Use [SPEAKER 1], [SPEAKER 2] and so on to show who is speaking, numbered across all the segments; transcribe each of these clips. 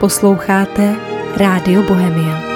[SPEAKER 1] Posloucháte Rádio Bohemia.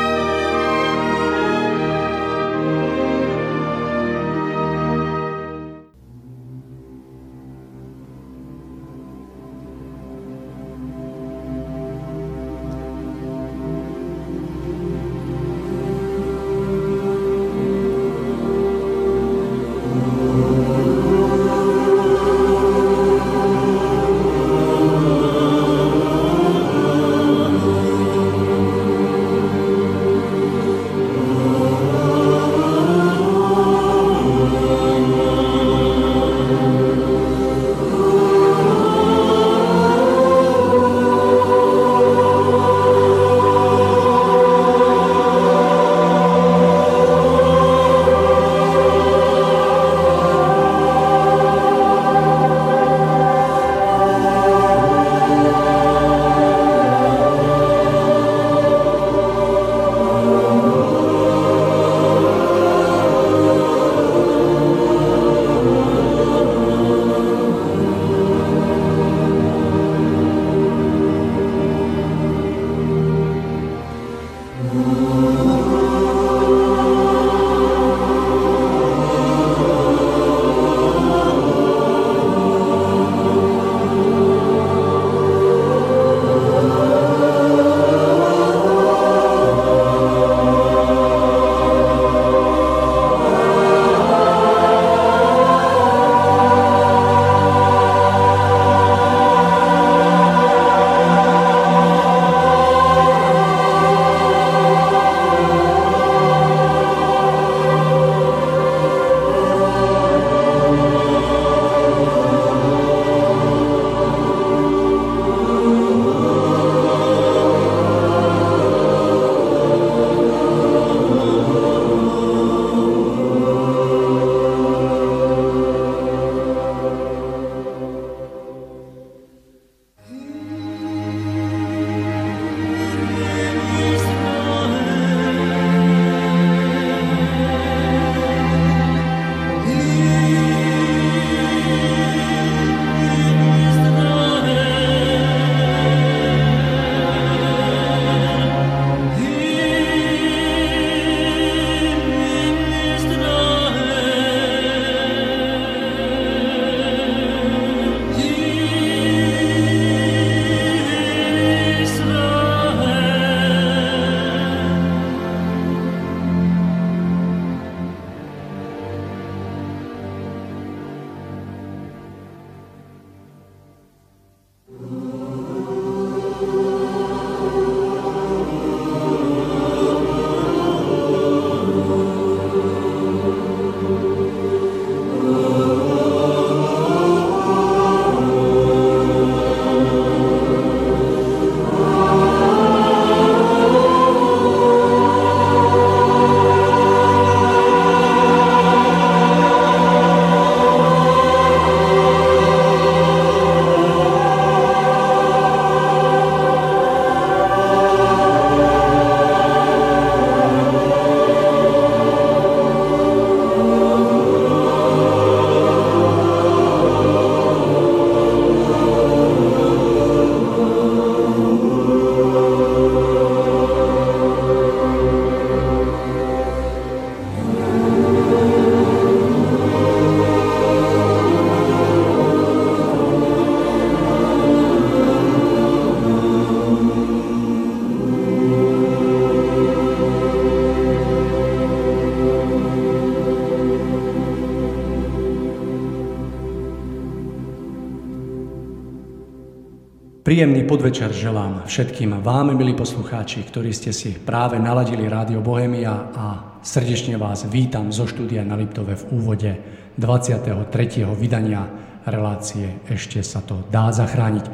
[SPEAKER 2] Príjemný podvečer želám všetkým vám, milí poslucháči, ktorí ste si práve naladili Rádio Bohemia, a srdečne vás vítam zo štúdia na Liptove v úvode 23. vydania relácie Ešte sa to dá zachrániť.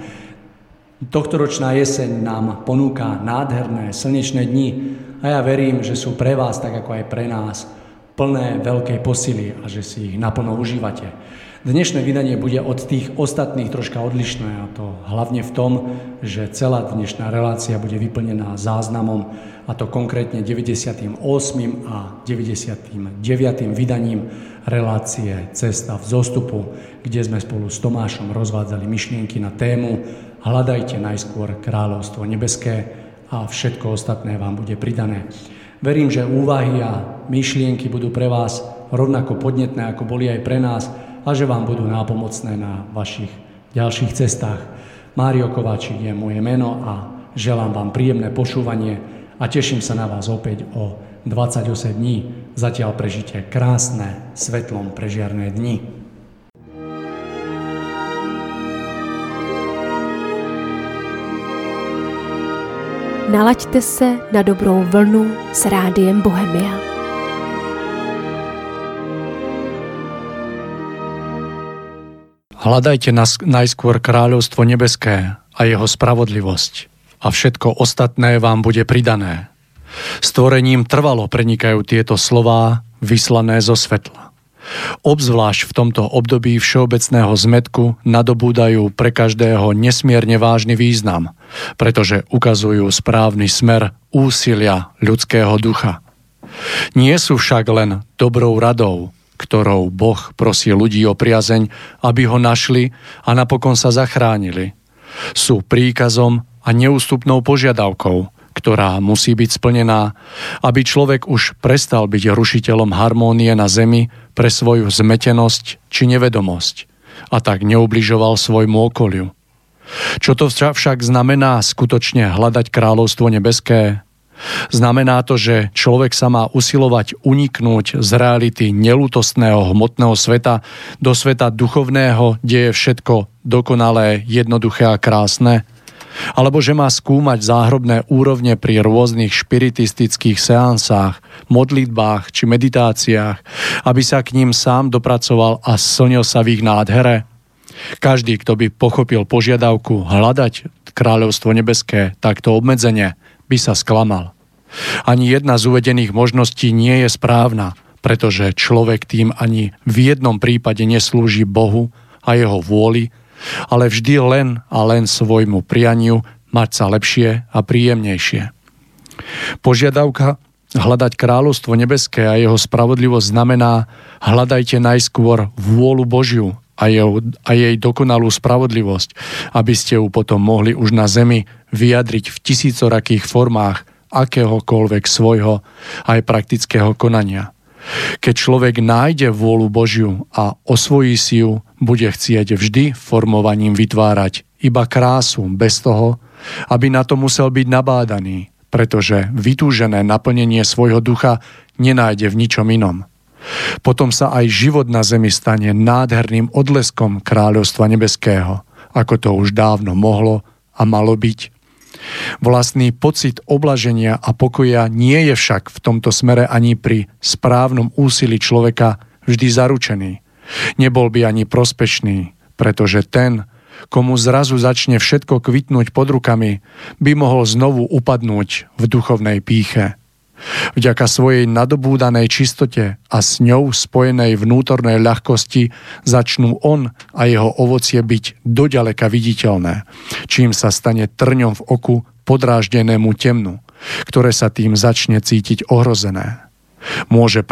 [SPEAKER 2] Tohtoročná jeseň nám ponúka nádherné slnečné dni a ja verím, že sú pre vás, tak ako aj pre nás, plné veľkej posily a že si ich naplno užívate. Dnešné vydanie bude od tých ostatných troška odlišné, a to hlavne v tom, že celá dnešná relácia bude vyplnená záznamom, a to konkrétne 98. a 99. vydaním relácie Cesta v zostupu, kde sme spolu s Tomášom rozvádzali myšlienky na tému hľadajte najskôr kráľovstvo nebeské a všetko ostatné vám bude pridané. Verím, že úvahy a myšlienky budú pre vás rovnako podnetné, ako boli aj pre nás, a že vám budú nápomocné na vašich ďalších cestách. Mário Kováčik je moje meno a želám vám príjemné počúvanie a teším sa na vás opäť o 28 dní. Zatiaľ prežite krásne, svetlom prežiarné dni.
[SPEAKER 1] Nalaďte se na dobrou vlnu s Rádiem Bohemia.
[SPEAKER 2] Hľadajte najskôr kráľovstvo nebeské a jeho spravodlivosť a všetko ostatné vám bude pridané. Stvorením trvalo prenikajú tieto slová vyslané zo svetla. Obzvlášť v tomto období všeobecného zmätku nadobúdajú pre každého nesmierne vážny význam, pretože ukazujú správny smer úsilia ľudského ducha. Nie sú však len dobrou radou, ktorou Boh prosí ľudí o priazeň, aby ho našli a napokon sa zachránili. Sú príkazom a neústupnou požiadavkou, ktorá musí byť splnená, aby človek už prestal byť rušiteľom harmónie na zemi pre svoju zmetenosť či nevedomosť a tak neubližoval svojmu okoliu. Čo to však znamená skutočne hľadať kráľovstvo nebeské? Znamená to, že človek sa má usilovať uniknúť z reality neľútostného hmotného sveta do sveta duchovného, kde je všetko dokonalé, jednoduché a krásne? Alebo že má skúmať záhrobné úrovne pri rôznych špiritistických seansách, modlitbách či meditáciách, aby sa k ním sám dopracoval a slnil sa v ich nádhere? Každý, kto by pochopil požiadavku hľadať kráľovstvo nebeské takto obmedzenie, by sa sklamal. Ani jedna z uvedených možností nie je správna, pretože človek tým ani v jednom prípade neslúži Bohu a jeho vôli, ale vždy len a len svojmu prianiu mať sa lepšie a príjemnejšie. Požiadavka hľadať kráľovstvo nebeské a jeho spravodlivosť znamená hľadajte najskôr vôľu Božiu a jej dokonalú spravodlivosť, aby ste ju potom mohli už na zemi vyjadriť v tisícorakých formách akéhokoľvek svojho aj praktického konania. Keď človek nájde vôľu Božiu a osvojí si ju, bude chcieť vždy formovaním vytvárať iba krásu bez toho, aby na to musel byť nabádaný, pretože vytúžené naplnenie svojho ducha nenájde v ničom inom. Potom sa aj život na zemi stane nádherným odleskom kráľovstva nebeského, ako to už dávno mohlo a malo byť. Vlastný pocit oblaženia a pokoja nie je však v tomto smere ani pri správnom úsilí človeka vždy zaručený. Nebol by ani prospešný, pretože ten, komu zrazu začne všetko kvitnúť pod rukami, by mohol znovu upadnúť v duchovnej pýche. Vďaka svojej nadobúdanej čistote a s ňou spojenej vnútornej ľahkosti začnú on a jeho ovocie byť doďaleka viditeľné, čím sa stane trňom v oku podráždenému temnu, ktoré sa tým začne cítiť ohrozené. Môže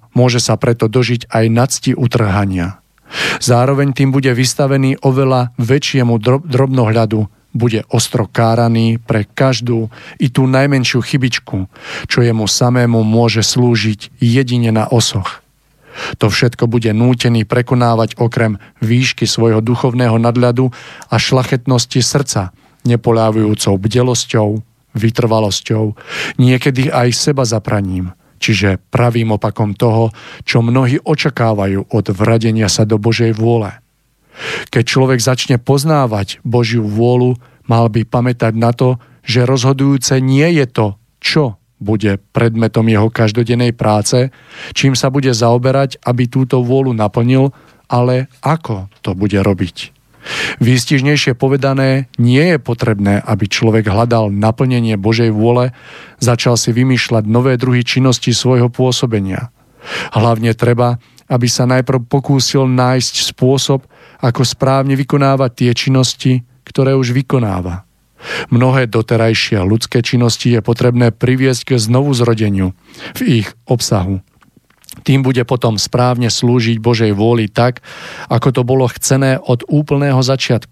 [SPEAKER 2] sa preto dožiť aj nadsti utrhania. Zároveň tým bude vystavený oveľa väčšiemu drobnohľadu, bude ostro káraný pre každú i tú najmenšiu chybičku, čo jemu samému môže slúžiť jedine na osoch. To všetko bude nútený prekonávať okrem výšky svojho duchovného nadľadu a šlachetnosti srdca, nepoľavujúcou bdelosťou, vytrvalosťou, niekedy aj seba zapraním, čiže pravým opakom toho, čo mnohí očakávajú od vradenia sa do Božej vôle. Keď človek začne poznávať Božiu vôľu, mal by pamätať na to, že rozhodujúce nie je to, čo bude predmetom jeho každodennej práce, čím sa bude zaoberať, aby túto vôľu naplnil, ale ako to bude robiť. Výstižnejšie povedané, nie je potrebné, aby človek hľadal naplnenie Božej vôle, začal si vymýšľať nové druhy činnosti svojho pôsobenia. Hlavne treba, aby sa najprv pokúsil nájsť spôsob, ako správne vykonávať tie činnosti, ktoré už vykonáva. Mnohé doterajšie ľudské činnosti je potrebné priviesť k znovuzrodeniu v ich obsahu. Tým bude potom správne slúžiť Božej vôli tak, ako to bolo chcené od úplného začiatku.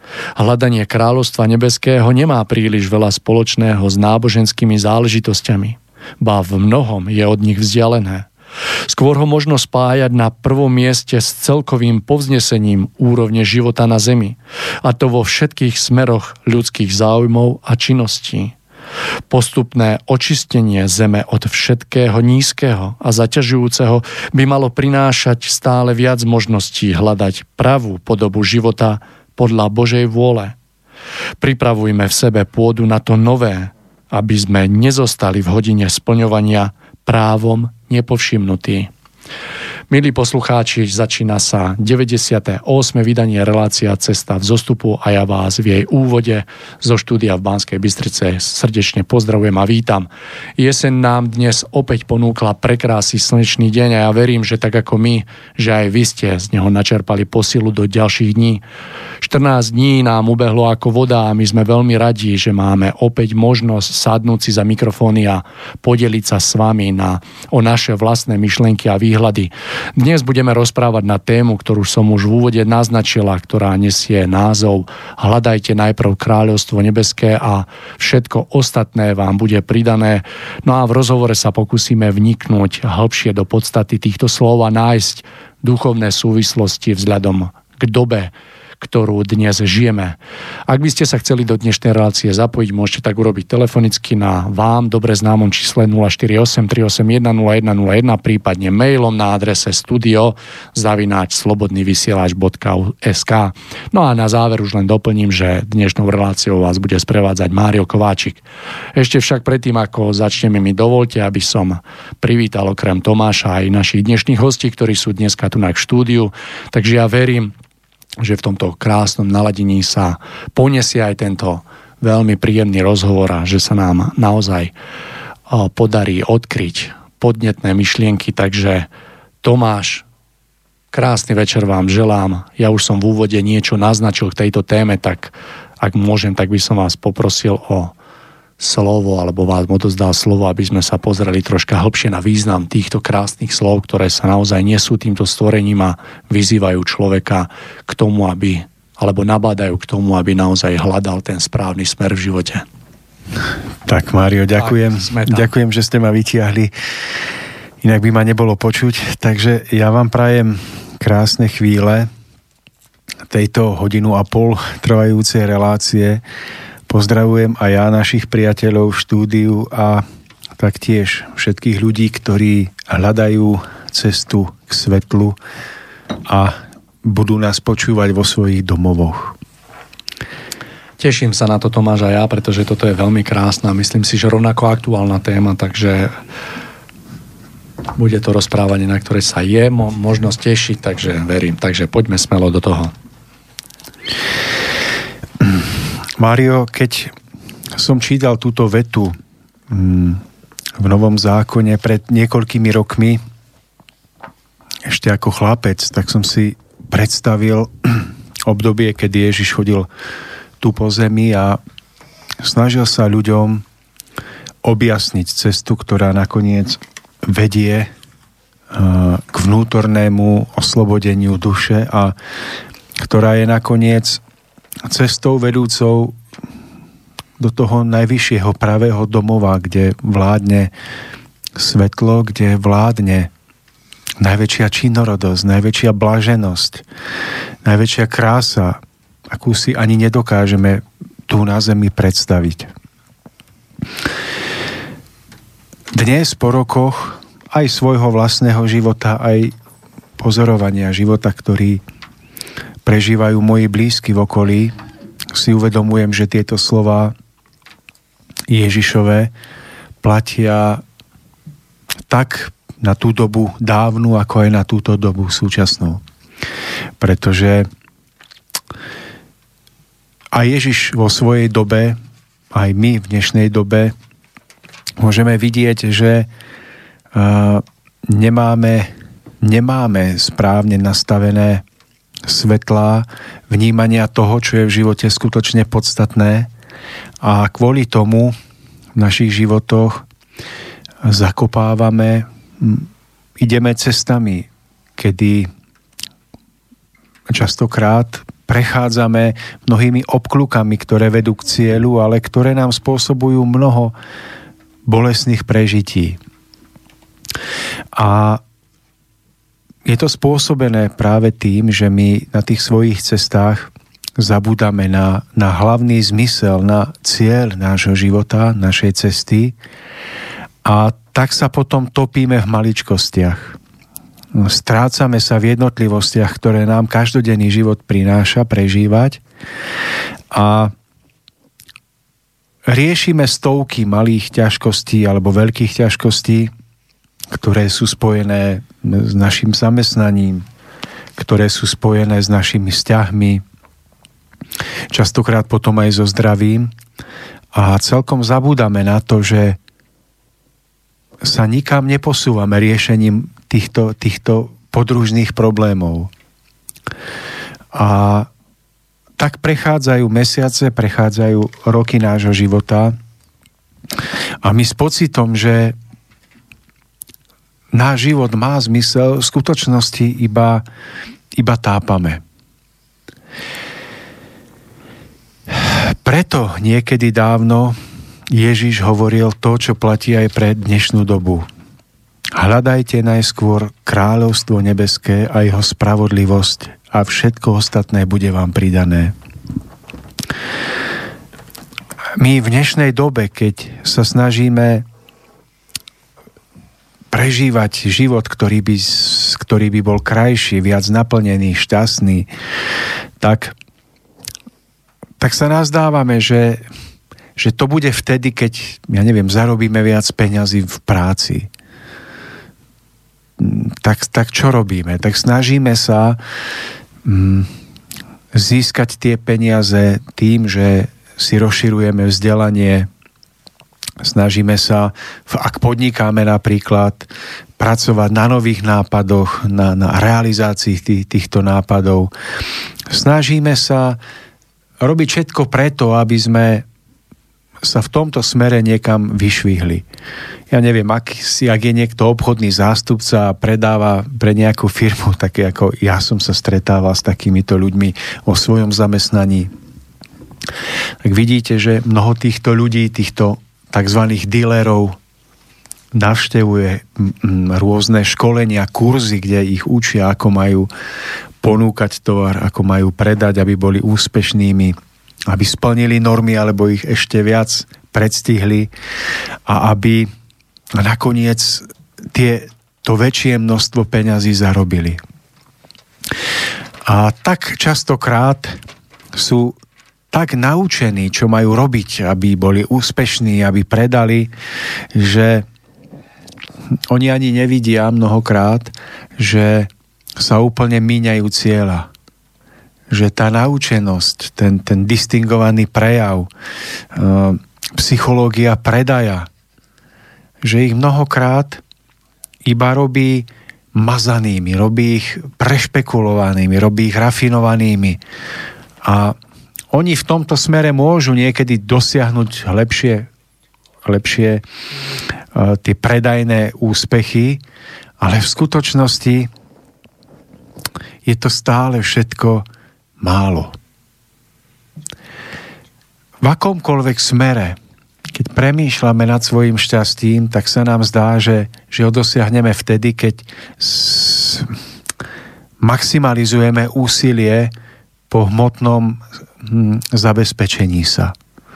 [SPEAKER 3] Hľadanie kráľovstva nebeského nemá príliš veľa spoločného s náboženskými záležitosťami, ba v mnohom je od nich vzdialené. Skôr ho možno spájať na prvom mieste s celkovým povznesením úrovne života na zemi, a to vo všetkých smeroch ľudských záujmov a činností. Postupné očistenie zeme od všetkého nízkeho a zaťažujúceho by malo prinášať stále viac možností hľadať pravú podobu života podľa Božej vôle. Pripravujme v sebe pôdu na to nové, aby sme nezostali v hodine splňovania právom nepovšimnutí. Milí poslucháči, začína sa 98. vydanie relácia Cesta v zostupu a ja vás v jej úvode zo štúdia v Banskej Bystrice srdečne pozdravujem a vítam. Jeseň nám dnes opäť ponúkla prekrásny slnečný deň a ja verím, že tak ako my, že aj vy ste z neho načerpali posilu do ďalších dní. 14 dní nám ubehlo ako voda a my sme veľmi radi, že máme opäť možnosť sadnúť si za mikrofóny a podeliť sa s vami o naše vlastné myšlienky a výhľady. Dnes budeme rozprávať na tému, ktorú som už v úvode naznačila, ktorá nesie názov Hľadajte najprv kráľovstvo nebeské a všetko ostatné vám bude pridané. No a v rozhovore sa pokúsime vniknúť hĺbšie do podstaty týchto slov a nájsť duchovné súvislosti vzhľadom k dobe, ktorú dnes žijeme. Ak by ste sa chceli do dnešnej relácie zapojiť, môžete tak urobiť telefonicky na vám dobre známom čísle 048 381 0101, prípadne mailom na adrese studio@slobodnyvysielac.sk. No a na záver už len doplním, že dnešnou reláciou vás bude sprevádzať Mário Kováčik. Ešte však predtým, ako začneme, mi dovolte, aby som privítal okrem Tomáša aj našich dnešných hostí, ktorí sú dneska tu v štúdiu. Takže ja verím, že v tomto krásnom naladení sa poniesie aj tento veľmi príjemný rozhovor a že sa nám naozaj podarí odkryť podnetné myšlienky. Takže Tomáš, krásny večer vám želám. Ja už som v úvode niečo naznačil k tejto téme, tak ak môžem, tak by som vás poprosil o slovo, alebo vás odozdal slovo, aby sme sa pozreli troška hlbšie na význam týchto krásnych slov, ktoré sa naozaj nesú týmto stvorením a vyzývajú človeka k tomu, alebo nabádajú k tomu, aby naozaj hľadal ten správny smer v živote.
[SPEAKER 4] Tak, Mário, ďakujem. Ďakujem, že ste ma vytiahli. Inak by ma nebolo počuť. Takže ja vám prajem krásne chvíle tejto 1,5 hodiny trvajúcej relácie. Pozdravujem aj ja našich priateľov v štúdiu a taktiež všetkých ľudí, ktorí hľadajú cestu k svetlu a budú nás počúvať vo svojich domovoch.
[SPEAKER 3] Teším sa na to, Tomáš, a ja, pretože toto je veľmi krásna, myslím si, že rovnako aktuálna téma, takže bude to rozprávanie, na ktoré sa je možnosť tešiť, takže verím. Takže poďme smelo do toho.
[SPEAKER 4] Mário, keď som čítal túto vetu v Novom zákone pred niekoľkými rokmi, ešte ako chlapec, tak som si predstavil obdobie, kedy Ježiš chodil tu po zemi a snažil sa ľuďom objasniť cestu, ktorá nakoniec vedie k vnútornému oslobodeniu duše a ktorá je nakoniec cestou vedúcou do toho najvyššieho pravého domova, kde vládne svetlo, kde vládne najväčšia činorodosť, najväčšia blaženosť, najväčšia krása, akú si ani nedokážeme tu na zemi predstaviť. Dnes po rokoch aj svojho vlastného života, aj pozorovania života, ktorý prežívajú moji blízky v okolí, si uvedomujem, že tieto slová Ježišove platia tak na tú dobu dávnu, ako aj na túto dobu súčasnú. Pretože aj Ježiš vo svojej dobe, aj my v dnešnej dobe môžeme vidieť, že nemáme správne nastavené svetlá, vnímania toho, čo je v živote skutočne podstatné a kvôli tomu v našich životoch zakopávame, ideme cestami, kedy častokrát prechádzame mnohými obklukami, ktoré vedú k cieľu, ale ktoré nám spôsobujú mnoho bolestných prežití. A je to spôsobené práve tým, že my na tých svojich cestách zabúdame na hlavný zmysel, na cieľ nášho života, našej cesty, a tak sa potom topíme v maličkostiach. Strácame sa v jednotlivostiach, ktoré nám každodenný život prináša prežívať, a riešime stovky malých ťažkostí alebo veľkých ťažkostí, ktoré sú spojené s našim zamestnaním, ktoré sú spojené s našimi vzťahmi, častokrát potom aj so zdravím, a celkom zabúdame na to, že sa nikam neposúvame riešením týchto podružných problémov. A tak prechádzajú mesiace, prechádzajú roky nášho života a my s pocitom, že náš život má zmysel, v skutočnosti iba tápame. Preto niekedy dávno Ježiš hovoril to, čo platí aj pre dnešnú dobu. Hľadajte najskôr kráľovstvo nebeské a jeho spravodlivosť a všetko ostatné bude vám pridané. My v dnešnej dobe, keď sa snažíme prežívať život, ktorý by bol krajší, viac naplnený, šťastný, tak sa nazdávame, že to bude vtedy, keď, zarobíme viac peňazí v práci. Tak čo robíme? Tak snažíme sa získať tie peniaze tým, že si rozširujeme vzdelanie, snažíme sa, ak podnikáme napríklad, pracovať na nových nápadoch, na realizácii týchto nápadov. Snažíme sa robiť všetko preto, aby sme sa v tomto smere niekam vyšvihli. Ja neviem, ak je niekto obchodný zástupca a predáva pre nejakú firmu, také ako ja som sa stretával s takýmito ľuďmi vo svojom zamestnaní, tak vidíte, že mnoho týchto ľudí, týchto takzvaných dílerov navštevuje rôzne školenia, kurzy, kde ich učia, ako majú ponúkať tovar, ako majú predať, aby boli úspešnými, aby splnili normy, alebo ich ešte viac predstihli a aby nakoniec to väčšie množstvo peňazí zarobili. A tak častokrát sú tak naučení, čo majú robiť, aby boli úspešní, aby predali, že oni ani nevidia mnohokrát, že sa úplne míňajú cieľa. Že tá naučenosť, ten distingovaný prejav, psychológia predaja, že ich mnohokrát iba robí mazanými, robí ich prešpekulovanými, robí ich rafinovanými. A oni v tomto smere môžu niekedy dosiahnuť lepšie tie predajné úspechy, ale v skutočnosti je to stále všetko málo. V akomkoľvek smere, keď premýšľame nad svojim šťastím, tak sa nám zdá, že ho dosiahneme vtedy, keď maximalizujeme úsilie po hmotnom zabezpečení sa.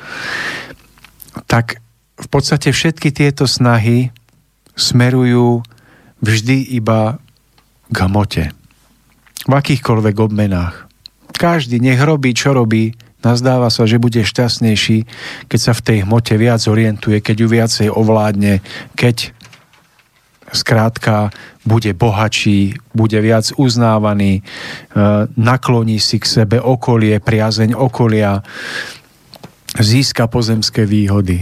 [SPEAKER 4] Tak v podstate všetky tieto snahy smerujú vždy iba k hmote. V akýchkoľvek obmenách. Každý nech robí, čo robí, nazdáva sa, že bude šťastnejší, keď sa v tej hmote viac orientuje, keď ju viacej ovládne, keď skrátka bude bohatší, bude viac uznávaný, nakloní si k sebe okolie, priazeň okolia, získa pozemské výhody.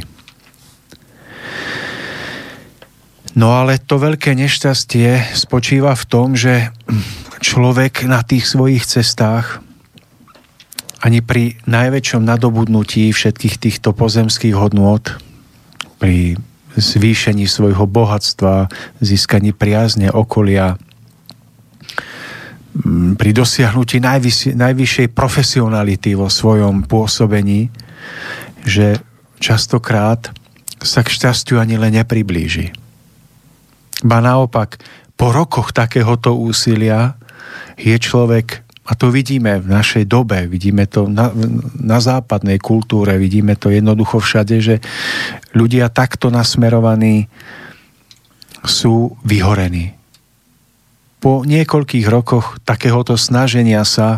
[SPEAKER 4] No ale to veľké nešťastie spočíva v tom, že človek na tých svojich cestách ani pri najväčšom nadobudnutí všetkých týchto pozemských hodnôt, pri zvýšení svojho bohatstva, získaní priazne okolia, pri dosiahnutí najvyššej profesionality vo svojom pôsobení, že častokrát sa k šťastiu ani len nepriblíži. Ba naopak, po rokoch takéhoto úsilia je človek, a to vidíme v našej dobe, vidíme to na západnej kultúre, vidíme to jednoducho všade, že ľudia takto nasmerovaní sú vyhorení. Po niekoľkých rokoch takéhoto snaženia sa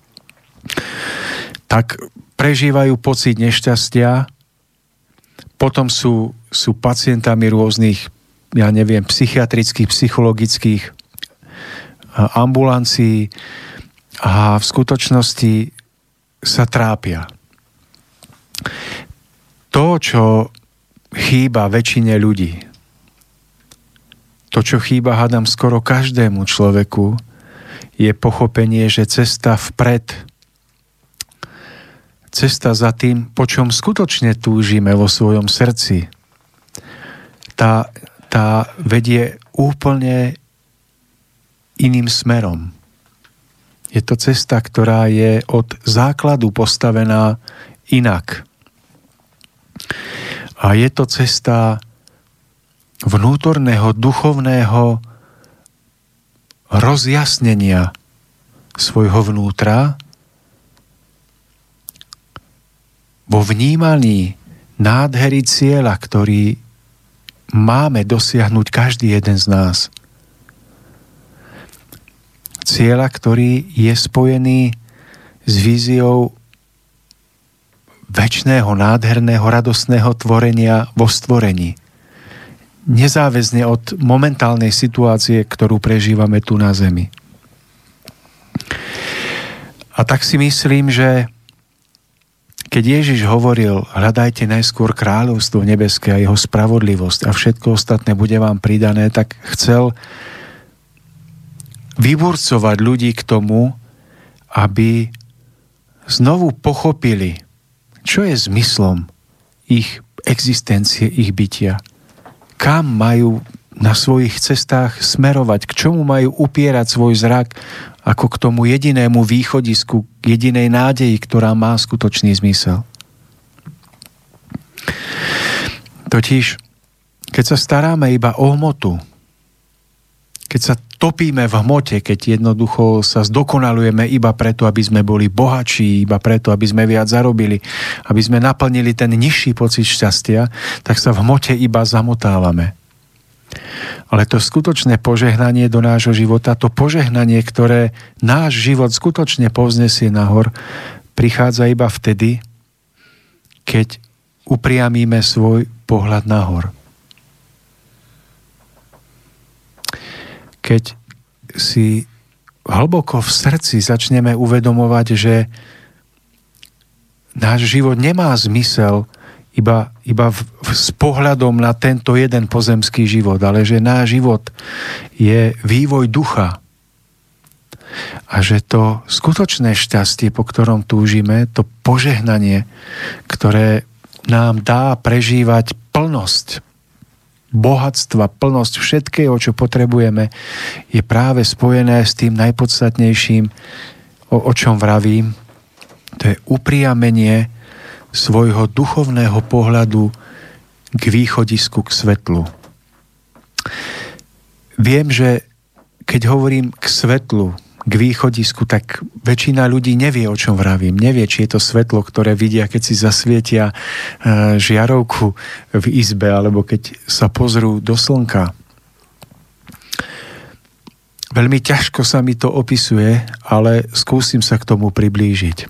[SPEAKER 4] tak prežívajú pocit nešťastia, potom sú pacientami rôznych, psychiatrických, psychologických ambulancií a v skutočnosti sa trápia. To, čo chýba väčšine ľudí, to, čo chýba, hádam, skoro každému človeku, je pochopenie, že cesta vpred, cesta za tým, po čom skutočne túžime vo svojom srdci, tá vedie úplne iným smerom. Je to cesta, ktorá je od základu postavená inak. A je to cesta vnútorného, duchovného rozjasnenia svojho vnútra vo vnímaní nádhery cieľa, ktorý máme dosiahnuť každý jeden z nás. Cieľa, ktorý je spojený s víziou večného, nádherného, radostného tvorenia vo stvorení. Nezáväzne od momentálnej situácie, ktorú prežívame tu na zemi. A tak si myslím, že keď Ježiš hovoril, hľadajte najskôr kráľovstvo nebeské a jeho spravodlivosť a všetko ostatné bude vám pridané, tak chcel vyburcovať ľudí k tomu, aby znovu pochopili, čo je zmyslom ich existencie, ich bytia. Kam majú na svojich cestách smerovať, k čomu majú upierať svoj zrak, ako k tomu jedinému východisku, k jedinej nádeji, ktorá má skutočný zmysel. Totiž, keď sa staráme iba o hmotu, keď sa topíme v hmote, keď jednoducho sa zdokonalujeme iba preto, aby sme boli bohatší, iba preto, aby sme viac zarobili, aby sme naplnili ten nižší pocit šťastia, tak sa v hmote iba zamotávame. Ale to skutočné požehnanie do nášho života, to požehnanie, ktoré náš život skutočne povznesie nahor, prichádza iba vtedy, keď upriamíme svoj pohľad nahor. Keď si hlboko v srdci začneme uvedomovať, že náš život nemá zmysel iba s pohľadom na tento jeden pozemský život, ale že náš život je vývoj ducha. A že to skutočné šťastie, po ktorom túžime, to požehnanie, ktoré nám dá prežívať plnosť bohatstva, plnosť všetkého, čo potrebujeme, je práve spojené s tým najpodstatnejším, o čom vravím. To je upriamenie svojho duchovného pohľadu k východisku, k svetlu. Viem, že keď hovorím k svetlu, k východisku, tak väčšina ľudí nevie, o čom vravím. Nevie, či je to svetlo, ktoré vidia, keď si zasvietia žiarovku v izbe, alebo keď sa pozrú do slnka. Veľmi ťažko sa mi to opisuje, ale skúsim sa k tomu priblížiť.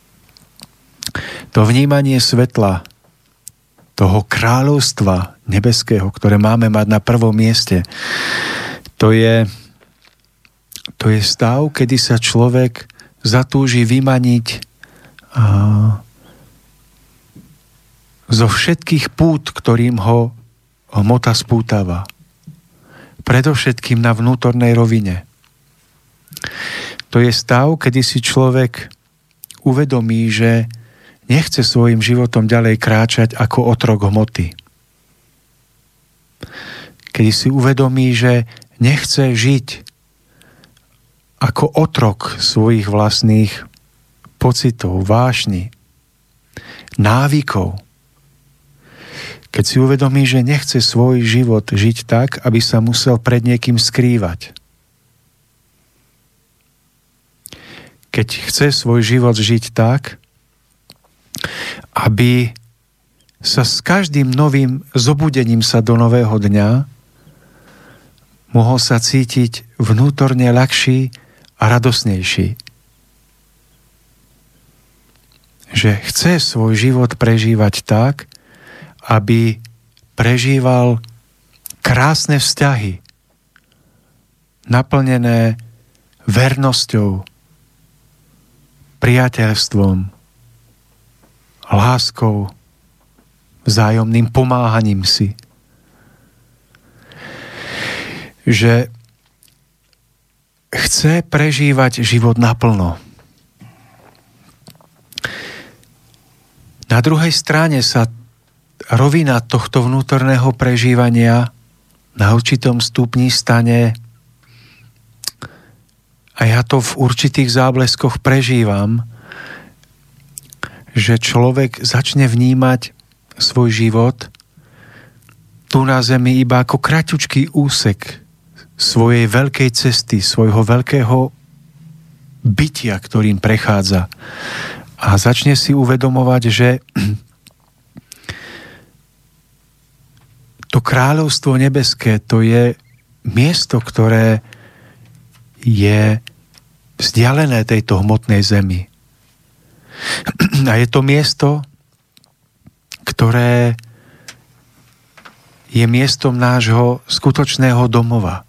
[SPEAKER 4] To vnímanie svetla, toho kráľovstva nebeského, ktoré máme mať na prvom mieste, to je stav, kedy sa človek zatúži vymaniť zo všetkých pút, ktorým ho hmota spútava. Predovšetkým na vnútornej rovine. To je stav, kedy si človek uvedomí, že nechce svojim životom ďalej kráčať ako otrok hmoty. Kedy si uvedomí, že nechce žiť ako otrok svojich vlastných pocitov, vášni, návykov. Keď si uvedomí, že nechce svoj život žiť tak, aby sa musel pred niekým skrývať. Keď chce svoj život žiť tak, aby sa s každým novým zobudením sa do nového dňa mohol sa cítiť vnútorne ľahší a radosnejší. Že chce svoj život prežívať tak, aby prežíval krásne vzťahy, naplnené vernosťou, priateľstvom, láskou, vzájomným pomáhaním si. Že chce prežívať život naplno. Na druhej strane sa rovina tohto vnútorného prežívania na určitom stupni stane, a ja to v určitých zábleskoch prežívam, že človek začne vnímať svoj život tu na zemi iba ako kratučký úsek svojej veľkej cesty, svojho veľkého bytia, ktorým prechádza. A začne si uvedomovať, že to kráľovstvo nebeské, to je miesto, ktoré je vzdialené tejto hmotnej zemi. A je to miesto, ktoré je miestom nášho skutočného domova,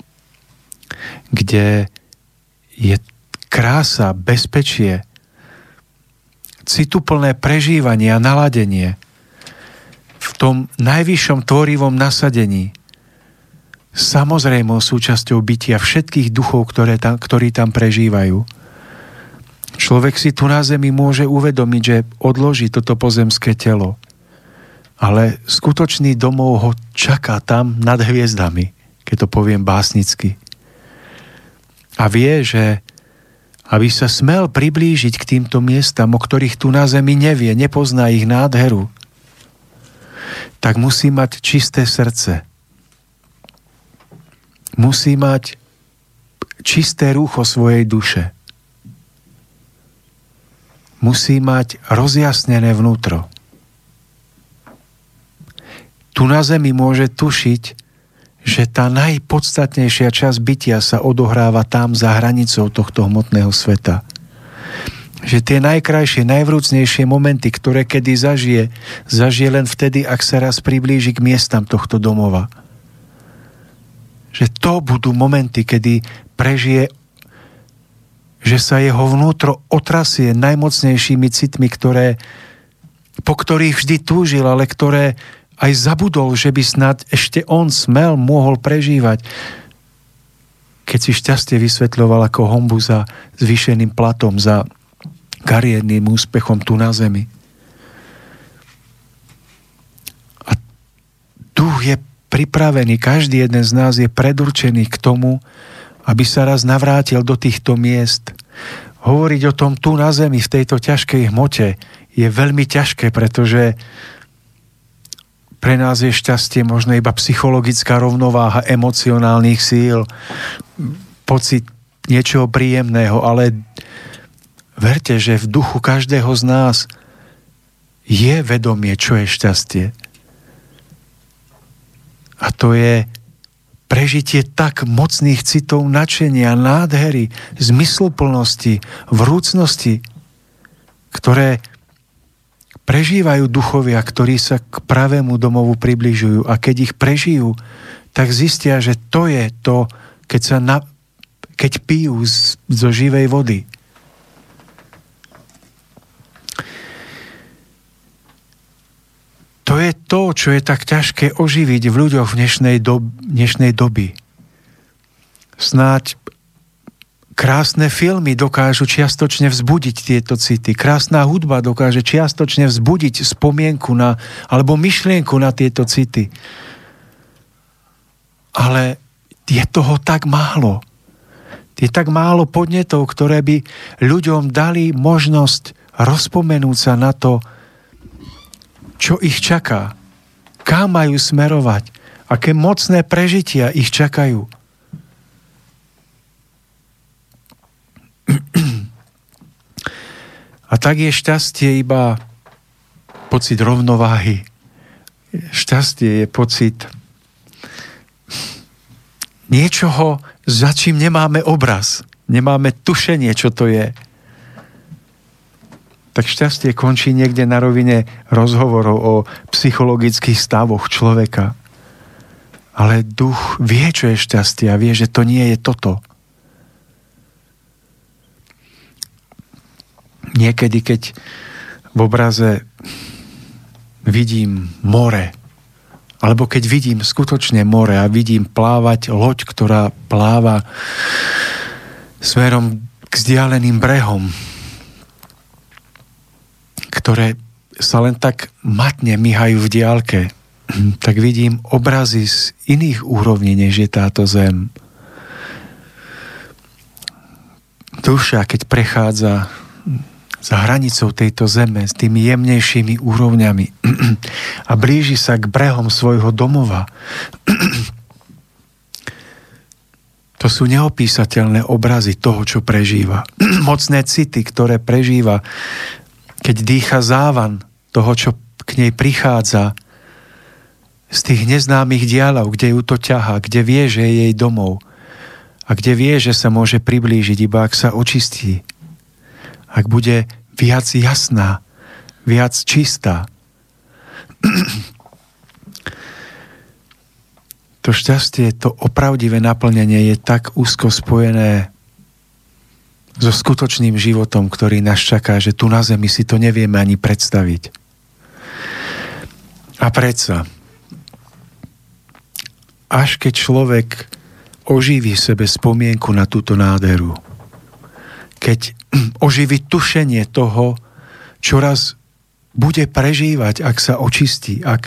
[SPEAKER 4] kde je krása, bezpečie, cituplné prežívanie a naladenie v tom najvyššom tvorivom nasadení, samozrejmou súčasťou bytia všetkých duchov, ktorí tam prežívajú. Človek si tu na zemi môže uvedomiť, že odloží toto pozemské telo, ale skutočný domov ho čaká tam nad hviezdami, keď to poviem básnicky. A vie, že aby sa smel priblížiť k týmto miestam, o ktorých tu na zemi nevie, nepozná ich nádheru, tak musí mať čisté srdce. Musí mať čisté rúcho svojej duše. Musí mať rozjasnené vnútro. Tu na zemi môže tušiť, že tá najpodstatnejšia časť bytia sa odohráva tam za hranicou tohto hmotného sveta. Že tie najkrajšie, najvrúcnejšie momenty, ktoré kedy zažije len vtedy, ak sa raz priblíži k miestam tohto domova. Že to budú momenty, kedy prežije, že sa jeho vnútro otrasie najmocnejšími citmi, po ktorých vždy túžil, ale ktoré aj zabudol, že by snad ešte on mohol prežívať. Keď si šťastie vysvetľoval ako honbu za zvýšeným platom, za kariérnym úspechom tu na zemi. A duch je pripravený, každý jeden z nás je predurčený k tomu, aby sa raz navrátil do týchto miest. Hovoriť o tom tu na zemi, v tejto ťažkej hmote, je veľmi ťažké, pretože pre nás je šťastie možno iba psychologická rovnováha emocionálnych síl, pocit niečoho príjemného, ale verte, že v duchu každého z nás je vedomie, čo je šťastie. A to je prežitie tak mocných citov nadšenia, nádhery, zmysluplnosti, vrúcnosti, ktoré prežívajú duchovia, ktorí sa k pravému domovu približujú, a keď ich prežijú, tak zistia, že to je to, keď pijú zo živej vody. To je to, čo je tak ťažké oživiť v ľuďoch v dnešnej doby. Snáď krásne filmy dokážu čiastočne vzbudiť tieto city. Krásna hudba dokáže čiastočne vzbudiť spomienku alebo myšlienku na tieto city. Ale je toho tak málo. Je tak málo podnetov, ktoré by ľuďom dali možnosť rozpomenúť sa na to, čo ich čaká, kam majú smerovať, aké mocné prežitia ich čakajú. A tak je šťastie iba pocit rovnováhy. Šťastie je pocit niečoho, za čím nemáme obraz, nemáme tušenie, čo to je. Tak šťastie končí niekde na rovine rozhovorov o psychologických stavoch človeka. Ale duch vie, čo je šťastie a vie, že to nie je toto. Niekedy, keď v obraze vidím more, alebo keď vidím skutočne more a vidím plávať loď, ktorá pláva smerom k vzdialeným brehom, ktoré sa len tak matne myhajú v diaľke, tak vidím obrazy z iných úrovní, než je táto zem. Duša, keď prechádza za hranicou tejto zeme s tými jemnejšími úrovňami a blíži sa k brehom svojho domova. To sú neopísateľné obrazy toho, čo prežíva. Mocné city, ktoré prežíva, keď dýcha závan toho, čo k nej prichádza z tých neznámych diaľov, kde ju to ťahá, kde vie, že je jej domov a kde vie, že sa môže priblížiť, iba ak sa očistí. Ak bude viac jasná, viac čistá. To šťastie, to opravdivé naplnenie je tak úzko spojené so skutočným životom, ktorý nás čaká, že tu na zemi si to nevieme ani predstaviť. A predsa, až keď človek oživí sebe spomienku na túto nádheru, keď oživí tušenie toho, čo raz bude prežívať, ak sa očistí, ak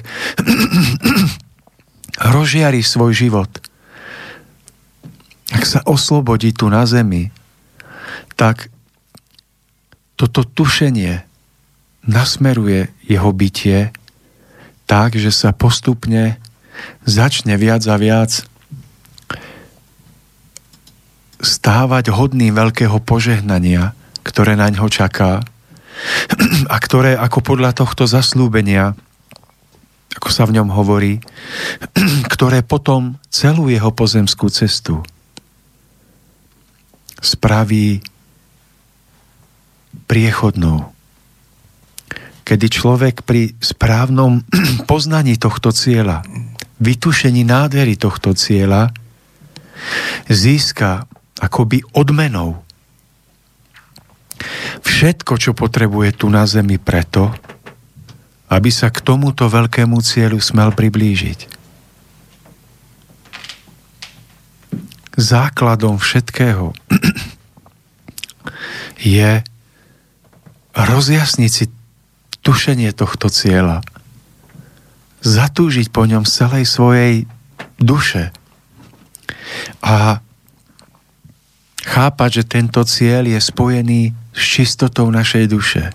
[SPEAKER 4] rozžiari svoj život, ak sa oslobodí tu na zemi, tak toto tušenie nasmeruje jeho bytie tak, že sa postupne začne viac a viac stávať hodným veľkého požehnania, ktoré na ňo čaká a ktoré ako podľa tohto zasľúbenia, ako sa v ňom hovorí, ktoré potom celú jeho pozemskú cestu spraví priechodnou. Kedy človek pri správnom poznaní tohto cieľa, vytušení nádhery tohto cieľa, získa akoby odmenou všetko, čo potrebuje tu na zemi preto, aby sa k tomuto veľkému cieľu smel priblížiť. Základom všetkého je rozjasniť si tušenie tohto cieľa, zatúžiť po ňom z celej svojej duše a chápať, že tento cieľ je spojený s čistotou našej duše.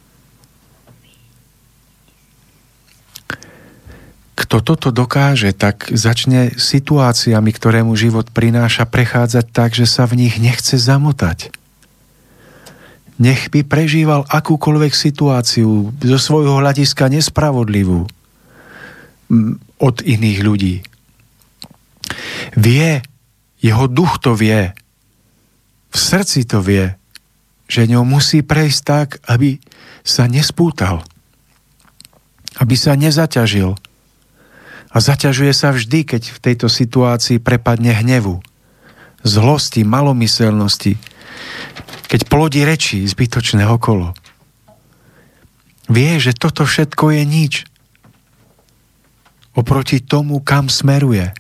[SPEAKER 4] Kto toto dokáže, tak začne situáciami, ktoré mu život prináša, prechádzať tak, že sa v nich nechce zamotať. Nech by prežíval akúkoľvek situáciu zo svojho hľadiska nespravodlivú od iných ľudí. Vie, jeho duch to vie, v srdci to vie, že ňou musí prejsť tak, aby sa nespútal, aby sa nezaťažil. A zaťažuje sa vždy, keď v tejto situácii prepadne hnevu, zlosti, malomyselnosti, keď plodí reči zbytočné okolo. Vie, že toto všetko je nič oproti tomu, kam smeruje.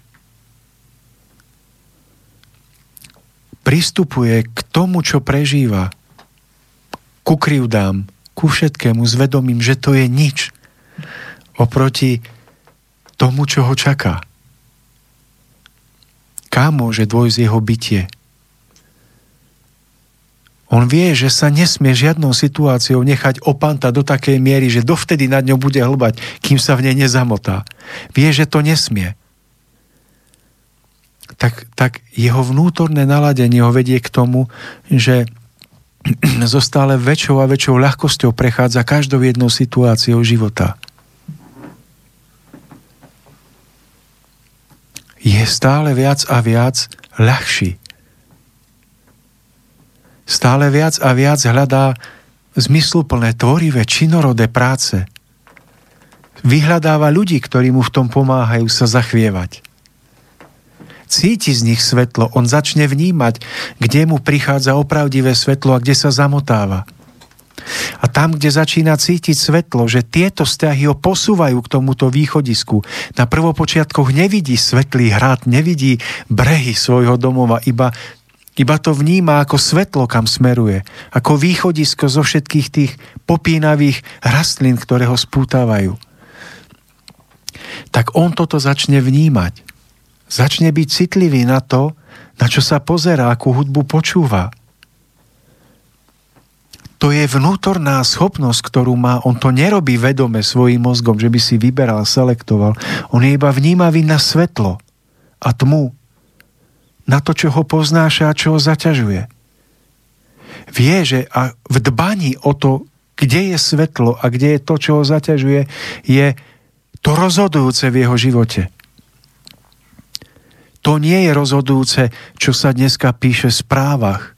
[SPEAKER 4] Pristupuje k tomu, čo prežíva, ku krivdám, ku všetkému s vedomím, že to je nič oproti tomu, čo ho čaká. Kam môže dôjsť jeho bytie? On vie, že sa nesmie žiadnou situáciou nechať opantať do takej miery, že dovtedy nad ňou bude hlbať, kým sa v nej nezamotá. Vie, že to nesmie. Tak jeho vnútorné naladenie ho vedie k tomu, že so stále väčšou a väčšou ľahkosťou prechádza každou jednou situáciou života. Je stále viac a viac ľahší. Stále viac a viac hľadá zmysluplné, tvorivé, činorodé práce. Vyhľadáva ľudí, ktorí mu v tom pomáhajú sa zachvievať. Cíti z nich svetlo, on začne vnímať, kde mu prichádza opravdivé svetlo a kde sa zamotáva. A tam, kde začína cítiť svetlo, že tieto vzťahy ho posúvajú k tomuto východisku, na prvopočiatkoch nevidí svetlý hrad, nevidí brehy svojho domova, iba to vníma ako svetlo, kam smeruje, ako východisko zo všetkých tých popínavých rastlín, ktoré ho spútávajú. Tak on toto začne vnímať. Začne byť citlivý na to, na čo sa pozerá, akú hudbu počúva. To je vnútorná schopnosť, ktorú má. On to nerobí vedome svojím mozgom, že by si vyberal, selektoval. On je iba vnímavý na svetlo a tmu. Na to, čo ho poznáša a čo ho zaťažuje. Vie, že a v dbaní o to, kde je svetlo a kde je to, čo ho zaťažuje, je to rozhodujúce v jeho živote. To nie je rozhodujúce, čo sa dneska píše v správach.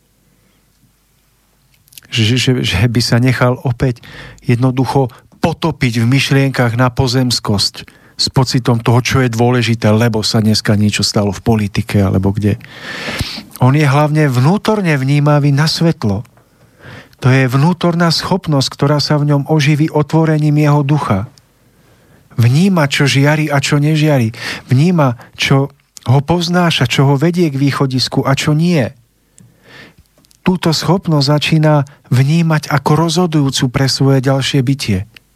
[SPEAKER 4] Že by sa nechal opäť jednoducho potopiť v myšlienkach na pozemskosť s pocitom toho, čo je dôležité, lebo sa dneska niečo stalo v politike alebo kde. On je hlavne vnútorne vnímavý na svetlo. To je vnútorná schopnosť, ktorá sa v ňom oživí otvorením jeho ducha. Vníma, čo žiari a čo nežiari. Vníma, čo ho poznáša, čo ho vedie k východisku a čo nie. Túto schopnosť začína vnímať ako rozhodujúcu pre svoje ďalšie bytie.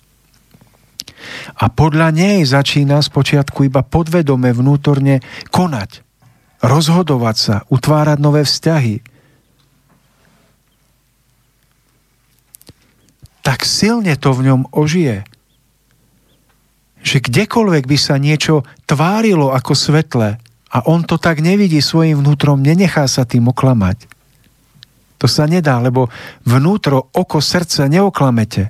[SPEAKER 4] A podľa nej začína spočiatku iba podvedome vnútorne konať, rozhodovať sa, utvárať nové vzťahy. Tak silne to v ňom ožije, že kdekoľvek by sa niečo tvárilo ako svetlé a on to tak nevidí svojim vnútrom, nenechá sa tým oklamať. To sa nedá, lebo vnútro, oko, srdce neoklamete.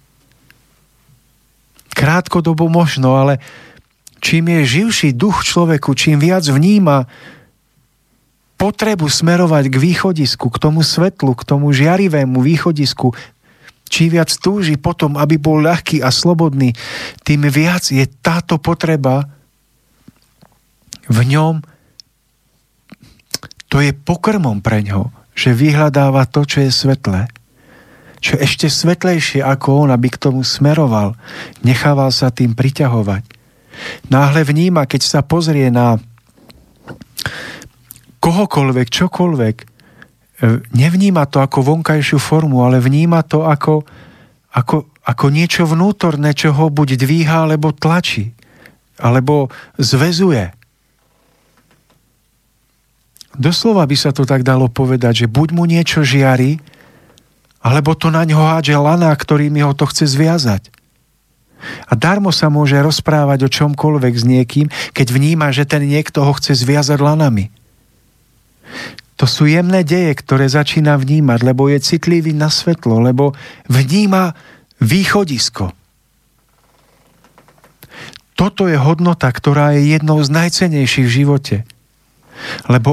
[SPEAKER 4] Krátkodobo možno, ale čím je živší duch človeku, čím viac vníma potrebu smerovať k východisku, k tomu svetlu, k tomu žiarivému východisku, čím viac túži potom, aby bol ľahký a slobodný, tým viac je táto potreba v ňom, to je pokrmom pre ňo, že vyhľadáva to, čo je svetlé. Čo ešte svetlejšie ako on, aby k tomu smeroval, nechával sa tým priťahovať. Náhle vníma, keď sa pozrie na kohokoľvek, čokoľvek, nevníma to ako vonkajšiu formu, ale vníma to ako niečo vnútorné, čo ho buď dvíha, alebo tlačí, alebo zväzuje. Doslova by sa to tak dalo povedať, že buď mu niečo žiari, alebo to na ňo hádže lana, ktorými ho to chce zviazať. A darmo sa môže rozprávať o čomkoľvek s niekým, keď vníma, že ten niekto ho chce zviazať lanami. To sú jemné deje, ktoré začína vnímať, lebo je citlivý na svetlo, lebo vníma východisko. Toto je hodnota, ktorá je jednou z najcennejších v živote. Lebo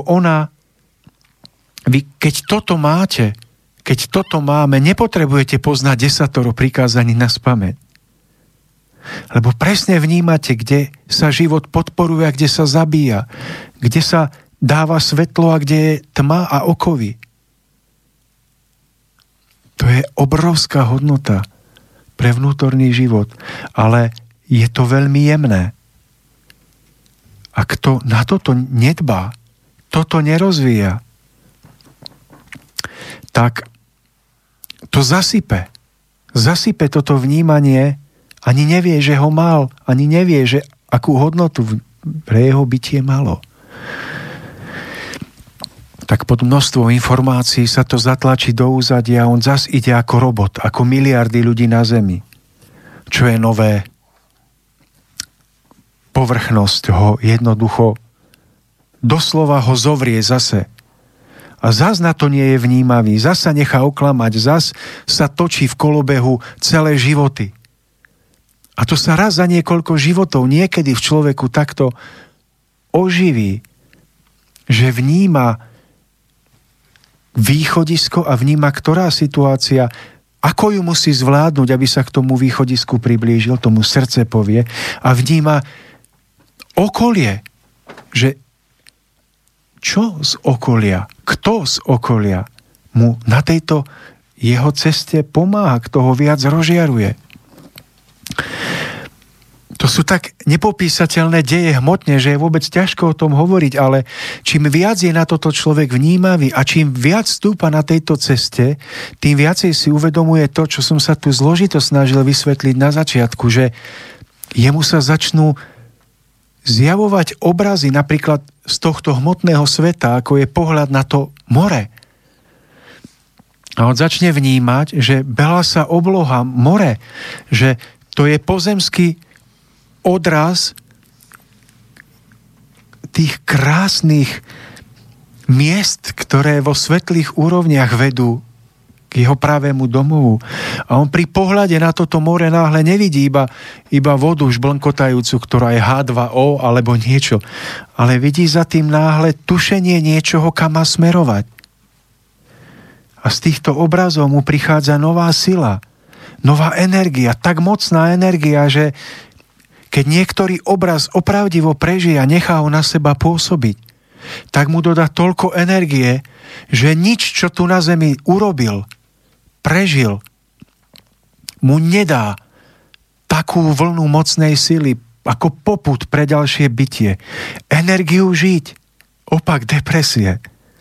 [SPEAKER 4] vy keď toto máte, keď toto máme, nepotrebujete poznať 10 prikázaní naspamäť. Lebo presne vnímate, kde sa život podporuje a kde sa zabíja, kde sa dáva svetlo a kde je tma a okovy. To je obrovská hodnota pre vnútorný život, ale je to veľmi jemné. A kto na toto nedbá, toto nerozvíja, tak to zasype. Zasype toto vnímanie, ani nevie, že ho mal, ani nevie, že akú hodnotu pre jeho bytie malo. tak pod množstvom informácií sa to zatlačí do úzadia a on zas ide ako robot, ako miliardy ľudí na Zemi. Čo je nové? Povrchnosť ho jednoducho doslova ho zovrie zase. A zas na to nie je vnímavý, zas sa nechá oklamať, zas sa točí v kolobehu celé životy. A to sa raz za niekoľko životov niekedy v človeku takto oživí, že vníma východisko a vníma, ktorá situácia, ako ju musí zvládnuť, aby sa k tomu východisku priblížil, tomu srdce povie, a vníma okolie, že čo z okolia, kto z okolia mu na tejto jeho ceste pomáha, kto ho viac rozžiaruje. To sú tak nepopísateľné deje hmotne, že je vôbec ťažko o tom hovoriť, ale čím viac je na toto človek vnímavý a čím viac stúpa na tejto ceste, tým viacej si uvedomuje to, čo som sa tu zložito snažil vysvetliť na začiatku, že jemu sa začnú zjavovať obrazy napríklad z tohto hmotného sveta, ako je pohľad na to more. A on začne vnímať, že belá obloha, more, že to je pozemský odraz tých krásnych miest, ktoré vo svetlých úrovniach vedú k jeho pravému domovu. A on pri pohľade na toto more náhle nevidí iba vodu žblnkotajúcu, ktorá je H2O alebo niečo, ale vidí za tým náhle tušenie niečoho, kam má smerovať. A z týchto obrazov mu prichádza nová sila, nová energia, tak mocná energia, že keď niektorý obraz opravdivo prežije a nechá ho na seba pôsobiť, tak mu dodá toľko energie, že nič, čo tu na zemi urobil, prežil, mu nedá takú vlnu mocnej sily, ako popud pre ďalšie bytie. Energiu žiť, opak depresie.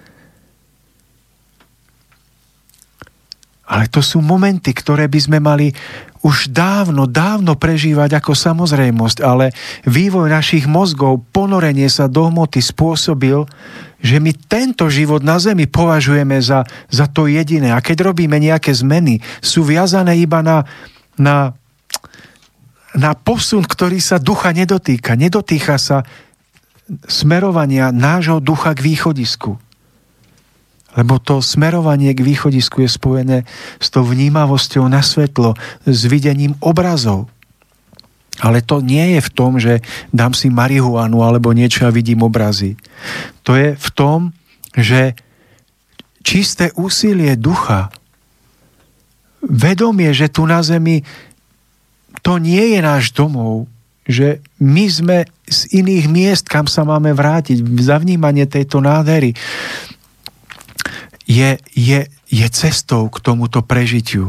[SPEAKER 4] Ale to sú momenty, ktoré by sme mali už dávno prežívať ako samozrejmosť, ale vývoj našich mozgov, ponorenie sa do hmoty spôsobil, že my tento život na Zemi považujeme za to jediné. A keď robíme nejaké zmeny, sú viazané iba na posun, ktorý sa ducha nedotýka. Nedotýka sa smerovania nášho ducha k východisku. Lebo to smerovanie k východisku je spojené s tou vnímavosťou na svetlo, s videním obrazov. Ale to nie je v tom, že dám si marihuanu alebo niečo a vidím obrazy. To je v tom, že čisté úsilie ducha, vedomie, že tu na zemi to nie je náš domov, že my sme z iných miest, kam sa máme vrátiť, za vnímanie tejto nádhery, je cestou k tomuto prežitiu.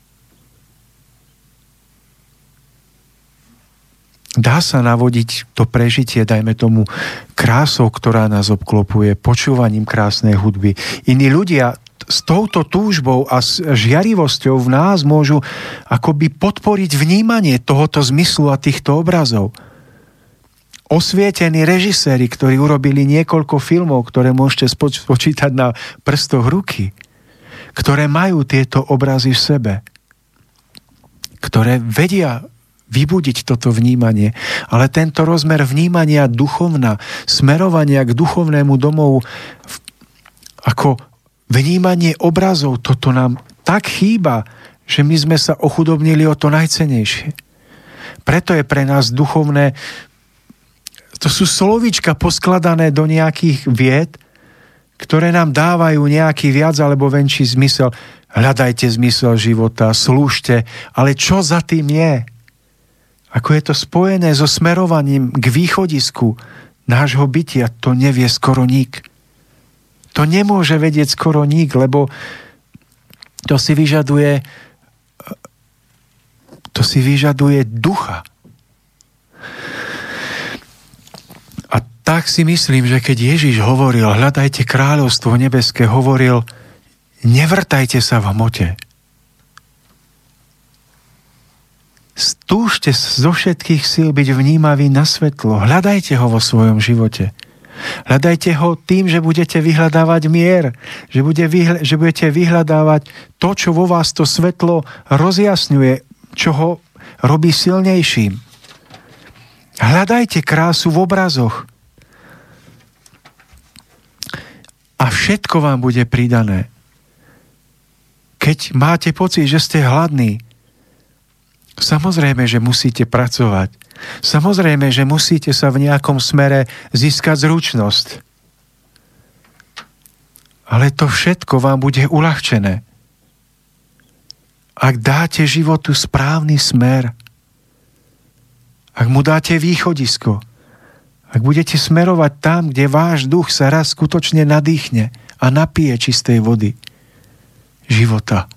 [SPEAKER 4] Dá sa navodiť to prežitie, dajme tomu, krásou, ktorá nás obklopuje, počúvaním krásnej hudby. Iní ľudia s touto túžbou a s žiarivosťou v nás môžu akoby podporiť vnímanie tohoto zmyslu a týchto obrazov. Osvietení režiséri, ktorí urobili niekoľko filmov, ktoré môžete spočítať na prstoch ruky, ktoré majú tieto obrazy v sebe, ktoré vedia vybudiť toto vnímanie. Ale tento rozmer vnímania duchovna, smerovania k duchovnému domovu, ako vnímanie obrazov, toto nám tak chýba, že my sme sa ochudobnili o to najcennejšie. Preto je pre nás duchovné. To sú slovíčka poskladané do nejakých vied, ktoré nám dávajú nejaký viac alebo menší zmysel. Hľadajte zmysel života, slúžte, ale čo za tým je? Ako je to spojené so smerovaním k východisku nášho bytia, to nevie skoro nik. To nemôže vedieť skoro nik, lebo to si vyžaduje ducha. A tak si myslím, že keď Ježiš hovoril, hľadajte kráľovstvo nebeské, hovoril, nevrtajte sa v hmote. Stúžte zo všetkých síl byť vnímavý na svetlo. Hľadajte ho vo svojom živote. Hľadajte ho tým, že budete vyhľadávať mier, že budete vyhľadávať to, čo vo vás to svetlo rozjasňuje, čo ho robí silnejším. Hľadajte krásu v obrazoch. A všetko vám bude pridané. Keď máte pocit, že ste hladní, samozrejme, že musíte pracovať. Samozrejme, že musíte sa v nejakom smere získať zručnosť. Ale to všetko vám bude uľahčené. Ak dáte životu správny smer, ak mu dáte východisko, ak budete smerovať tam, kde váš duch sa raz skutočne nadýchne a napije čistej vody života.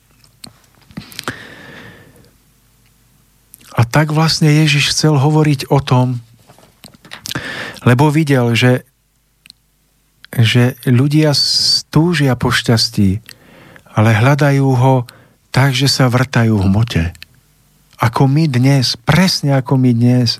[SPEAKER 4] A tak vlastne Ježiš chcel hovoriť o tom, lebo videl, že ľudia túžia po šťastí, ale hľadajú ho tak, že sa vrtajú v hmote. Ako my dnes, presne ako my dnes.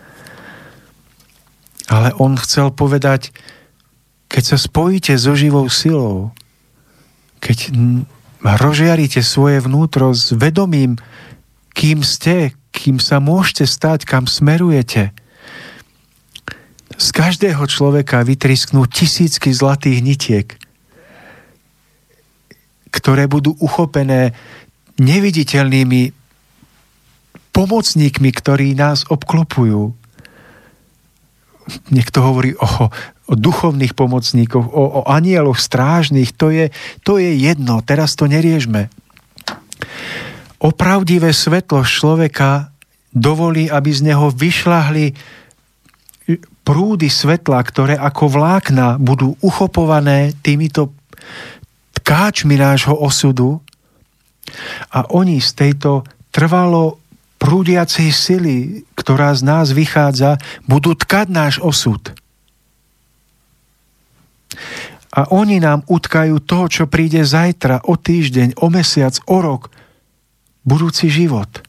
[SPEAKER 4] Ale on chcel povedať, keď sa spojíte so živou silou, keď rozžiarite svoje vnútro s vedomím, kým ste, kým sa môžete stať, kam smerujete, z každého človeka vytrisknú tisícky zlatých nitiek, ktoré budú uchopené neviditeľnými pomocníkmi, ktorí nás obklopujú. Niekto hovorí o duchovných pomocníkoch, o anjeloch strážnych, to je jedno, teraz to neriešme. Opravdivé svetlo človeka dovolí, aby z neho vyšľahli prúdy svetla, ktoré ako vlákna budú uchopované týmito tkáčmi nášho osudu a oni z tejto trvalo prúdiacej sily, ktorá z nás vychádza, budú tkať náš osud. A oni nám utkajú to, čo príde zajtra, o týždeň, o mesiac, o rok, budúci život.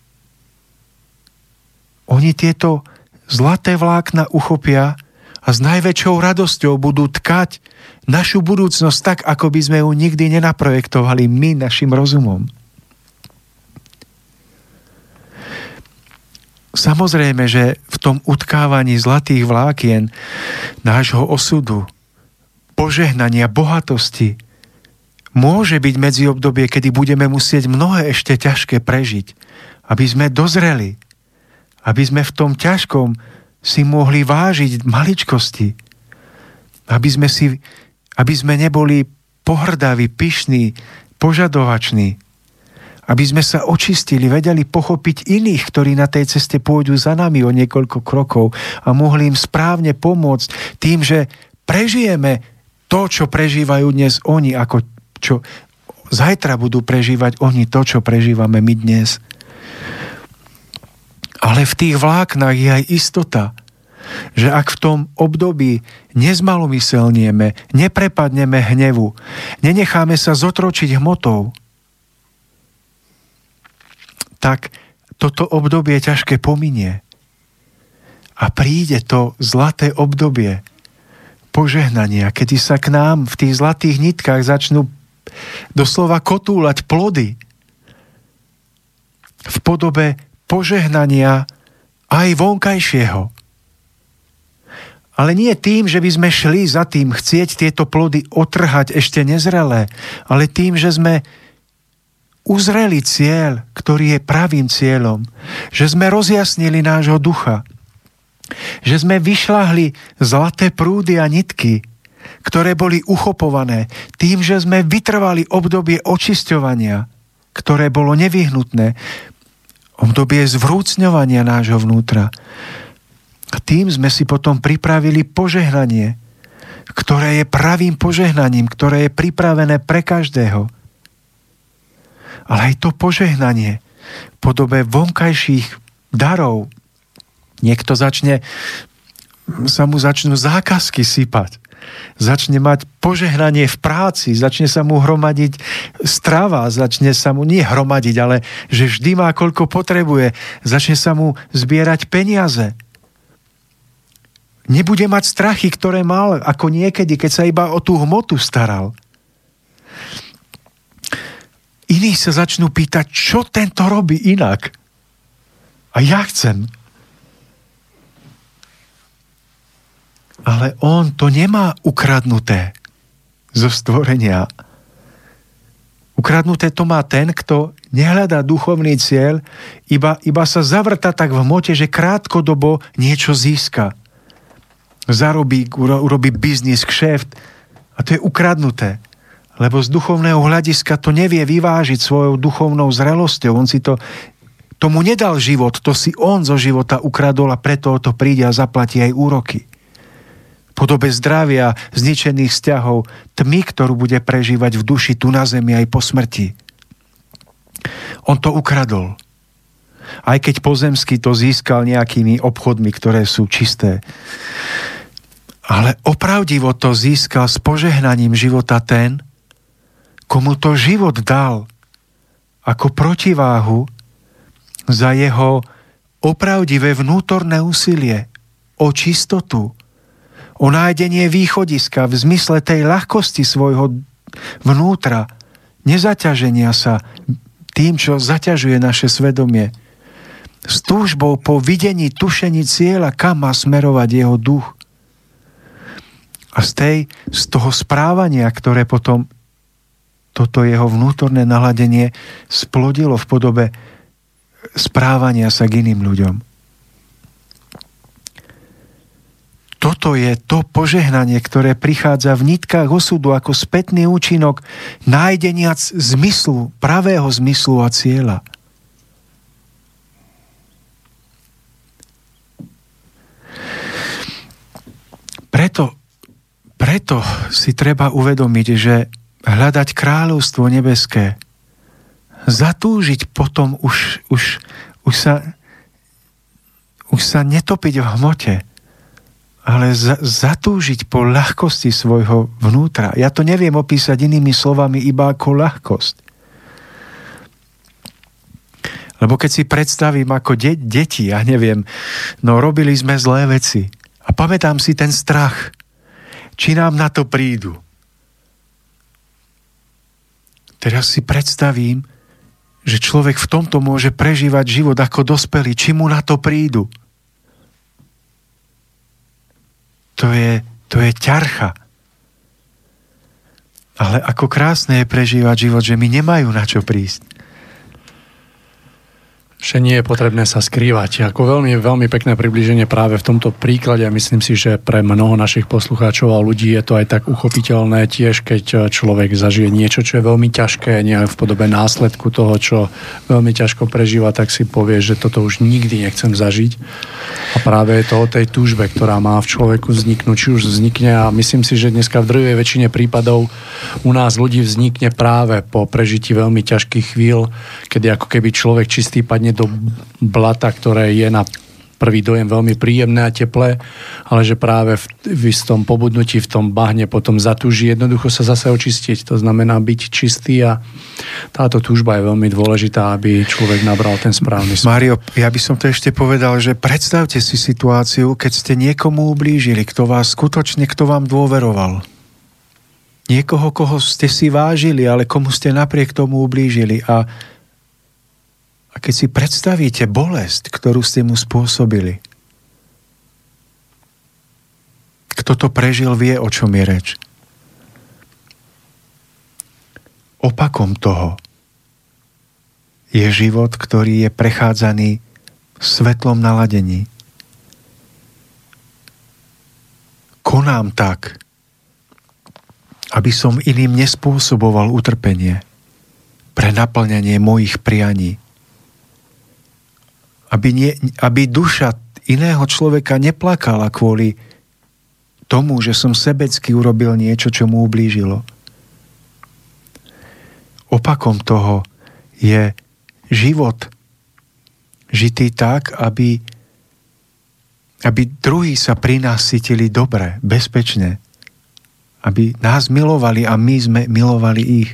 [SPEAKER 4] Oni tieto zlaté vlákna uchopia a s najväčšou radosťou budú tkať našu budúcnosť tak, ako by sme ju nikdy nenaprojektovali my našim rozumom. Samozrejme, že v tom utkávaní zlatých vlákien nášho osudu, požehnania, bohatosti môže byť medziobdobie, kedy budeme musieť mnohé ešte ťažké prežiť, aby sme dozreli, aby sme v tom ťažkom si mohli vážiť maličkosti, aby sme neboli pohrdaví, pyšní, požadovační, aby sme sa očistili, vedeli pochopiť iných, ktorí na tej ceste pôjdu za nami o niekoľko krokov a mohli im správne pomôcť tým, že prežijeme to, čo prežívajú dnes oni, ako čo zajtra budú prežívať oni to, čo prežívame my dnes. Ale v tých vláknach je aj istota, že ak v tom období nezmalomyselnieme, neprepadneme hnevu, nenecháme sa zotročiť hmotou, tak toto obdobie ťažké pominie. A príde to zlaté obdobie požehnania, kedy sa k nám v tých zlatých nitkách začnú doslova kotúľať plody v podobe požehnania aj vonkajšieho. Ale nie tým, že by sme šli za tým chcieť tieto plody otrhať ešte nezrelé, ale tým, že sme uzreli cieľ, ktorý je pravým cieľom, že sme rozjasnili nášho ducha, že sme vyšľahli zlaté prúdy a nitky, ktoré boli uchopované tým, že sme vytrvali obdobie očisťovania, ktoré bolo nevyhnutné, obdobie zvrúcňovania nášho vnútra. A tým sme si potom pripravili požehnanie, ktoré je pravým požehnaním, ktoré je pripravené pre každého. Ale aj to požehnanie v podobe vonkajších darov. Niekto sa mu začnú zákazky sypať. Začne mať požehnanie v práci, začne sa mu hromadiť strava, začne sa mu nie hromadiť, ale že vždy má koľko potrebuje, začne sa mu zbierať peniaze. Nebude mať strachy, ktoré mal ako niekedy, keď sa iba o tú hmotu staral. Iní sa začnú pýtať, čo tento robí inak. A ja chcem. Ale on to nemá ukradnuté zo stvorenia. Ukradnuté to má ten, kto nehľadá duchovný cieľ, iba sa zavrta tak v hmote, že krátkodobo niečo získa. Zarobí, urobí biznis, kšeft a to je ukradnuté. Lebo z duchovného hľadiska to nevie vyvážiť svojou duchovnou zrelosťou. On si tomu nedal život, to si on zo života ukradol a preto o to príde a zaplatí aj úroky. V podobe zdravia, zničených vzťahov, tmy, ktorú bude prežívať v duši tu na zemi aj po smrti. On to ukradol. Aj keď pozemsky to získal nejakými obchodmi, ktoré sú čisté. Ale opravdivo to získal s požehnaním života ten, komu to život dal ako protiváhu za jeho opravdivé vnútorné úsilie o čistotu, o nájdenie východiska v zmysle tej ľahkosti svojho vnútra, nezaťaženia sa tým, čo zaťažuje naše svedomie, s túžbou po videní, tušení cieľa, kam má smerovať jeho duch. A z toho správania, ktoré potom toto jeho vnútorné naladenie splodilo v podobe správania sa k iným ľuďom. Toto je to požehnanie, ktoré prichádza v nitkách osudu ako spätný účinok nájdenia zmyslu, pravého zmyslu a cieľa. Preto si treba uvedomiť, že hľadať kráľovstvo nebeské, zatúžiť potom už sa netopiť v hmote, ale zatúžiť po ľahkosti svojho vnútra. Ja to neviem opísať inými slovami iba ako ľahkosť. Lebo keď si predstavím ako deti, ja neviem, robili sme zlé veci a pamätám si ten strach, či nám na to prídu. Teraz si predstavím, že človek v tomto môže prežívať život ako dospelý, či mu na to prídu. To je ťarcha. Ale ako krásne je prežívať život, že mi nemajú na čo prísť.
[SPEAKER 3] Že nie je potrebné sa skrývať. Ako veľmi, veľmi pekné priblíženie práve v tomto príklade a myslím si, že pre mnoho našich poslucháčov a ľudí je to aj tak uchopiteľné tiež, keď človek zažije niečo, čo je veľmi ťažké, nie v podobe následku toho, čo veľmi ťažko prežíva, tak si povie, že toto už nikdy nechcem zažiť. A práve je to o tej túžbe, ktorá má v človeku vzniknúť, či už vznikne a myslím si, že dneska v drvivej väčšine prípadov u nás ľudí vznikne práve po prežití veľmi ťažkých chvíľ, kedy ako keby človek čistý padne do blata, ktoré je na prvý dojem veľmi príjemné a teplé, ale že práve v istom pobudnutí, v tom bahne potom zatúži jednoducho sa zase očistiť. To znamená byť čistý a táto túžba je veľmi dôležitá, aby človek nabral ten správny smer.
[SPEAKER 4] Mário, ja by som to ešte povedal, že predstavte si situáciu, keď ste niekomu ublížili, kto vám dôveroval. Niekoho, koho ste si vážili, ale komu ste napriek tomu ublížili a keď si predstavíte bolesť, ktorú ste mu spôsobili, kto to prežil, vie, o čom je reč. Opakom toho je život, ktorý je prechádzaný v svetlom naladení. Konám tak, aby som iným nespôsoboval utrpenie pre naplňanie mojich prianí. Aby duša iného človeka neplakala kvôli tomu, že som sebecky urobil niečo, čo mu ublížilo. Opakom toho je život žitý tak, aby druhí sa pri nás cítili dobre, bezpečne. Aby nás milovali a my sme milovali ich.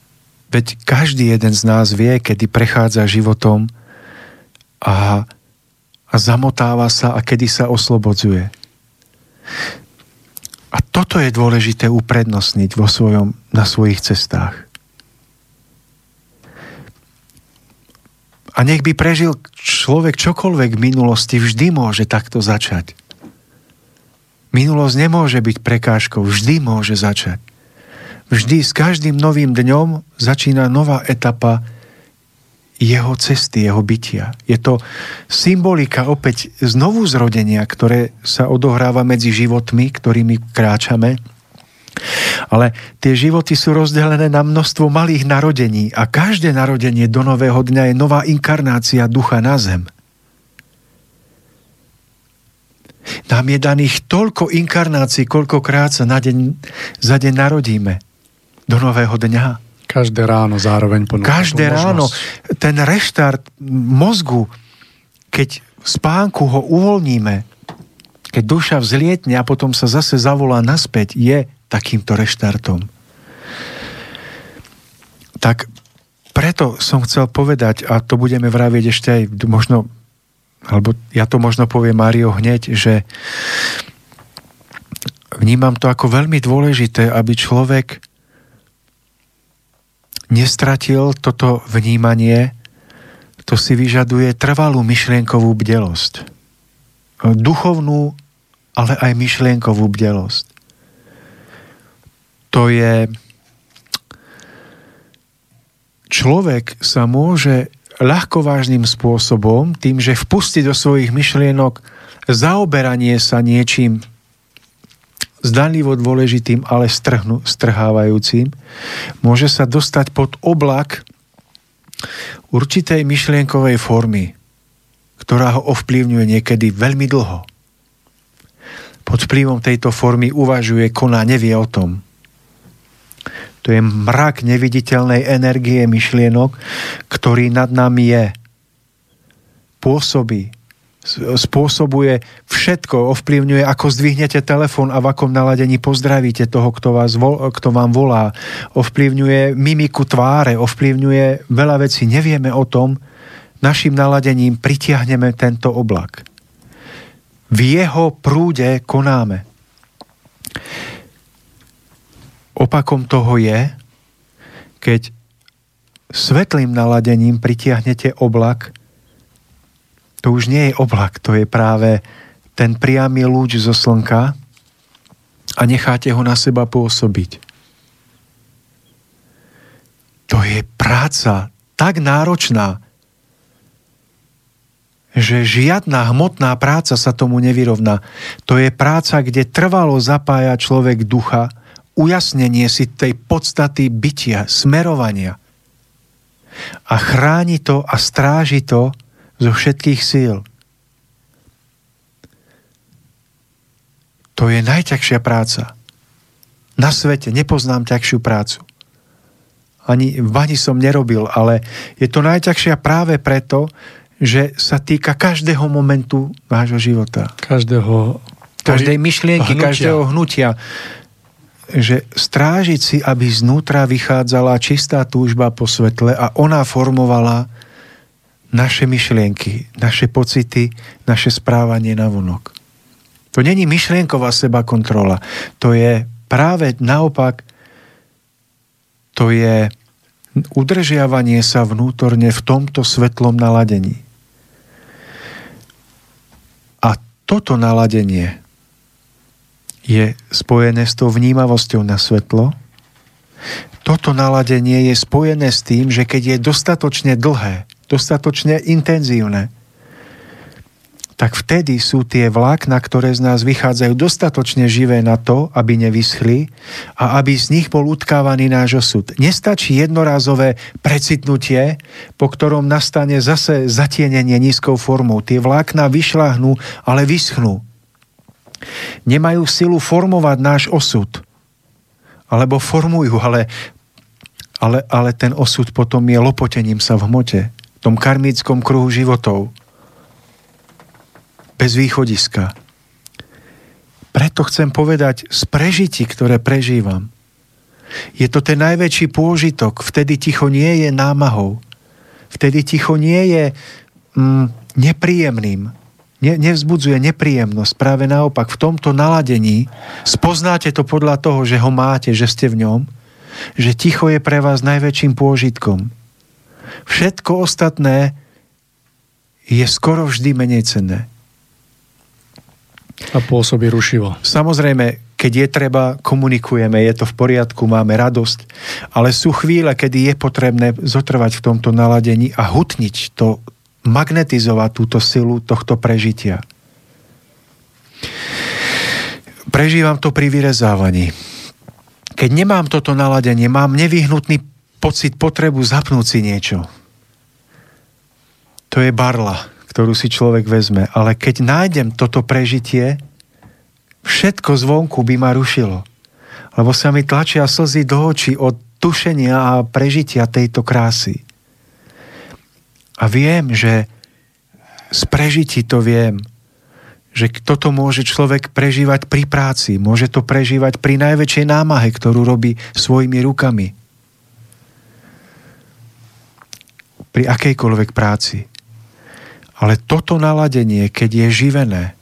[SPEAKER 4] Veď každý jeden z nás vie, kedy prechádza životom a zamotáva sa a kedy sa oslobodzuje. A toto je dôležité uprednostniť na svojich cestách. A nech by prežil človek čokoľvek v minulosti, vždy môže takto začať. Minulosť nemôže byť prekážkou, vždy môže začať. Vždy s každým novým dňom začína nová etapa jeho cesty, jeho bytia. Je to symbolika opäť znovu zrodenia, ktoré sa odohráva medzi životmi, ktorými kráčame. Ale tie životy sú rozdelené na množstvo malých narodení a každé narodenie do nového dňa je nová inkarnácia ducha na zem. Nám je daných toľko inkarnácií, koľkokrát sa za deň narodíme do nového dňa.
[SPEAKER 3] Každé ráno zároveň ponúka.
[SPEAKER 4] Každé ráno. Ten reštart mozgu, keď v spánku ho uvoľníme, keď duša vzlietne a potom sa zase zavolá naspäť, je takýmto reštartom. Tak preto som chcel povedať, a to budeme vraviť ešte aj možno, alebo ja to možno poviem Mário hneď, že vnímam to ako veľmi dôležité, aby človek nestratil toto vnímanie, to si vyžaduje trvalú myšlienkovú bdelosť. Duchovnú, ale aj myšlienkovú bdelosť. To je... Človek sa môže ľahkovážnym spôsobom, tým, že vpustí do svojich myšlienok zaoberanie sa niečím zdanlivo dôležitým, ale strhávajúcim, môže sa dostať pod oblak určitej myšlienkovej formy, ktorá ho ovplyvňuje niekedy veľmi dlho. Pod vplyvom tejto formy uvažuje, koná, nevie o tom. To je mrak neviditeľnej energie myšlienok, ktorý nad nami je. Pôsobí, spôsobuje všetko, ovplyvňuje, ako zdvihnete telefón a v akom naladení pozdravíte toho, kto vám volá. Ovplyvňuje mimiku tváre, ovplyvňuje veľa vecí. Nevieme o tom, našim naladením pritiahneme tento oblak. V jeho prúde konáme. Opakom toho je, keď svetlým naladením pritiahnete oblak, to už nie je oblak, to je práve ten priamy lúč zo slnka a necháte ho na seba pôsobiť. To je práca tak náročná, že žiadna hmotná práca sa tomu nevyrovná. To je práca, kde trvalo zapája človek ducha, ujasnenie si tej podstaty bytia, smerovania. A chráni to a stráži to zo všetkých síl. To je najťažšia práca. Na svete nepoznám ťažšiu prácu. Ani som nerobil, ale je to najťažšia práve preto, že sa týka každého momentu vášho života. Každej myšlienky, každého hnutia. Že strážiť si, aby znútra vychádzala čistá túžba po svetle a ona formovala naše myšlienky, naše pocity, naše správanie navonok. To není myšlienková sebakontrola. To je práve naopak, to je udržiavanie sa vnútorne v tomto svetlom naladení. A toto naladenie je spojené s tou vnímavosťou na svetlo. Toto naladenie je spojené s tým, že keď je dostatočne dlhé, dostatočne intenzívne, tak vtedy sú tie vlákna, ktoré z nás vychádzajú, dostatočne živé na to, aby nevyschli a aby z nich bol utkávaný náš osud. Nestačí jednorázové precitnutie, po ktorom nastane zase zatienenie nízkou formou. Tie vlákna vyšľahnú, ale vyschnú. Nemajú silu formovať náš osud. Alebo formujú, ale ten osud potom je lopotením sa v hmote. V tom karmickom kruhu životov. Bez východiska. Preto chcem povedať, z prežití, ktoré prežívam, je to ten najväčší pôžitok. Vtedy ticho nie je námahou. Vtedy ticho nie je nepríjemným. nevzbudzuje nepríjemnosť. Práve naopak, v tomto naladení spoznáte to podľa toho, že ho máte, že ste v ňom, že ticho je pre vás najväčším pôžitkom. Všetko ostatné je skoro vždy menej cenné.
[SPEAKER 3] A pôsobí rušivo.
[SPEAKER 4] Samozrejme, keď je treba, komunikujeme, je to v poriadku, máme radosť, ale sú chvíle, kedy je potrebné zotrvať v tomto naladení a hutniť to, magnetizovať túto silu tohto prežitia. Prežívam to pri vyrezávaní. Keď nemám toto naladenie, mám nevyhnutný pocit, potrebu zapnúť si niečo. To je barla, ktorú si človek vezme. Ale keď nájdem toto prežitie, všetko zvonku by ma rušilo. Lebo sa mi tlačia slzy do očí od tušenia a prežitia tejto krásy. A viem, že z prežití to viem, že toto môže človek prežívať pri práci, môže to prežívať pri najväčšej námahe, ktorú robí svojimi rukami. Pri akejkoľvek práci. Ale toto naladenie, keď je živené,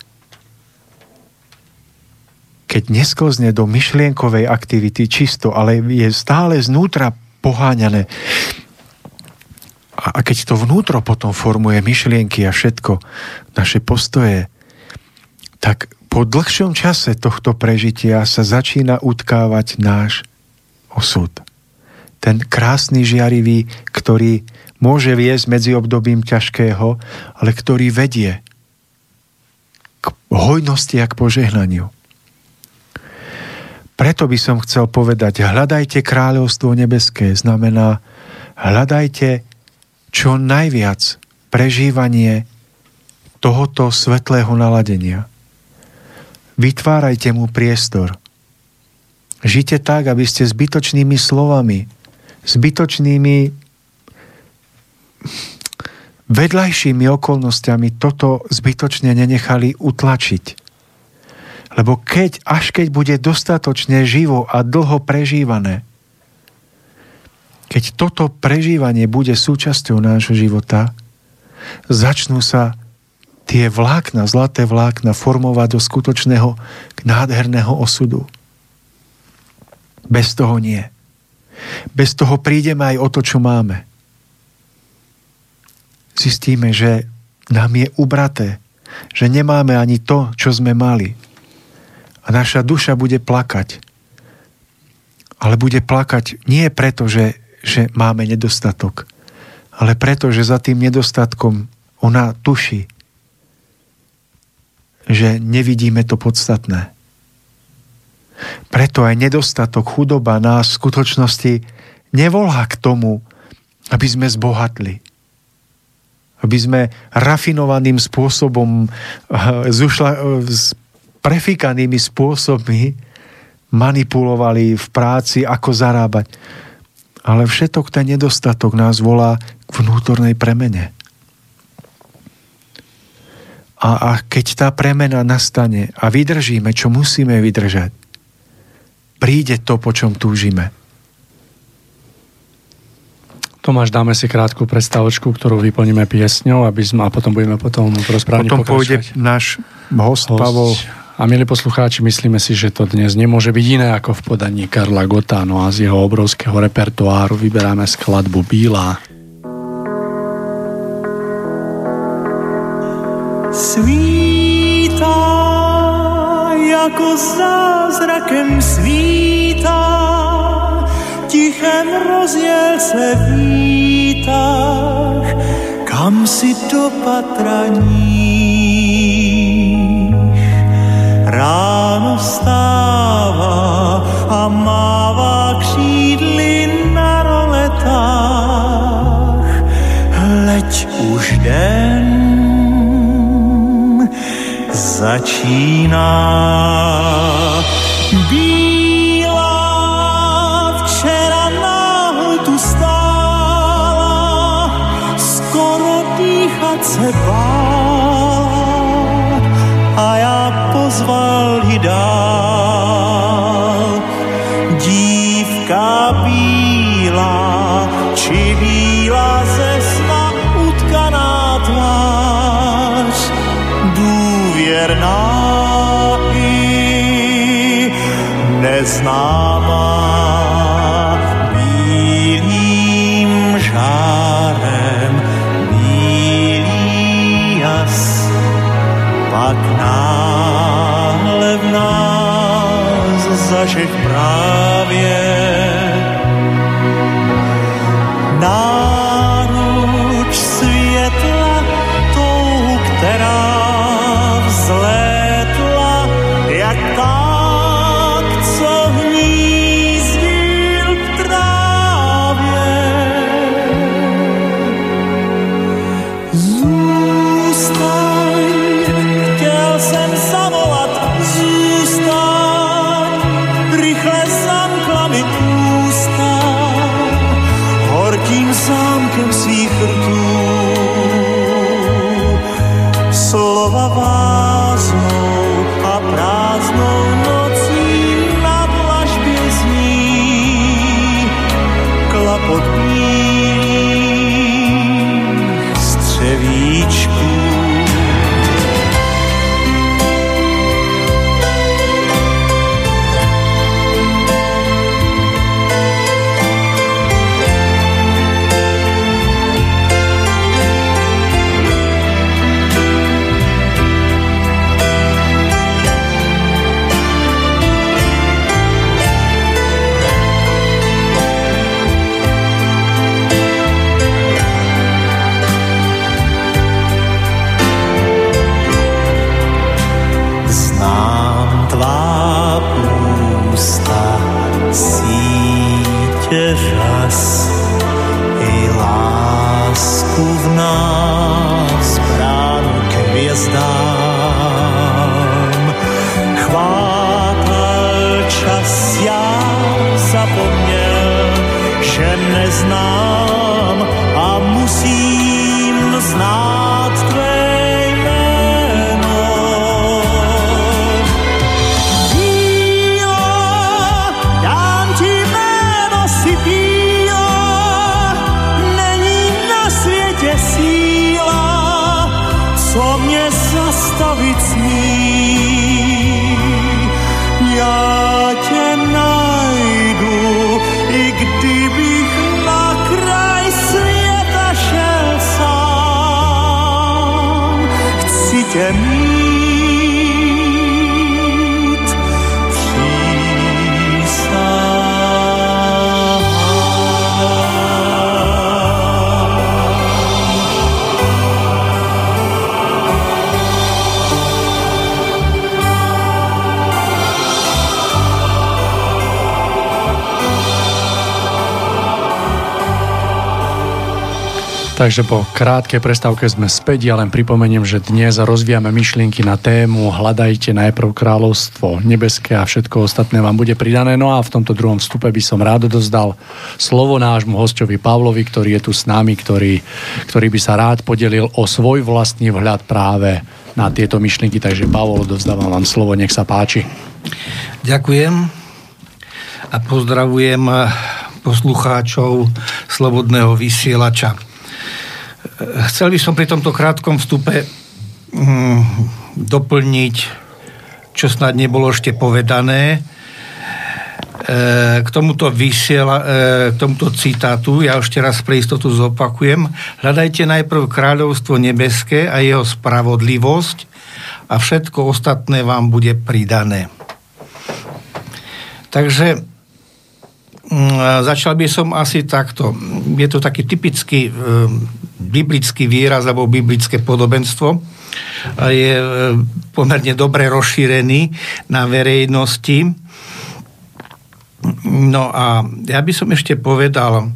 [SPEAKER 4] keď nesklzne do myšlienkovej aktivity čisto, ale je stále znútra poháňané, a keď to vnútro potom formuje myšlienky a všetko, naše postoje, tak po dlhšom čase tohto prežitia sa začína utkávať náš osud. Ten krásny, žiarivý, ktorý môže viesť medzi obdobím ťažkého, ale ktorý vedie k hojnosti a k požehnaniu. Preto by som chcel povedať, hľadajte kráľovstvo nebeské, znamená hľadajte čo najviac prežívanie tohoto svetlého naladenia. Vytvárajte mu priestor. Žite tak, aby ste zbytočnými slovami, zbytočnými vedľajšími okolnostiami toto zbytočne nenechali utlačiť. Lebo až keď bude dostatočne živo a dlho prežívané, keď toto prežívanie bude súčasťou nášho života, začnú sa tie vlákna, zlaté vlákna formovať do skutočného nádherného osudu. Bez toho nie. Bez toho prídeme aj o to, čo máme. Zistíme, že nám je ubraté, že nemáme ani to, čo sme mali. A naša duša bude plakať. Ale bude plakať nie preto, že máme nedostatok, ale preto, že za tým nedostatkom ona tuší, že nevidíme to podstatné. Preto aj nedostatok, chudoba nás v skutočnosti nevolá k tomu, aby sme zbohatli. Aby sme rafinovaným spôsobom, s prefikanými spôsobmi manipulovali v práci, ako zarábať. Ale všetok ten nedostatok nás volá k vnútornej premene. A keď tá premena nastane a vydržíme, čo musíme vydržať, príde to, po čom túžime.
[SPEAKER 3] Tomáš, dáme si krátku predstavočku, ktorú vyplníme piesňou, a potom budeme v rozprávaní pokračovať.
[SPEAKER 4] Potom pôjde náš host Pavol.
[SPEAKER 3] A milí poslucháči, myslíme si, že to dnes nemôže byť iné ako v podaní Karla Gotta, no a z jeho obrovského repertoáru vyberáme skladbu Bílá.
[SPEAKER 5] Svítá, jako zázrakem svítá, tichem rozjel se výtah, kam si dopatraníš. Ráno vstává a mává křídly na roletách. Hleď už den začíná. Bílá včera náhle tu stála, skoro dýchat se bála a já pozval ji dál. Dívka bílá, či bílá ze sna utkaná tvář, neznámá. Bílým žárem bílý jas, pak náhle v nás zažeh právě náruč světla, tou, která vzlétla, jak tak, co hnízdil v trávě. Zůstaň, chtěl jsem zavolat, zůstaň, rychle zamkla mi ústa horkým zámkem svých rtů. Slova váznou a prázdnou nocí na dlažbě zní klapot bílých střevíčků. Řas i lásku v nás, bránu k hvězdám. Chvátal čas, já zapomněl, že neznám a musím znát tvé jméno. Co mě zastavit smí, já tě najdu, i kdybych na kraj světa šel sám. Chci tě mít
[SPEAKER 3] Takže po krátkej prestávke sme späť. Ja len pripomeniem, že dnes rozvíjame myšlienky na tému Hľadajte najprv kráľovstvo nebeské a všetko ostatné vám bude pridané. No a v tomto druhom vstupe by som rád dozdal slovo nášmu hosťovi Pavlovi, ktorý je tu s nami, ktorý by sa rád podelil o svoj vlastný vhľad práve na tieto myšlienky. Takže Pavol, dovzdávam vám slovo, nech sa páči.
[SPEAKER 6] Ďakujem a pozdravujem poslucháčov Slobodného vysielača. Chcel by som pri tomto krátkom vstupe doplniť, čo snad nebolo ešte povedané, k tomuto citátu. Ja ešte raz pre istotu zopakujem. Hľadajte najprv kráľovstvo nebeské a jeho spravodlivosť a všetko ostatné vám bude pridané. Takže začal by som asi takto. Je to taký typický biblický výraz alebo biblické podobenstvo. Je pomerne dobre rozšírený na verejnosti. No a ja by som ešte povedal,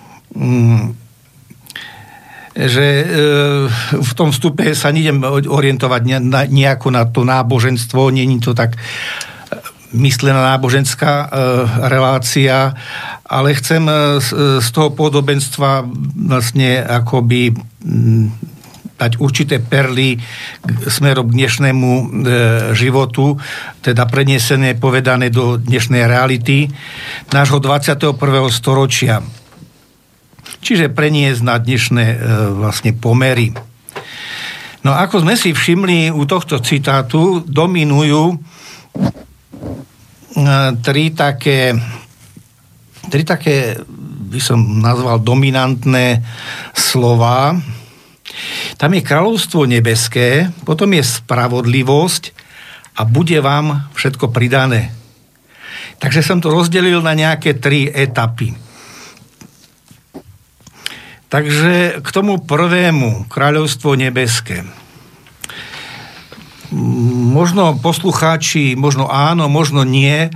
[SPEAKER 6] že v tom vstupe sa nejdem orientovať nejako na to náboženstvo, nie je to tak myslená náboženská relácia, ale chcem z toho podobenstva vlastne akoby dať určité perly smerom k dnešnému životu, teda prenesené, povedané do dnešnej reality nášho 21. storočia. Čiže preniesť na dnešné vlastne pomery. No ako sme si všimli u tohto citátu, dominujú tri také by som nazval dominantné slova. Tam je kráľovstvo nebeské, potom je spravodlivosť a bude vám všetko pridané. Takže som to rozdelil na nejaké 3 etapy. Takže k tomu prvému, kráľovstvo nebeské. Možno poslucháči, možno áno, možno nie,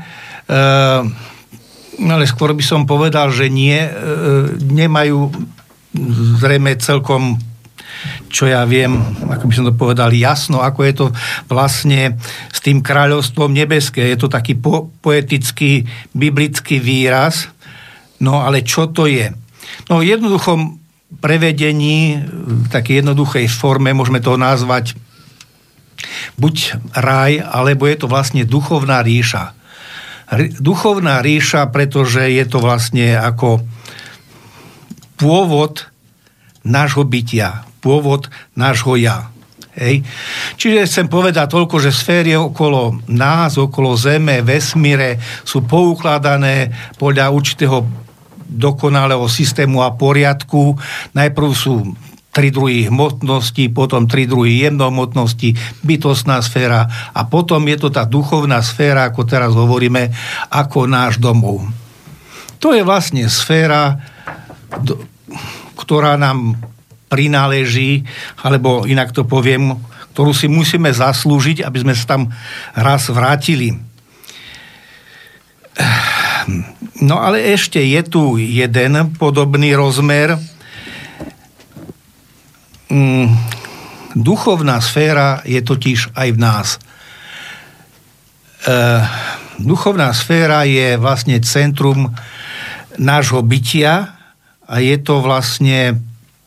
[SPEAKER 6] ale skôr by som povedal, že nie, nemajú zrejme celkom, čo ja viem, ako by som to povedal, jasno, ako je to vlastne s tým kráľovstvom nebeské. Je to taký poetický, biblický výraz. No ale čo to je? No v jednoduchom prevedení, v takej jednoduchej forme, môžeme to nazvať buď raj, alebo je to vlastne duchovná ríša. Duchovná ríša, pretože je to vlastne ako pôvod nášho bytia, pôvod nášho ja. Hej. Čiže chcem povedať toľko, že sféry okolo nás, okolo Zeme, vesmíre sú poukladané podľa určitého dokonalého systému a poriadku. Najprv sú 3 druhy hmotnosti, potom 3 druhy jemnohmotnosti, bytostná sféra a potom je to tá duchovná sféra, ako teraz hovoríme, ako náš domov. To je vlastne sféra, ktorá nám prináleží, alebo inak to poviem, ktorú si musíme zaslúžiť, aby sme sa tam raz vrátili. No ale ešte je tu jeden podobný rozmer. Duchovná sféra je totiž aj v nás. Duchovná sféra je vlastne centrum nášho bytia a je to vlastne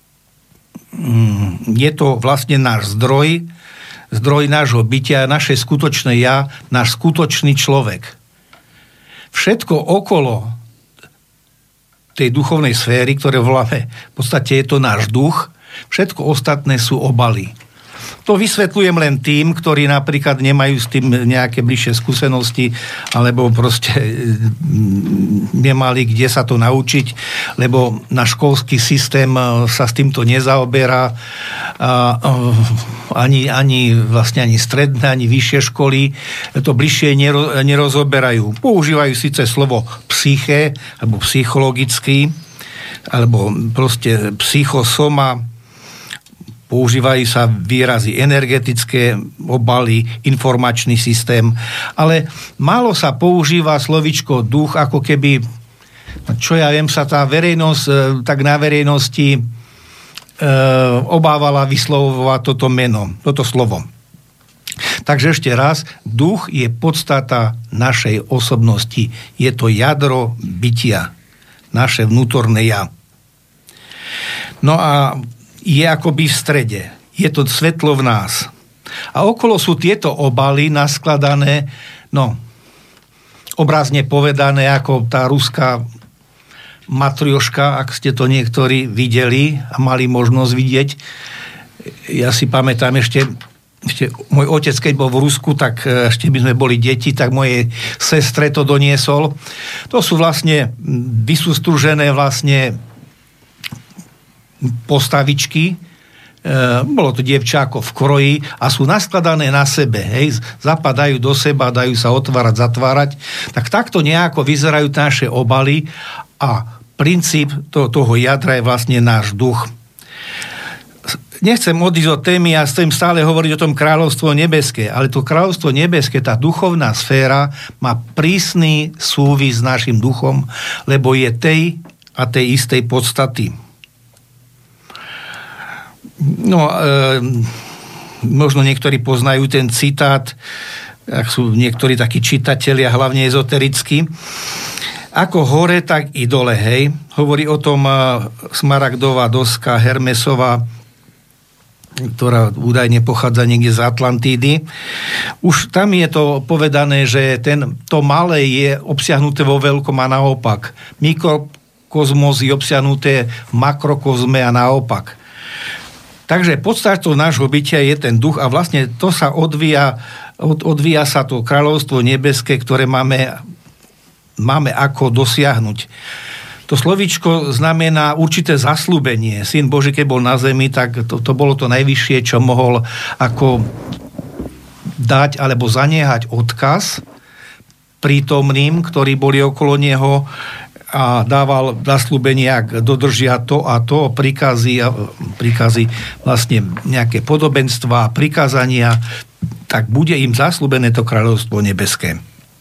[SPEAKER 6] náš zdroj nášho bytia, naše skutočné ja, náš skutočný človek. Všetko okolo tej duchovnej sféry, ktoré voláme, v podstate je to náš duch, všetko ostatné sú obaly. To vysvetľujem len tým, ktorí napríklad nemajú s tým nejaké bližšie skúsenosti, alebo proste nemali kde sa to naučiť, lebo náš školský systém sa s týmto nezaoberá, ani stredné, ani vyššie školy to bližšie nerozoberajú. Používajú síce slovo psyché, alebo psychologický, alebo proste psychosoma, používajú sa výrazy energetické obaly, informačný systém, ale málo sa používa slovičko duch, ako keby, čo ja viem, sa tá verejnosť, tak na verejnosti obávala vyslovovať toto meno, toto slovo. Takže ešte raz, duch je podstata našej osobnosti. Je to jadro bytia, naše vnútorné ja. No a je akoby v strede. Je to svetlo v nás. A okolo sú tieto obaly naskladané, no, obrazne povedané, ako tá ruská matrioška, ak ste to niektorí videli a mali možnosť vidieť. Ja si pamätám ešte môj otec, keď bol v Rusku, tak ešte by sme boli deti, tak mojej sestre to doniesol. To sú vlastne vysústružené vlastne postavičky, bolo to dievčáko v kroji a sú naskladané na sebe, hej, zapadajú do seba, dajú sa otvárať, zatvárať, tak takto nejako vyzerajú naše obaly a princíp toho jadra je vlastne náš duch. Nechcem odísť od témy, ja chcem stále hovoriť o tom kráľovstvo nebeské, ale to kráľovstvo nebeské, tá duchovná sféra má prísny súvis s našim duchom, lebo je tej a tej istej podstaty. No, možno niektorí poznajú ten citát, ak sú niektorí takí čitatelia, hlavne ezoterickí. Ako hore, tak i dole, hej. Hovorí o tom smaragdová doska Hermesova, ktorá údajne pochádza niekde z Atlantídy. Už tam je to povedané, že to malé je obsiahnuté vo veľkom a naopak. Mikrokozmos je obsiahnuté v makrokozme a naopak. Takže podstatou nášho bytia je ten duch a vlastne to sa odvíja odvíja sa to kráľovstvo nebeské, ktoré máme ako dosiahnuť. To slovíčko znamená určité zasľúbenie. Syn Boží, keď bol na zemi, tak to bolo to najvyššie, čo mohol ako dať alebo zaniehať odkaz prítomným, ktorí boli okolo neho, a dával zasľúbenie, ak dodržia to a to, príkazy vlastne nejaké podobenstva, prikázania, tak bude im zasľúbené to kráľovstvo nebeské.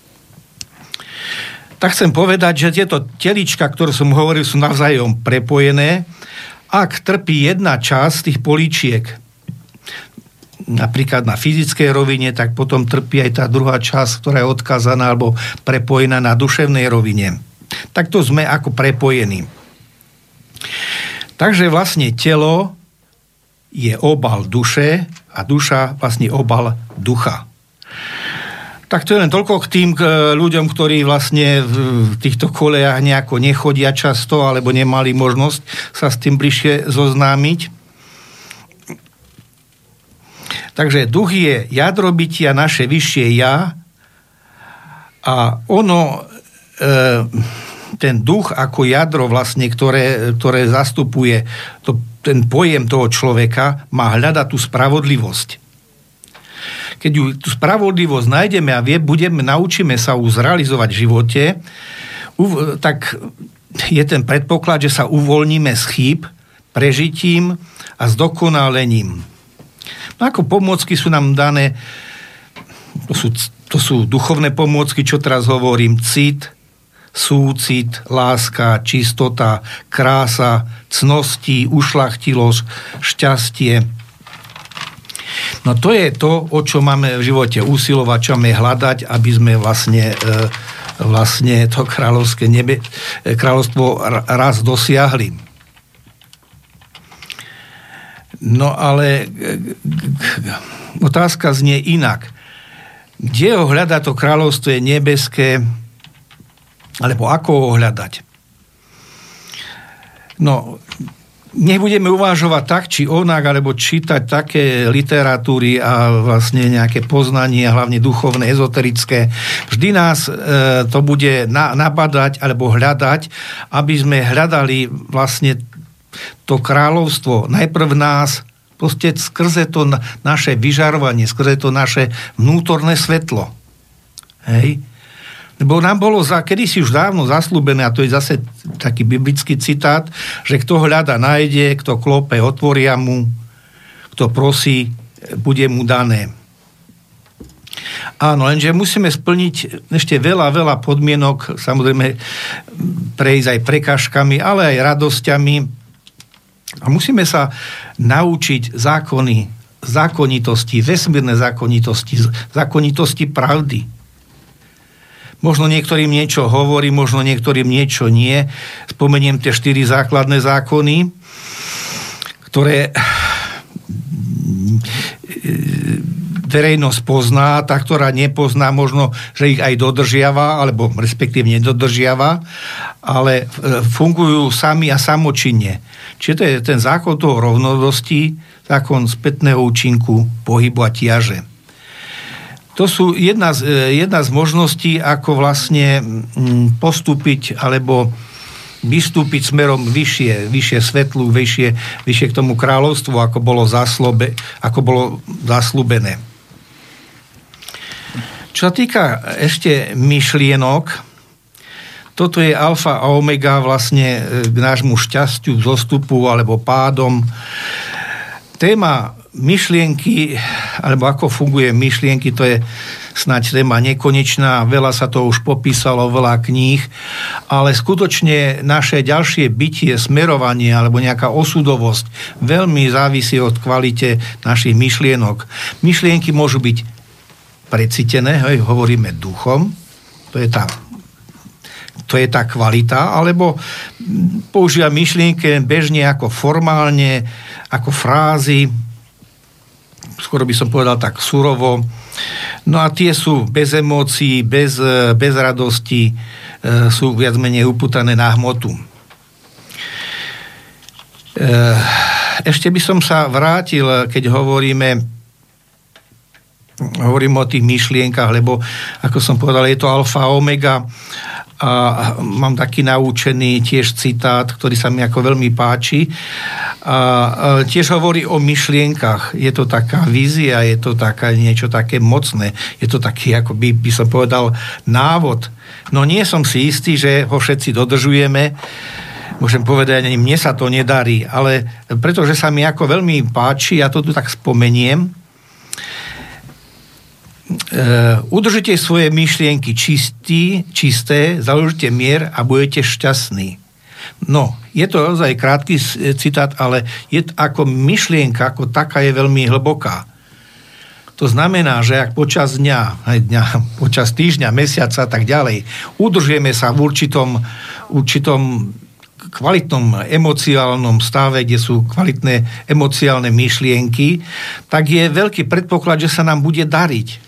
[SPEAKER 6] Tak chcem povedať, že tieto telička, ktoré som hovoril, sú navzájom prepojené. Ak trpí jedna časť tých políčiek, napríklad na fyzickej rovine, tak potom trpí aj tá druhá časť, ktorá je odkázaná alebo prepojená na duševnej rovine. Takto sme ako prepojení. Takže vlastne telo je obal duše a duša vlastne obal ducha. Tak to je len toľko k tým ľuďom, ktorí vlastne v týchto kolejách nejako nechodia často alebo nemali možnosť sa s tým bližšie zoznámiť. Takže duch je jadro bytia, naše vyššie ja, a ono, ten duch ako jadro vlastne, ktoré zastupuje ten pojem toho človeka, má hľadať tú spravodlivosť. Keď tú spravodlivosť nájdeme a naučíme sa ju zrealizovať v živote, tak je ten predpoklad, že sa uvoľníme z chýb, prežitím a zdokonalením. No ako pomôcky sú nám dané, to sú duchovné pomôcky, čo teraz hovorím, cit, súcit, láska, čistota, krása, cnosti, ušľachtilosť, šťastie. No to je to, o čo máme v živote usilovať, čo máme hľadať, aby sme vlastne to kráľovstvo raz dosiahli. No ale otázka znie inak. Kde ho hľadať to kráľovstvo nebeské, alebo ako ho hľadať? No, nebudeme uvažovať tak, či onak, alebo čítať také literatúry a vlastne nejaké poznanie, hlavne duchovné, ezoterické. Vždy nás to bude nabadať alebo hľadať, aby sme hľadali vlastne to kráľovstvo. Najprv nás proste skrze to naše vyžarovanie, skrze to naše vnútorné svetlo. Hej? Lebo nám bolo kedysi už dávno zasľúbené, a to je zase taký biblický citát, že kto hľada, nájde, kto klope, otvoria mu, kto prosí, bude mu dané. Áno, lenže musíme splniť ešte veľa podmienok, samozrejme prejsť aj prekážkami, ale aj radosťami. A musíme sa naučiť zákonitosti, vesmírne zákonitosti pravdy. Možno niektorým niečo hovorí, možno niektorým niečo nie. Spomeniem tie 4 základné zákony, ktoré verejnosť pozná, tá, ktorá nepozná, možno, že ich aj dodržiava, alebo respektíve nedodržiava, ale fungujú sami a samočinne. Čiže to je ten zákon toho rovnodosti, zákon spätného účinku, pohybu a tiaže. To sú jedna z možností, ako vlastne postúpiť alebo vystúpiť smerom vyššie svetlu, vyššie k tomu kráľovstvu, ako bolo zasľúbené. Čo sa týka ešte myšlienok, toto je alfa a omega vlastne k nášmu šťastiu, zostupu alebo pádom. Téma myšlienky, alebo ako funguje myšlienky, to je snáď téma nekonečná, veľa sa to už popísalo, veľa kníh, ale skutočne naše ďalšie bytie, smerovanie alebo nejaká osudovosť veľmi závisí od kvalite našich myšlienok. Myšlienky môžu byť precítené, hovoríme duchom, to je tá kvalita, alebo používa myšlienky bežne ako formálne, ako frázy, skoro by som povedal tak surovo. No a tie sú bez emócií, bez radosti, sú viac menej upútané na hmotu. Ešte by som sa vrátil, keď hovoríme hovorím o tých myšlienkach, lebo ako som povedal, je to alfa omega a mám taký naučený tiež citát, ktorý sa mi ako veľmi páči a tiež hovorí o myšlienkach. Je to taká vízia, je to taká, niečo také mocné, je to taký, ako by som povedal, návod. No nie som si istý, že ho všetci dodržujeme. Môžem povedať, ani mne sa to nedarí, ale pretože sa mi ako veľmi páči, ja to tu tak spomeniem, udržite svoje myšlienky čisté, založite mier a budete šťastní. No, je to naozaj krátky citát, ale je ako myšlienka, ako taká je veľmi hlboká. To znamená, že ak počas dňa, počas týždňa, mesiaca a tak ďalej, udržujeme sa v určitom kvalitnom emocionálnom stave, kde sú kvalitné emociálne myšlienky, tak je veľký predpoklad, že sa nám bude dariť.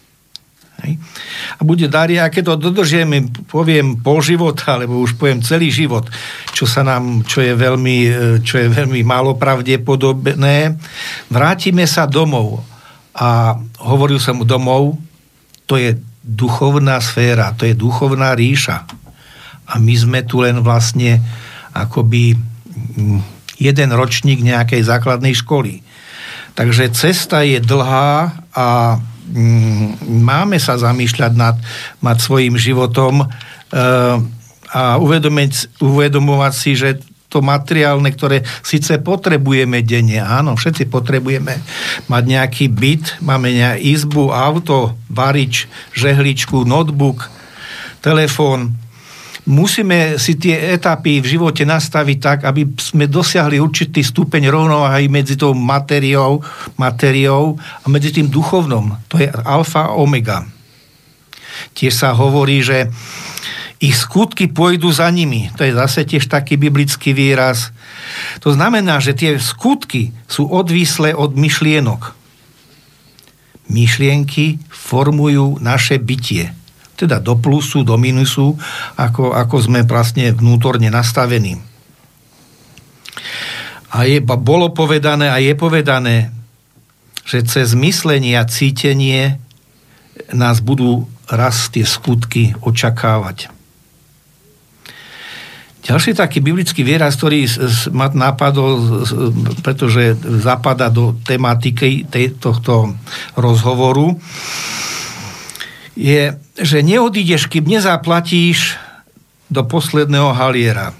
[SPEAKER 6] A bude dariť, a keď to dodržieme, poviem pol života, alebo už poviem celý život, čo je veľmi málo pravdepodobné, vrátime sa domov. A hovoril som domov, to je duchovná sféra, to je duchovná ríša. A my sme tu len vlastne akoby jeden ročník nejakej základnej školy. Takže cesta je dlhá a máme sa zamýšľať nad svojím životom a uvedomovať si, že to materiálne, ktoré síce potrebujeme denne, áno, všetci potrebujeme mať nejaký byt, máme izbu, auto, varič, žehličku, notebook, telefón. Musíme si tie etapy v živote nastaviť tak, aby sme dosiahli určitý stupeň rovnováhy medzi tou materiou a medzi tým duchovnom. To je alfa omega. Tiež sa hovorí, že ich skutky pôjdu za nimi. To je zase tiež taký biblický výraz. To znamená, že tie skutky sú odvislé od myšlienok. Myšlienky formujú naše bytie. Teda do plusu, do minusu, ako sme vlastne vnútorne nastavení. A bolo povedané a je povedané, že cez myslenie a cítenie nás budú raz tie skutky očakávať. Ďalší taký biblický výraz, ktorý ma napadol, pretože zapadá do tematiky tohto rozhovoru, je, že neodídeš, kým nezaplatíš do posledného haliera.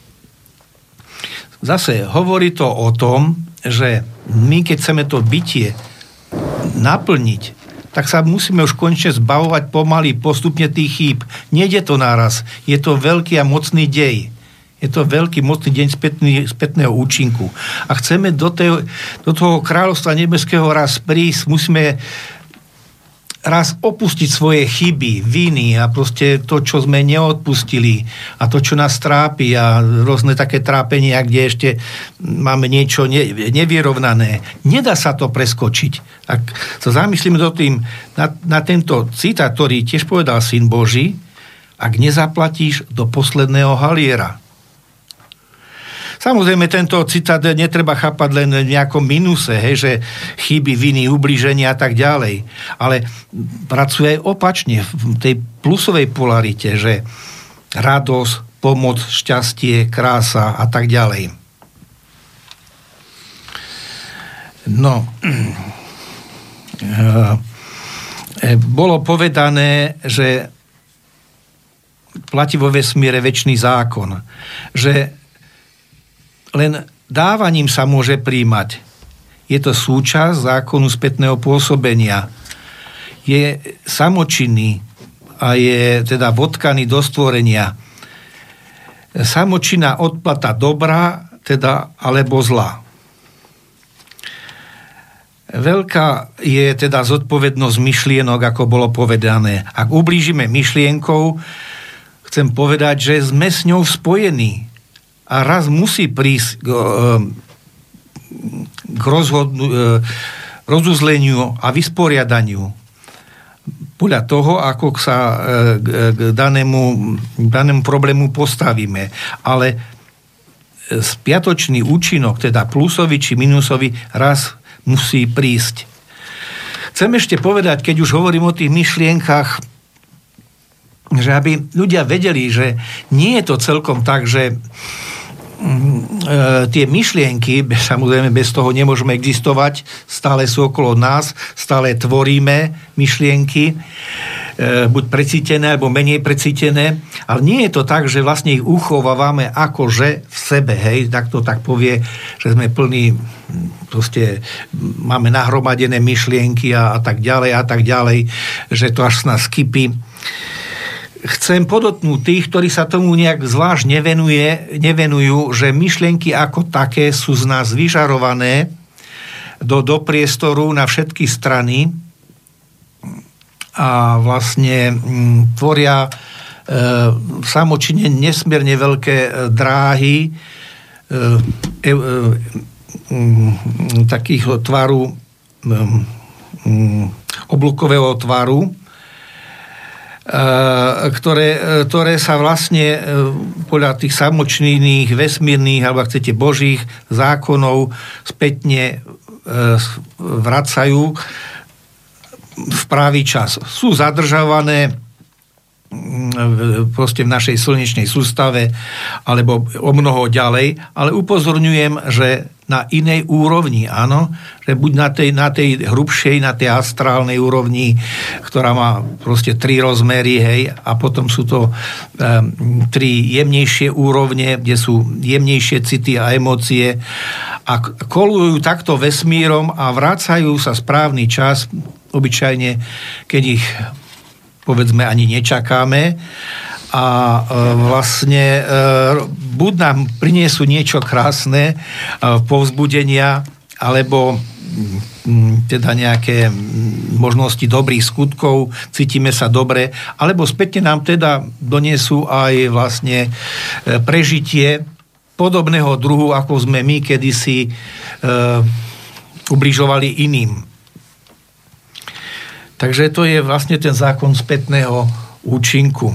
[SPEAKER 6] Zase hovorí to o tom, že my, keď chceme to bytie naplniť, tak sa musíme už konečne zbavovať pomaly, postupne tých chýb. Nejde to naraz. Je to veľký a mocný dej. Je to veľký, mocný deň spätného účinku. A chceme do toho kráľovstva nebeského raz prísť, musíme raz opustiť svoje chyby, viny a proste to, čo sme neodpustili a to, čo nás trápi a rôzne také trápenia, kde ešte máme niečo nevyrovnané. Nedá sa to preskočiť. Ak sa zamyslíme na tento citát, ktorý tiež povedal Syn Boží, ak nezaplatíš do posledného haliera. Samozrejme, tento citát netreba chápať len v nejakom minuse, že chyby, viny, ublíženia a tak ďalej. Ale pracuje aj opačne v tej plusovej polarite, že radosť, pomoc, šťastie, krása a tak ďalej. No, bolo povedané, že platí vo vesmíre večný zákon, že len dávaním sa môže príjmať. Je to súčasť zákonu spätného pôsobenia. Je samočinný a je teda vodkaný do stvorenia. Samočinná odplata dobra, teda alebo zla. Veľká je teda zodpovednosť myšlienok, ako bolo povedané. Ak ublížime myšlienkou, chcem povedať, že sme s ňou spojení. A raz musí prísť k rozuzleniu a vysporiadaniu podľa toho, ako sa k danému problému postavíme. Ale spiatočný účinok, teda plusový či minusový, raz musí prísť. Chcem ešte povedať, keď už hovorím o tých myšlienkach, že aby ľudia vedeli, že nie je to celkom tak, že tie myšlienky, samozrejme bez toho nemôžeme existovať, stále sú okolo nás, stále tvoríme myšlienky, buď precítené, alebo menej precítené, ale nie je to tak, že vlastne ich uchovávame akože v sebe, hej, tak to tak povie, že sme plní, proste máme nahromadené myšlienky a tak ďalej, že to až z nás kypí. Chcem podotknúť tých, ktorí sa tomu nejak zvlášť nevenujú, že myšlienky ako také sú z nás vyžarované do priestoru na všetky strany a vlastne tvoria samočine nesmierne veľké dráhy takých tvaru, oblúkového tvaru, ktoré sa vlastne podľa tých samočných, vesmírnych, alebo ak chcete božích zákonov spätne vracajú v pravý čas. Sú zadržované proste v našej slnečnej sústave alebo o mnoho ďalej, ale upozorňujem, že na inej úrovni, áno, že buď na tej hrubšej, na tej astrálnej úrovni, ktorá má proste 3 rozmery, hej, a potom sú to 3 jemnejšie úrovne, kde sú jemnejšie city a emócie a kolujú takto vesmírom a vracajú sa správny čas, obyčajne, keď ich povedzme ani nečakáme a vlastne buď nám priniesú niečo krásne, povzbudenia, alebo teda nejaké možnosti dobrých skutkov, cítime sa dobre, alebo spätne nám teda doniesú aj vlastne prežitie podobného druhu, ako sme my kedysi ubližovali iným. Takže to je vlastne ten zákon spätného účinku.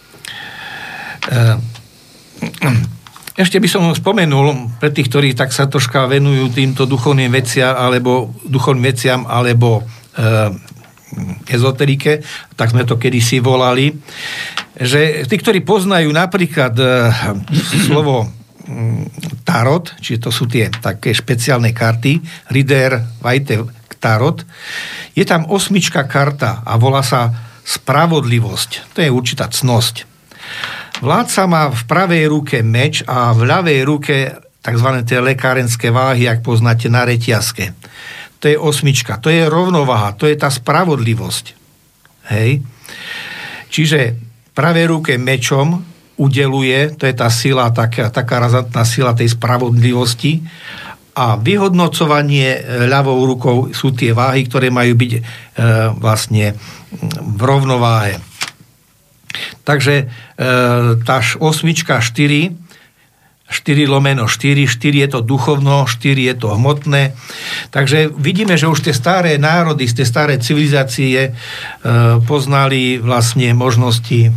[SPEAKER 6] Ešte by som spomenul pre tých, ktorí tak sa troška venujú týmto duchovným veciam alebo ezoterike, tak sme to kedysi volali, že tí, ktorí poznajú napríklad slovo tarot, čiže to sú tie také špeciálne karty, Rider Waite tarot, je tam 8 karta a volá sa spravodlivosť. To je určitá cnosť. Vládca má v pravej ruke meč a v ľavej ruke tzv. Tie lekárenské váhy, ak poznáte na reťazke. To je 8. To je rovnováha, to je tá spravodlivosť. Hej. Čiže v pravej ruke mečom udeluje, to je tá sila, taká razantná sila tej spravodlivosti, a vyhodnocovanie ľavou rukou sú tie váhy, ktoré majú byť vlastne v rovnováhe. Takže tá 8, 4 lomeno 4 je to duchovno, 4 je to hmotné. Takže vidíme, že už tie staré národy, tie staré civilizácie poznali vlastne možnosti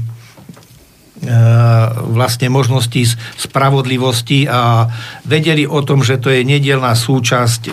[SPEAKER 6] spravodlivosti a vedeli o tom, že to je nedielna súčasť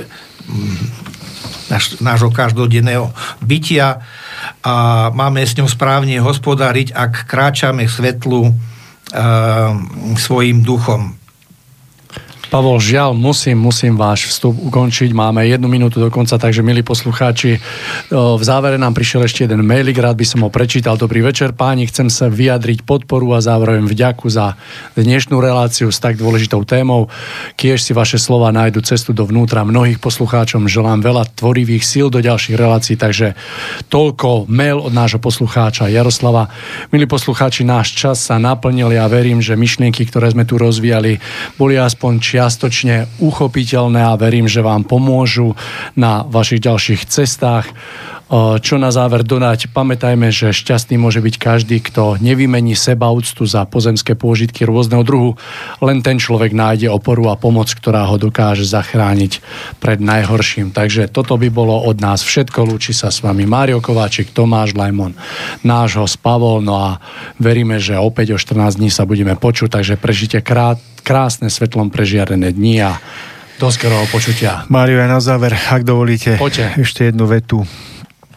[SPEAKER 6] nášho každodenného bytia a máme s ňou správne hospodáriť, ak kráčame k svetlu svojim duchom.
[SPEAKER 3] Pavol, žiaľ, musím váš vstup ukončiť. Máme 1 minútu do konca, takže milí poslucháči, v závere nám prišiel ešte jeden mailik, rád by som ho prečítal. Dobrý večer, páni, chcem sa vyjadriť podporu a zároveň vďaku za dnešnú reláciu s tak dôležitou témou. Kiež si vaše slova nájdu cestu dovnútra mnohých poslucháčom. Želám veľa tvorivých síl do ďalších relácií, takže toľko mail od nášho poslucháča Jaroslava. Milí poslucháči, náš čas sa naplnil. Ja verím, že myšlienky, ktoré sme tu rozvíjali, boli aspoň čiastočne uchopiteľné a verím, že vám pomôžu na vašich ďalších cestách. Čo na záver dodať, pamätajme, že šťastný môže byť každý, kto nevymení sebaúctu za pozemské pôžitky rôzneho druhu. Len ten človek nájde oporu a pomoc, ktorá ho dokáže zachrániť pred najhorším. Takže toto by bolo od nás všetko. Lúči sa s vami Mário Kováčik, Tomáš Lajmon, náš host Pavol. No a veríme, že opäť o 14 dní sa budeme počuť, takže prežite krásne svetlom prežiarené dni a do skorého počutia.
[SPEAKER 4] Mário, aj na záver, ak dovolíte,
[SPEAKER 3] Poďte.
[SPEAKER 4] ešte jednu vetu.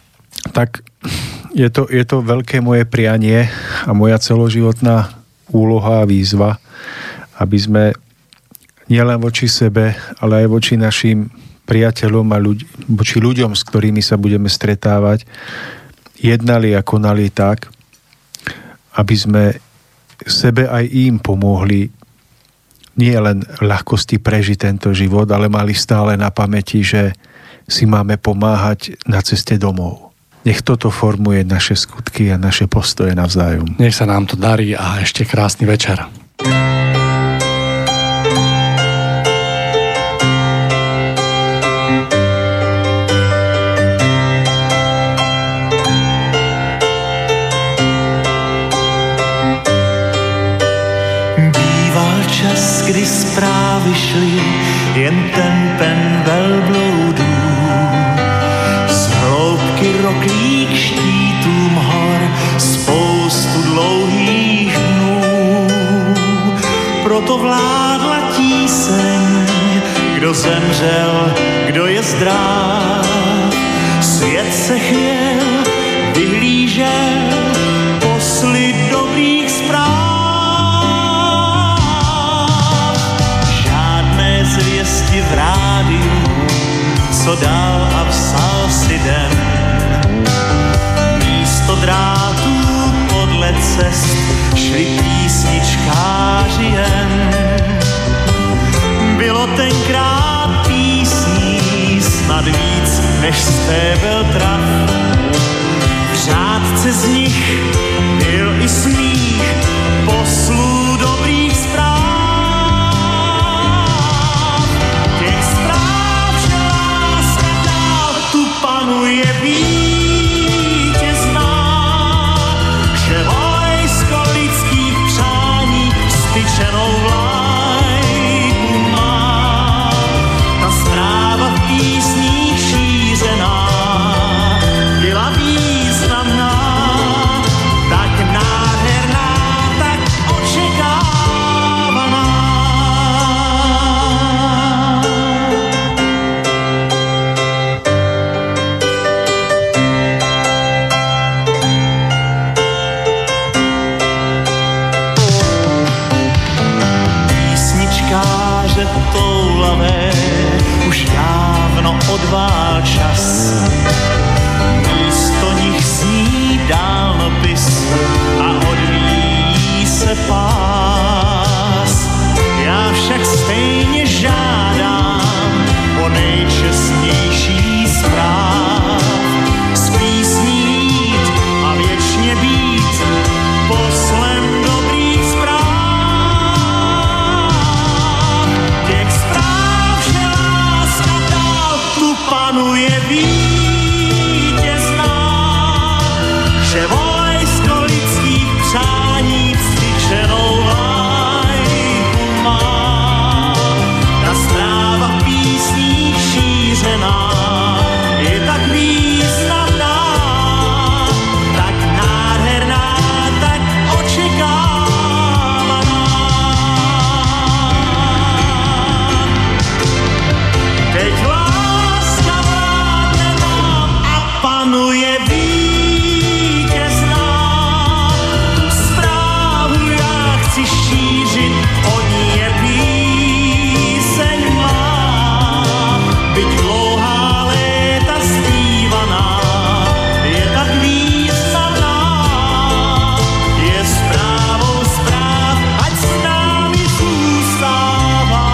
[SPEAKER 4] tak je to veľké moje prianie a moja celoživotná úloha a výzva, aby sme nielen voči sebe, ale aj voči našim priateľom a voči ľuďom, s ktorými sa budeme stretávať, jednali a konali tak, aby sme sebe aj im pomohli nie len ľahkosti prežiť tento život, ale mali stále na pamäti, že si máme pomáhať na ceste domov. Nech toto formuje naše skutky a naše postoje navzájom.
[SPEAKER 3] Nech sa nám to darí a ešte krásny večer.
[SPEAKER 5] Býval čas, kdy zprávy šly jen tempem velbloudů. Roklík štítům hor, spoustu dlouhých dnů. Proto vládla tíseň, kdo zemřel, kdo je zdrav. Svět se chvěl, vyhlížel posly dobrých zpráv. Žádné zvěsti v rádiu, co dal a psal si den. Místo drátů podle cest šli písničkáři jen. Bylo tenkrát písní snad víc než stébel trav. V řádce z nich byl i smích poslů dobrých zpráv. Těch zpráv, že láska dál tu panuje vítězná, že vojsko lidských přání styčenou vlajku má. Ta zpráva v písních šířená byla významná, tak nádherná, tak očekávaná. Písničkáře toulavé už dávno odvál čas. Místo nich zní dálnopis a odvíjí se pás. Já však stejně žádám o nejčestnější zpráv. Z písní jít a věčně být poslem dobrých zpráv. Těch zpráv, že láska dál tu panuje vítězná, že vojsko lidských přání vztyčenou vlajku má. Ta zpráva v písních šířená je tak významná, tak nádherná, tak očekávaná. Teď láska vládne nám a panuje vítězná. Tu zprávu já chci šířit, o ní je píseň má. Byť dlouhá léta zpívaná, je tak významná. Je zprávou zpráv, ať s námi zůstává.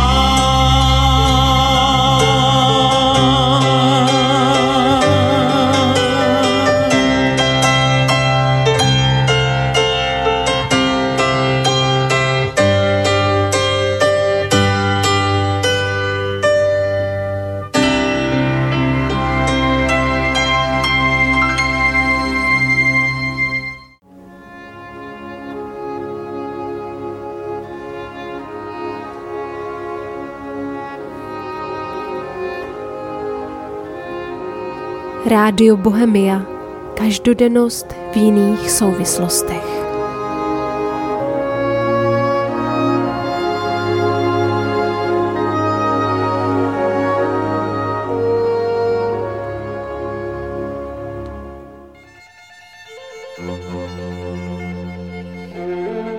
[SPEAKER 1] Rádio Bohemia. Každodennost v jiných souvislostech.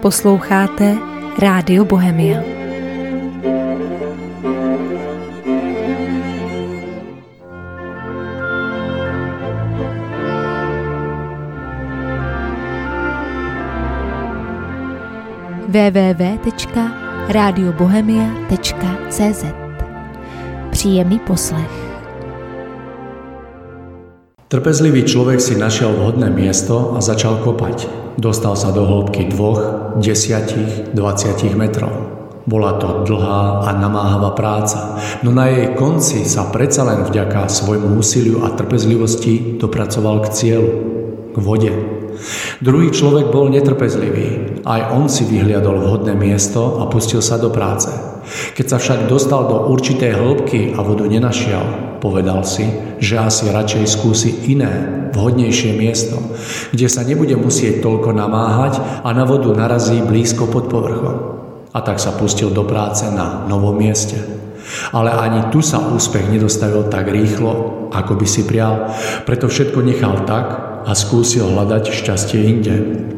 [SPEAKER 1] Posloucháte Rádio Bohemia. www.radiobohemia.cz. Příjemný poslech.
[SPEAKER 2] Trpezlivý človek si našiel vhodné miesto a začal kopať. Dostal sa do hĺbky 2, 10, 20 metrov. Bola to dlhá a namáhavá práca, no na jej konci sa predsa len vďaka svojmu úsiliu a trpezlivosti dopracoval k cieľu, k vode. Druhý človek bol netrpezlivý. Aj on si vyhliadol vhodné miesto a pustil sa do práce. Keď sa však dostal do určitej hĺbky a vodu nenašiel, povedal si, že asi radšej skúsi iné, vhodnejšie miesto, kde sa nebude musieť toľko namáhať a na vodu narazí blízko pod povrchom. A tak sa pustil do práce na novom mieste. Ale ani tu sa úspech nedostavil tak rýchlo, ako by si prial, preto všetko nechal tak a skúsil hľadať šťastie inde.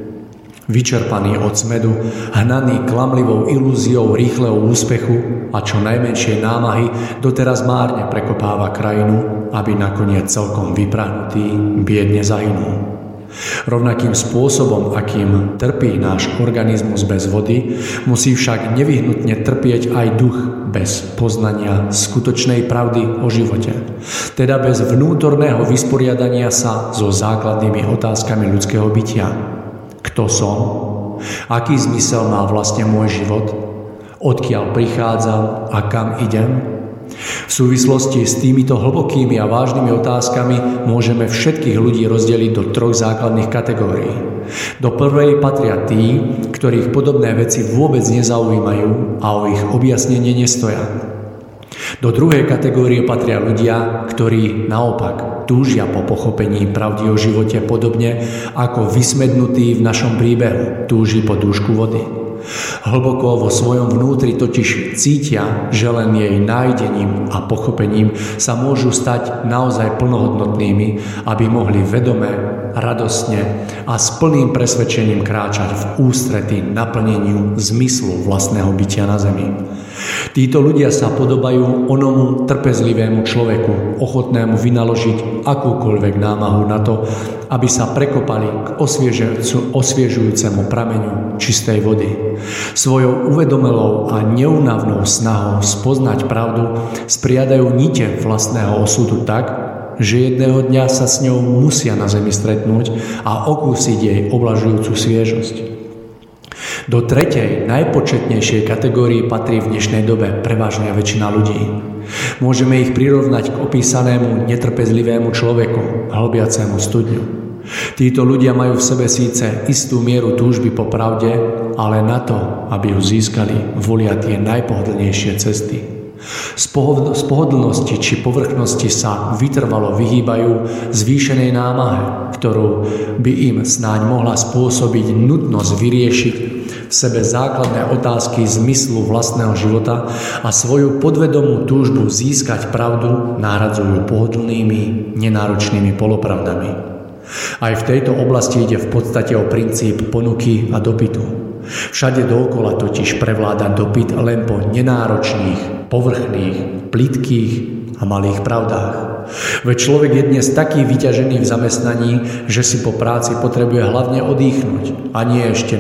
[SPEAKER 2] Vyčerpaný od smedu, hnaný klamlivou ilúziou rýchleho úspechu a čo najmenšej námahy, doteraz márne prekopáva krajinu, aby nakoniec celkom vyprahnutý biedne zahynul. Rovnakým spôsobom, akým trpí náš organizmus bez vody, musí však nevyhnutne trpieť aj duch bez poznania skutočnej pravdy o živote. Teda bez vnútorného vysporiadania sa so základnými otázkami ľudského bytia. Kto som? Aký zmysel má vlastne môj život? Odkiaľ prichádzam a kam idem? V súvislosti s týmito hlbokými a vážnymi otázkami môžeme všetkých ľudí rozdeliť do 3 základných kategórií. Do prvej patria tí, ktorých podobné veci vôbec nezaujímajú a o ich objasnenie nestoja. Do druhej kategórie patria ľudia, ktorí naopak túžia po pochopení pravdy o živote podobne ako vysmednutý v našom príbehu túži po dúšku vody. Hlboko vo svojom vnútri totiž cítia, že len jej nájdením a pochopením sa môžu stať naozaj plnohodnotnými, aby mohli vedome, radostne a s plným presvedčením kráčať v ústrety naplneniu zmyslu vlastného bytia na zemi. Títo ľudia sa podobajú onomu trpezlivému človeku, ochotnému vynaložiť akúkoľvek námahu na to, aby sa prekopali k osviežujúcemu prameňu čistej vody. Svojou uvedomelou a neúnavnou snahou spoznať pravdu spriadajú nite vlastného osudu tak, že jedného dňa sa s ňou musia na zemi stretnúť a okúsiť jej oblažujúcu sviežosť. Do tretej, najpočetnejšej kategórii patrí v dnešnej dobe prevažná väčšina ľudí. Môžeme ich prirovnať k opísanému netrpezlivému človeku, hlbiacemu studňu. Títo ľudia majú v sebe síce istú mieru túžby po pravde, ale na to, aby ju získali, volia tie najpohodlnejšie cesty. Z pohodlnosti či povrchnosti sa vytrvalo vyhýbajú zvýšenej námahe, ktorú by im snáď mohla spôsobiť nutnosť vyriešiť v sebe základné otázky zmyslu vlastného života a svoju podvedomú túžbu získať pravdu nahradzujú pohodlnými, nenáročnými polopravdami. Aj v tejto oblasti ide v podstate o princíp ponuky a dopytu. Všade dookola totiž prevláda dopyt len po nenáročných, povrchných, plytkých a malých pravdách. Veď človek je dnes taký vyťažený v zamestnaní, že si po práci potrebuje hlavne odýchnuť a nie ešte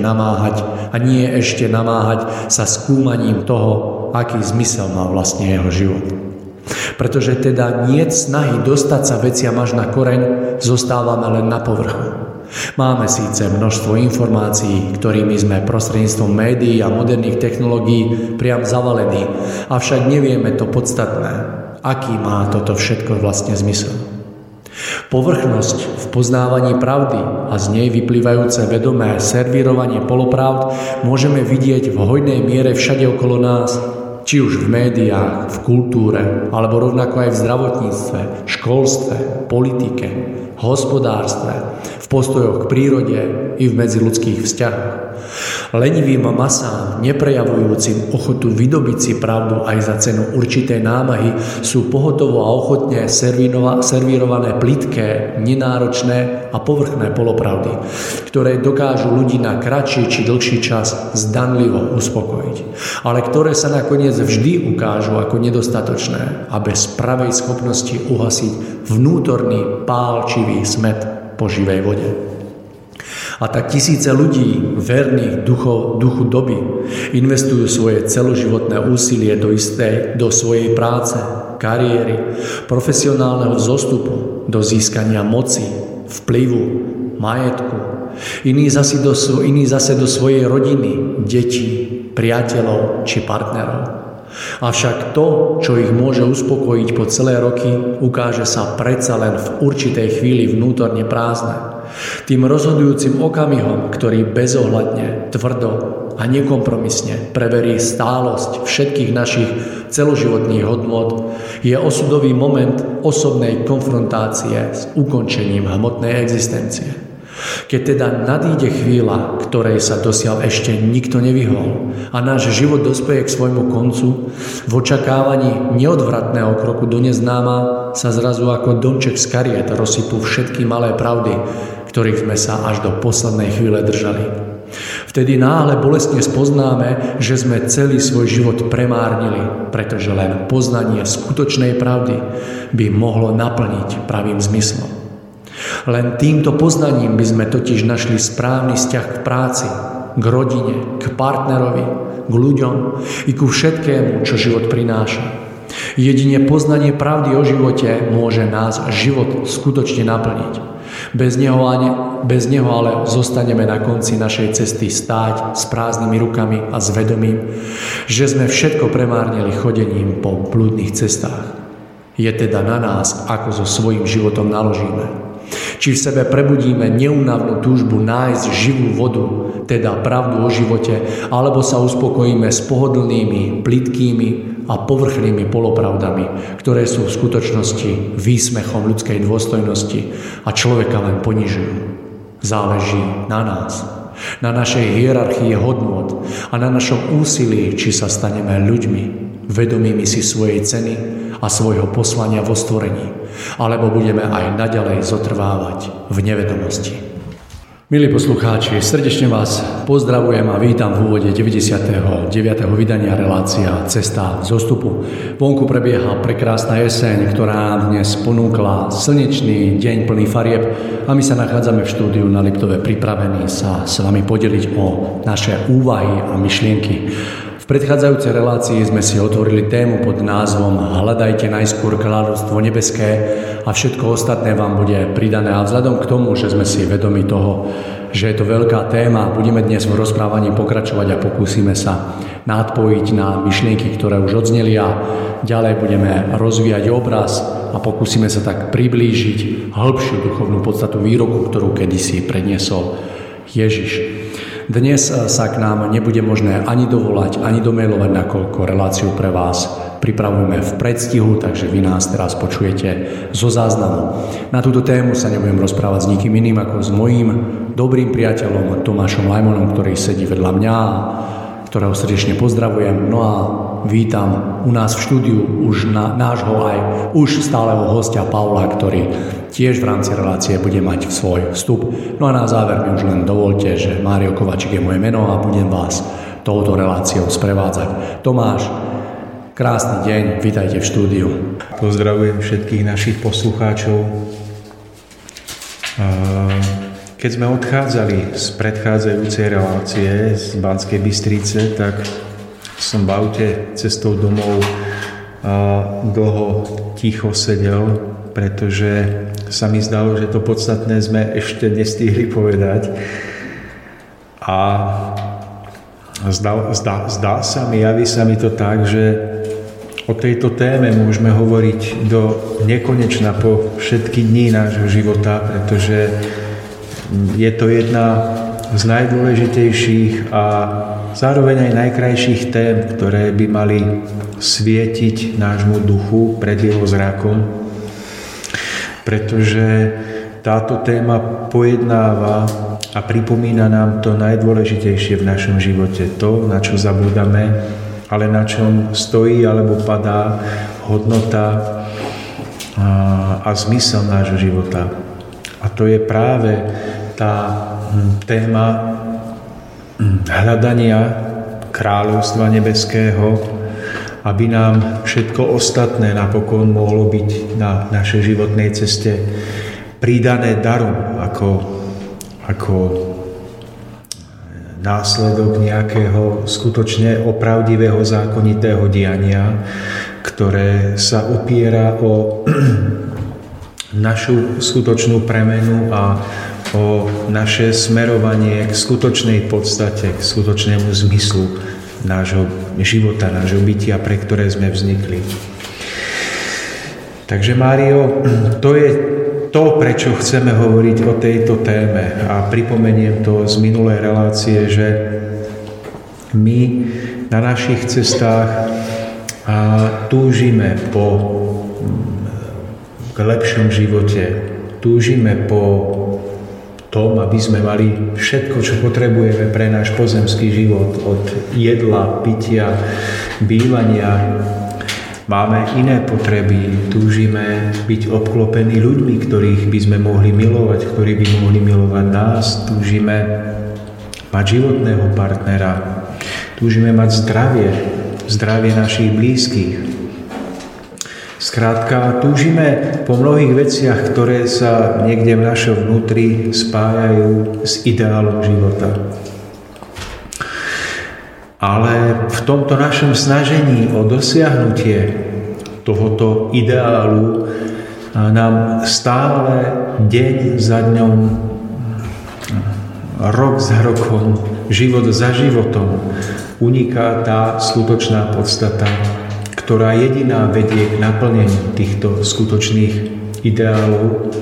[SPEAKER 2] namáhať sa skúmaním toho, aký zmysel má vlastne jeho život. Pretože teda niet snahy dostať sa veciam až na koreň, zostávame len na povrchu. Máme síce množstvo informácií, ktorými sme prostredníctvom médií a moderných technológií priam zavalení, avšak nevieme to podstatné, aký má toto všetko vlastne zmysel. Povrchnosť v poznávaní pravdy a z nej vyplývajúce vedomé servírovanie polopravd môžeme vidieť v hojnej miere všade okolo nás, či už v médiách, v kultúre, alebo rovnako aj v zdravotníctve, školstve, politike, hospodárstve, v postojoch k prírode i v medziľudských vzťahoch. Lenivým masám, neprejavujúcim ochotu vydobiť si pravdu aj za cenu určitej námahy, sú pohotovo a ochotne servírované plitké, nenáročné a povrchné polopravdy, ktoré dokážu ľudí na kratší či dlhší čas zdanlivo uspokojiť, ale ktoré sa nakoniec vždy ukážu ako nedostatočné a bez pravej schopnosti uhasiť vnútorný pálčivý smäd po živej vode. A tak tisíce ľudí, verných duchu doby, investujú svoje celoživotné úsilie do svojej práce, kariéry, profesionálneho vzostupu, do získania moci, vplyvu, majetku. Iní zase do svojej rodiny, detí, priateľov či partnerov. Avšak to, čo ich môže uspokojiť po celé roky, ukáže sa predsa len v určitej chvíli vnútorne prázdne. Tým rozhodujúcim okamihom, ktorý bezohľadne, tvrdo a nekompromisne preverí stálosť všetkých našich celoživotných hodnôt, je osudový moment osobnej konfrontácie s ukončením hmotnej existencie. Keď teda nadíde chvíľa, ktorej sa dosiaľ ešte nikto nevyhol a náš život dospeje k svojmu koncu, v očakávaní neodvratného kroku do neznáma sa zrazu ako domček z kariet rozsypú všetky malé pravdy, ktorých sme sa až do poslednej chvíle držali. Vtedy náhle bolestne spoznáme, že sme celý svoj život premárnili, pretože len poznanie skutočnej pravdy by mohlo naplniť pravým zmyslom. Len týmto poznaním by sme totiž našli správny vzťah k práci, k rodine, k partnerovi, k ľuďom i ku všetkému, čo život prináša. Jedine poznanie pravdy o živote môže nás život skutočne naplniť. Bez neho ale zostaneme na konci našej cesty stáť s prázdnymi rukami a s vedomím, že sme všetko premárnili chodením po blúdnych cestách. Je teda na nás, ako so svojím životom naložíme. Či v sebe prebudíme neúnavnú túžbu nájsť živú vodu, teda pravdu o živote, alebo sa uspokojíme s pohodlnými, plytkými a povrchnými polopravdami, ktoré sú v skutočnosti výsmechom ľudskej dôstojnosti a človeka len ponižujú. Záleží na nás, na našej hierarchii hodnôt a na našom úsilí, či sa staneme ľuďmi, vedomými si svojej ceny a svojho poslania vo stvorení, alebo budeme aj naďalej zotrvávať v nevedomosti. Milí poslucháči, srdečne vás pozdravujem a vítam v úvode 99. vydania relácia Cesta zostupu. Vonku prebieha prekrásna jeseň, ktorá nám dnes ponúkla slnečný deň plný farieb a my sa nachádzame v štúdiu na Liptove pripravení sa s vami podeliť o naše úvahy a myšlienky. V predchádzajúcej relácii sme si otvorili tému pod názvom Hľadajte najskôr kráľovstvo nebeské a všetko ostatné vám bude pridané. A vzhľadom k tomu, že sme si vedomi toho, že je to veľká téma, budeme dnes v rozprávaní pokračovať a pokúsime sa nadpojiť na myšlienky, ktoré už odzneli a ďalej budeme rozvíjať obraz a pokúsime sa tak priblížiť hĺbšiu duchovnú podstatu výroku, ktorú kedysi predniesol Ježiš. Dnes sa k nám nebude možné ani dovolať, ani domailovať, nakoľko reláciu pre vás pripravujeme v predstihu, takže vy nás teraz počujete zo záznamu. Na túto tému sa nebudem rozprávať s nikým iným ako s mojím dobrým priateľom Tomášom Lajmonom, ktorý sedí vedľa mňa, ktorého srdečne pozdravujem. No a vítam u nás v štúdiu už nášho aj už stáleho hostia Pavla, ktorý tiež v rámci relácie bude mať svoj vstup. No a na záver mi už len dovolte, že Mário Kovačík je moje meno a budem vás touto reláciou sprevádzať. Tomáš, krásny deň, vítajte v štúdiu.
[SPEAKER 4] Pozdravujem všetkých našich poslucháčov. Keď sme odchádzali z predchádzajúcej relácie z Banskej Bystrice, tak som v aute cestou domov dlho ticho sedel, pretože sa mi zdalo, že to podstatné sme ešte nestihli povedať. A zdá sa mi, javí sa mi to tak, že o tejto téme môžeme hovoriť do nekonečna po všetky dní nášho života, pretože je to jedna z najdôležitejších a zároveň aj najkrajších tém, ktoré by mali svietiť nášmu duchu pred jeho zrakom, pretože táto téma pojednáva a pripomína nám to najdôležitejšie v našom živote, to, na čo zabúdame, ale na čom stojí alebo padá hodnota a zmysel nášho života. A to je práve tá téma hľadania kráľovstva nebeského, aby nám všetko ostatné napokon mohlo byť na našej životnej ceste pridané darom ako následok nejakého skutočne opravdivého zákonitého diania, ktoré sa opiera o našu skutočnú premenu a o naše smerovanie k skutočnej podstate, k skutočnému zmyslu nášho života, nášho bytia, pre ktoré sme vznikli. Takže, Mário, to je to, prečo chceme hovoriť o tejto téme. A pripomeniem to z minulej relácie, že my na našich cestách túžime k lepšom živote. Túžime po tom, aby sme mali všetko, čo potrebujeme pre náš pozemský život, od jedla, pitia, bývania. Máme iné potreby, túžime byť obklopení ľuďmi, ktorých by sme mohli milovať, ktorí by mohli milovať nás, túžime mať životného partnera, túžime mať zdravie našich blízkych. Skrátka, túžime po mnohých veciach, ktoré sa niekde v našom vnútri spájajú s ideálom života. Ale v tomto našom snažení o dosiahnutie tohoto ideálu nám stále deň za dňom, rok za rokom, život za životom uniká tá skutočná podstata, ktorá jediná vedie k naplneniu týchto skutočných ideálov.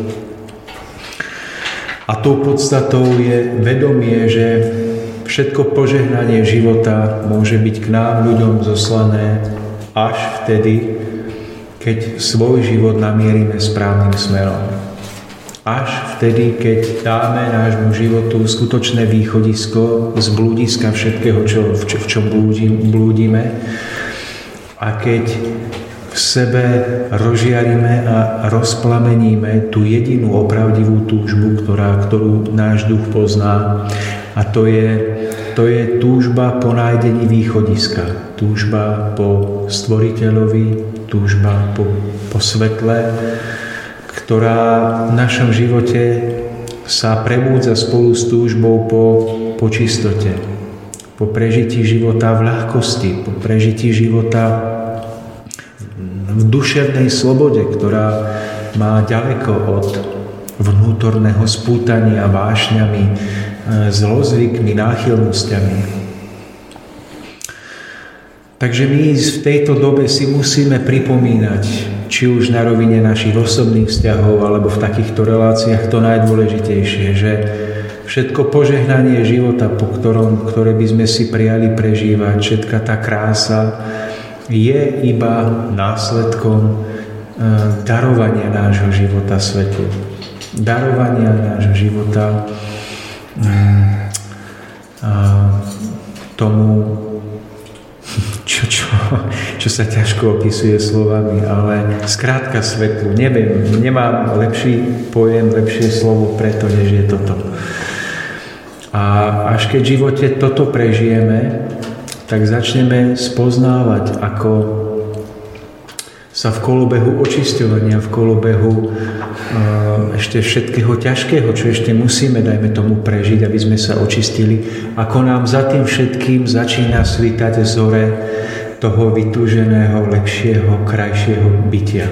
[SPEAKER 4] A tou podstatou je vedomie, že všetko požehnanie života môže byť k nám, ľuďom, zoslané až vtedy, keď svoj život namierime správnym smerom. Až vtedy, keď dáme nášmu životu skutočné východisko z blúdiska všetkého, v čom blúdime, a keď v sebe rozžiarime a rozplameníme tú jedinú opravdivú túžbu, ktorú náš duch pozná, a to je túžba po nájdení východiska, túžba po stvoriteľovi, túžba po svetle, ktorá v našom živote sa prebúdza spolu s túžbou po čistote, po prežití života v ľahkosti, po prežití života v duševnej slobode, ktorá má ďaleko od vnútorného spútania vášňami, zlozvykmi, náchylnosťami. Takže my v tejto dobe si musíme pripomínať, či už na rovine našich osobných vzťahov, alebo v takýchto reláciách to najdôležitejšie, že všetko požehnanie života, ktoré by sme si prijali prežívať, všetka tá krása, je iba následkom darovania nášho života svetu. Darovania nášho života tomu, čo sa ťažko opisuje slovami, ale skrátka svetlu. Neviem, nemám lepší pojem, lepšie slovo preto, než je toto. A až keď v živote toto prežijeme, tak začneme spoznávať, ako sa v kolobehu očisťovania, v kolobehu ešte všetkého ťažkého, čo ešte musíme, dajme tomu, prežiť, aby sme sa očistili, ako nám za tým všetkým začína svítať zore toho vytúženého, lepšieho, krajšieho bytia.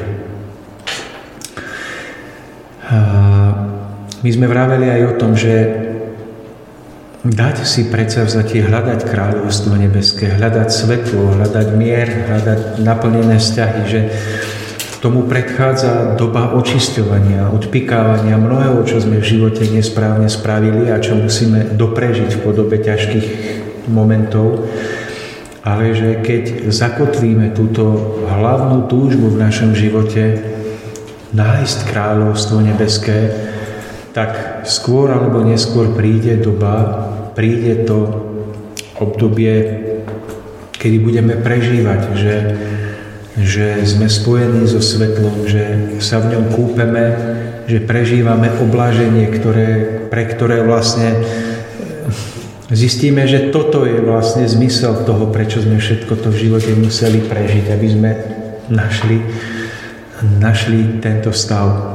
[SPEAKER 4] My sme vraveli aj o tom, že dať si predsavzatie hľadať kráľovstvo nebeské, hľadať svetlo, hľadať mier, hľadať naplnené vzťahy, že tomu predchádza doba očisťovania, odpikávania mnohého, čo sme v živote nesprávne spravili a čo musíme doprežiť v podobe ťažkých momentov. Ale že keď zakotvíme túto hlavnú túžbu v našom živote nájsť kráľovstvo nebeské, tak skôr alebo neskôr príde doba, príde to obdobie, kedy budeme prežívať, že sme spojení so svetlom, že sa v ňom kúpeme, že prežívame obláženie, pre ktoré vlastne zistíme, že toto je vlastne zmysel toho, prečo sme všetko to v živote museli prežiť, aby sme našli tento stav.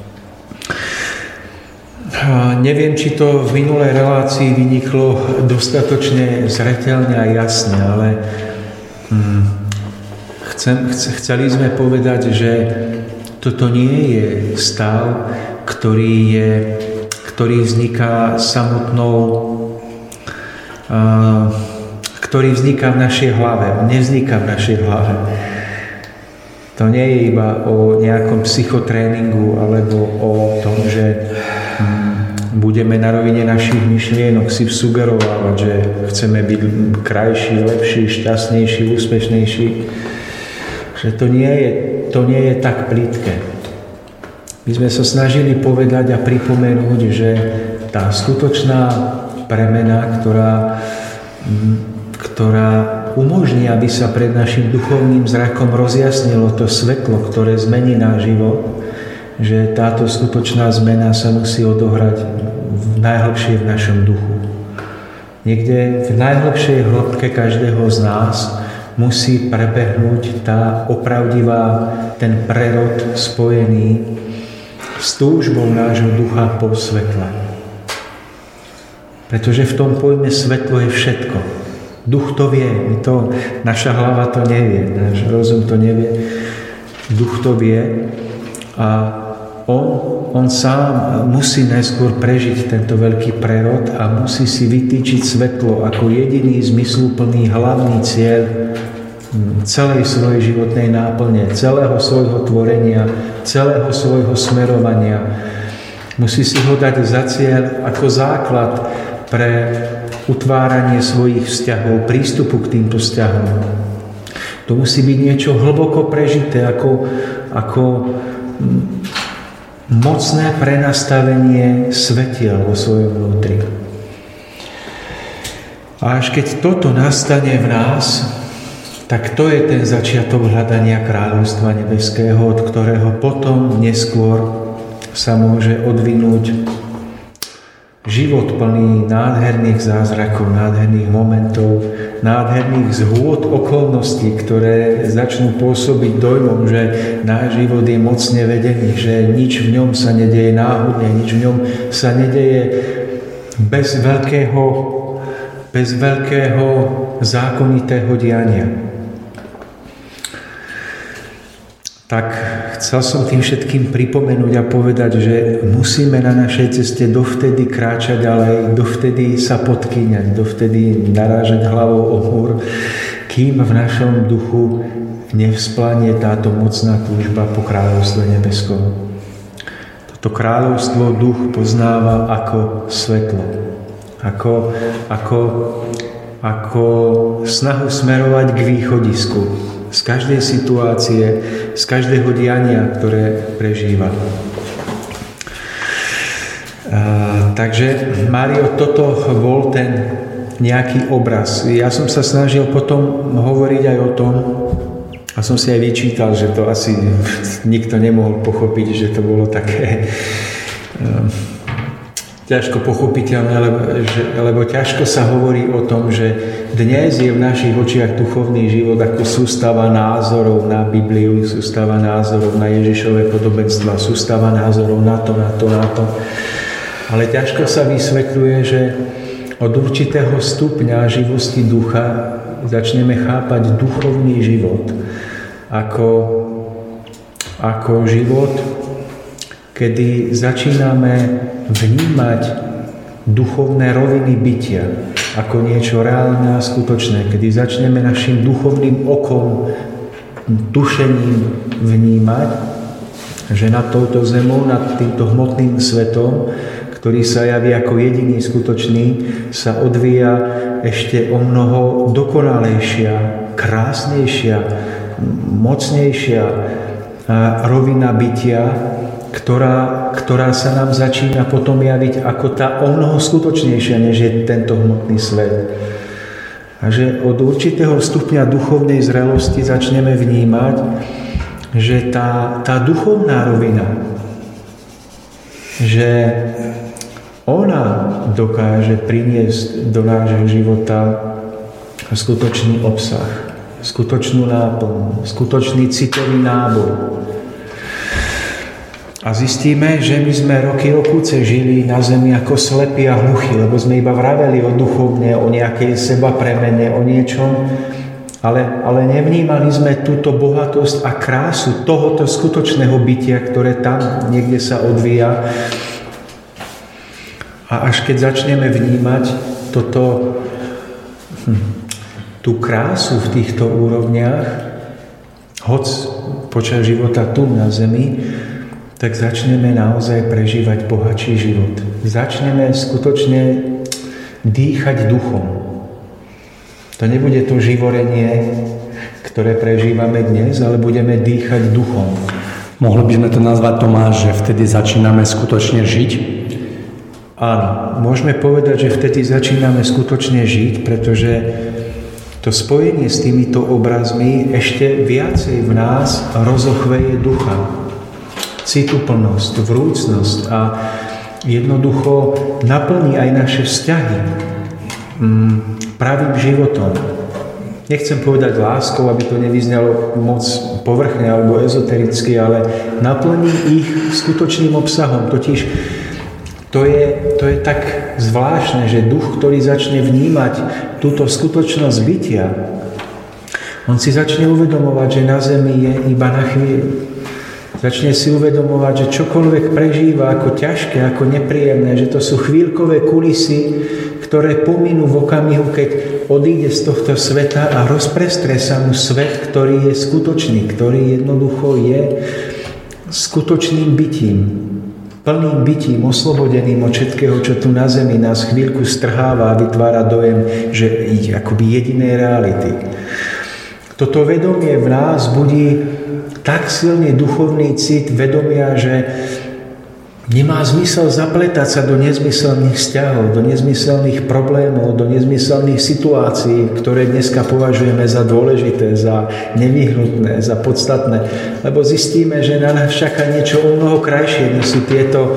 [SPEAKER 4] Neviem, či to v minulej relácii vyniklo dostatočne zreteľne a jasne, ale chceli sme povedať, že toto nie je stav, ktorý vzniká ktorý vzniká v našej hlave. On nevzniká v našej hlave. To nie je iba o nejakom psychotréningu alebo o tom, že budeme na rovine našich myšlienok si sugerovať, že chceme byť krajší, lepší, šťastnejší, úspešnejší. Že to nie je tak plitké. My sme sa snažili povedať a pripomenúť, že tá skutočná premena, ktorá umožní, aby sa pred našim duchovným zrakom rozjasnilo to svetlo, ktoré zmení náš život, že táto skutočná zmena sa musí odohrať najhlbšie v našom duchu. Niekde v najhlbšej hĺbke každého z nás musí prebehnúť tá opravdivá, ten prerod spojený s túžbou nášho ducha po svetle. Pretože v tom pojme svetlo je všetko. Duch to vie, naša hlava to nevie, náš rozum to nevie. Duch to vie a on sám musí najskôr prežiť tento veľký prerod a musí si vytýčiť svetlo ako jediný zmysluplný hlavný cieľ celej svojej životnej náplne, celého svojho tvorenia, celého svojho smerovania. Musí si ho dať za cieľ ako základ pre utváranie svojich vzťahov, prístupu k týmto vzťahom. To musí byť niečo hlboko prežité, ako mocné prenastavenie svetiel vo svojom vnútri. A až keď toto nastane v nás, tak to je ten začiatok hľadania kráľovstva nebeského, od ktorého potom neskôr sa môže odvinúť život plný nádherných zázrakov, nádherných momentov, nádherných zhôd okolností, ktoré začnú pôsobiť dojmom, že náš život je mocne vedený, že nič v ňom sa nedeje náhodne, nič v ňom sa nedeje bez veľkého zákonitého diania. Tak chcel som tým všetkým pripomenúť a povedať, že musíme na našej ceste dovtedy kráčať ďalej, dovtedy sa podkýňať, dovtedy narážať hlavou o múr, kým v našom duchu nevzplanie táto mocná túžba po kráľovstve nebeskom. Toto kráľovstvo duch poznáva ako svetlo, ako snahu smerovať k východisku z každej situácie, z každého diania, ktoré prežíva. Takže, Mário, toto bol ten nejaký obraz. Ja som sa snažil potom hovoriť aj o tom, a som si aj vyčítal, že to asi nikto nemohol pochopiť, že to bolo také ťažko pochopiteľné, lebo ťažko sa hovorí o tom, že dnes je v našich očiach duchovný život ako sústava názorov na Bibliu, sústava názorov na Ježišové podobenstva, sústava názorov na to. Ale ťažko sa vysvetľuje, že od určitého stupňa živosti ducha začneme chápať duchovný život ako život, kedy začíname vnímať duchovné roviny bytia ako niečo reálne a skutočné, kedy začneme našim duchovným okom, tušením vnímať, že nad touto zemou, nad týmto hmotným svetom, ktorý sa javí ako jediný skutočný, sa odvíja ešte o mnoho dokonalejšia, krásnejšia, mocnejšia rovina bytia, ktorá sa nám začína potom javiť ako tá o mnoho skutočnejšia, než je tento hmotný svet. A že od určitého stupňa duchovnej zrelosti začneme vnímať, že tá duchovná rovina, že ona dokáže priniesť do nášho života skutočný obsah, skutočnú náplň, skutočný citový náboj. A zistíme, že my sme roky žili na zemi ako slepí a hluchí, lebo sme iba vraveli o duchovne, o nejakej seba premene, o niečom, ale nevnímali sme túto bohatosť a krásu tohoto skutočného bytia, ktoré tam niekde sa odvíja. A až keď začneme vnímať tú krásu v týchto úrovniach, hoc počas života tu na zemi, tak začneme naozaj prežívať bohatší život. Začneme skutočne dýchať duchom. To nebude to živorenie, ktoré prežívame dnes, ale budeme dýchať duchom.
[SPEAKER 2] Mohli by sme to nazvať, Tomáš, že vtedy začíname skutočne žiť?
[SPEAKER 4] Áno, môžeme povedať, že vtedy začíname skutočne žiť, pretože to spojenie s týmito obrazmi ešte viacej v nás rozochveje ducha. Cituplnosť, vrúcnosť a jednoducho naplní aj naše vzťahy pravým životom. Nechcem povedať láskou, aby to nevyznalo moc povrchne alebo ezotericky, ale naplní ich skutočným obsahom. Totiž to je tak zvláštne, že duch, ktorý začne vnímať túto skutočnosť bytia, on si začne uvedomovať, že na zemi je iba na chvíľu. Začne si uvedomovať, že čokoľvek prežíva ako ťažké, ako nepríjemné, že to sú chvíľkové kulisy, ktoré pominú v okamihu, keď odíde z tohto sveta a rozprestre sa mu svet, ktorý je skutočný, ktorý jednoducho je skutočným bytím, plným bytím, oslobodeným od všetkého, čo tu na zemi nás chvíľku strháva a vytvára dojem, že ide akoby jedinej reality. Toto vedomie v nás budí tak silný duchovný cit vedomia, že nemá zmysel zapletať sa do nezmyselných vzťahov, do nezmyselných problémov, do nezmyselných situácií, ktoré dneska považujeme za dôležité, za nevyhnutné, za podstatné. Lebo zistíme, že na nás čaká niečo o mnoho krajšie, než sú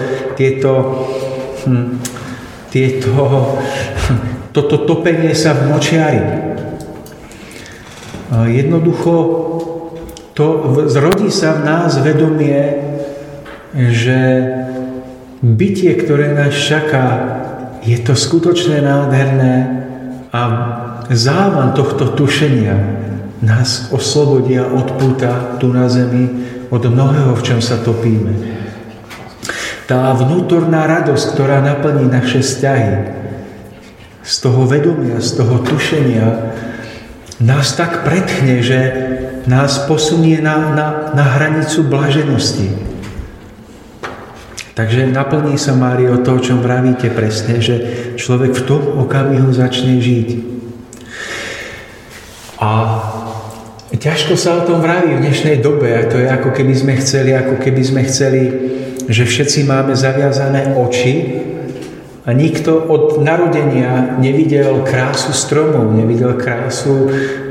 [SPEAKER 4] toto topenie sa v močiari. Jednoducho zrodí sa v nás vedomie, že bytie, ktoré nás čaká, je to skutočne nádherné a závan tohto tušenia nás oslobodí a odpúta tu na zemi od mnohého, v čom sa topíme. Tá vnútorná radosť, ktorá naplní naše vzťahy, z toho vedomia, z toho tušenia, nás tak pretchne, že nás posunie na hranicu blaženosti. Takže naplní sa, Mário, to, o čom vravíte presne, že človek v tom okamihu začne žiť. A ťažko sa o tom vraví v dnešnej dobe. A to je ako keby sme chceli, že všetci máme zaviazané oči a nikto od narodenia nevidel krásu stromov, nevidel krásu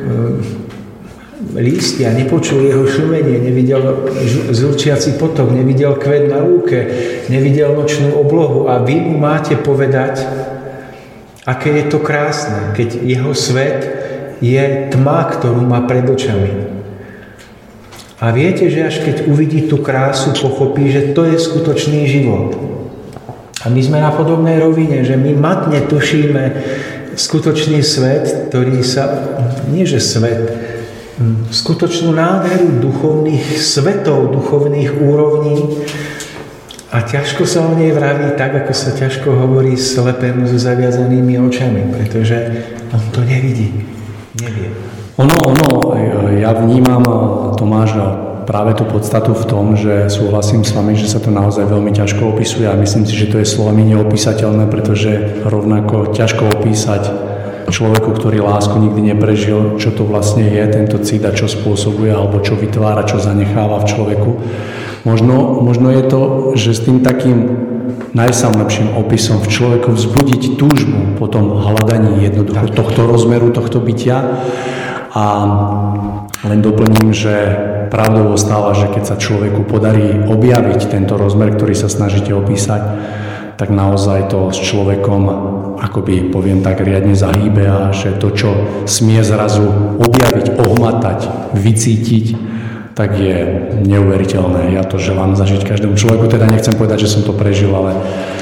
[SPEAKER 4] lístia, nepočul jeho šumenie, nevidel zúčiaci potok, nevidel kvet na lúke, nevidel nočnú oblohu a vy mu máte povedať, aké je to krásne, keď jeho svet je tma, ktorú má pred očami. A viete, že až keď uvidí tú krásu, pochopí, že to je skutočný život. A my sme na podobnej rovine, že my matne tušíme skutočný svet, ktorý sa, nie že svet, skutočnú nádheru duchovných svetov, duchovných úrovní a ťažko sa o nej vraví tak, ako sa ťažko hovorí slepému so zaviazanými očami, pretože on to nevidí, nevie.
[SPEAKER 2] Ja vnímam, Tomáš, práve tú podstatu v tom, že súhlasím s vami, že sa to naozaj veľmi ťažko opisuje a myslím si, že to je slovami neopísateľné, pretože rovnako ťažko opísať človeku, ktorý lásku nikdy neprežil, čo to vlastne je tento cit a čo spôsobuje alebo čo vytvára, čo zanecháva v človeku. Možno je to, že s tým takým najsamlepším opisom v človeku vzbudiť túžbu po tom hľadaní jednoducho tohto rozmeru, tohto bytia. A len doplním, že pravdou ostáva, že keď sa človeku podarí objaviť tento rozmer, ktorý sa snažíte opísať, tak naozaj to s človekom, akoby poviem tak, riadne zahýbe a že to, čo smie zrazu objaviť, ohmatať, vycítiť, tak je neuveriteľné. Ja to želám zažiť každému človeku, teda nechcem povedať, že som to prežil, ale...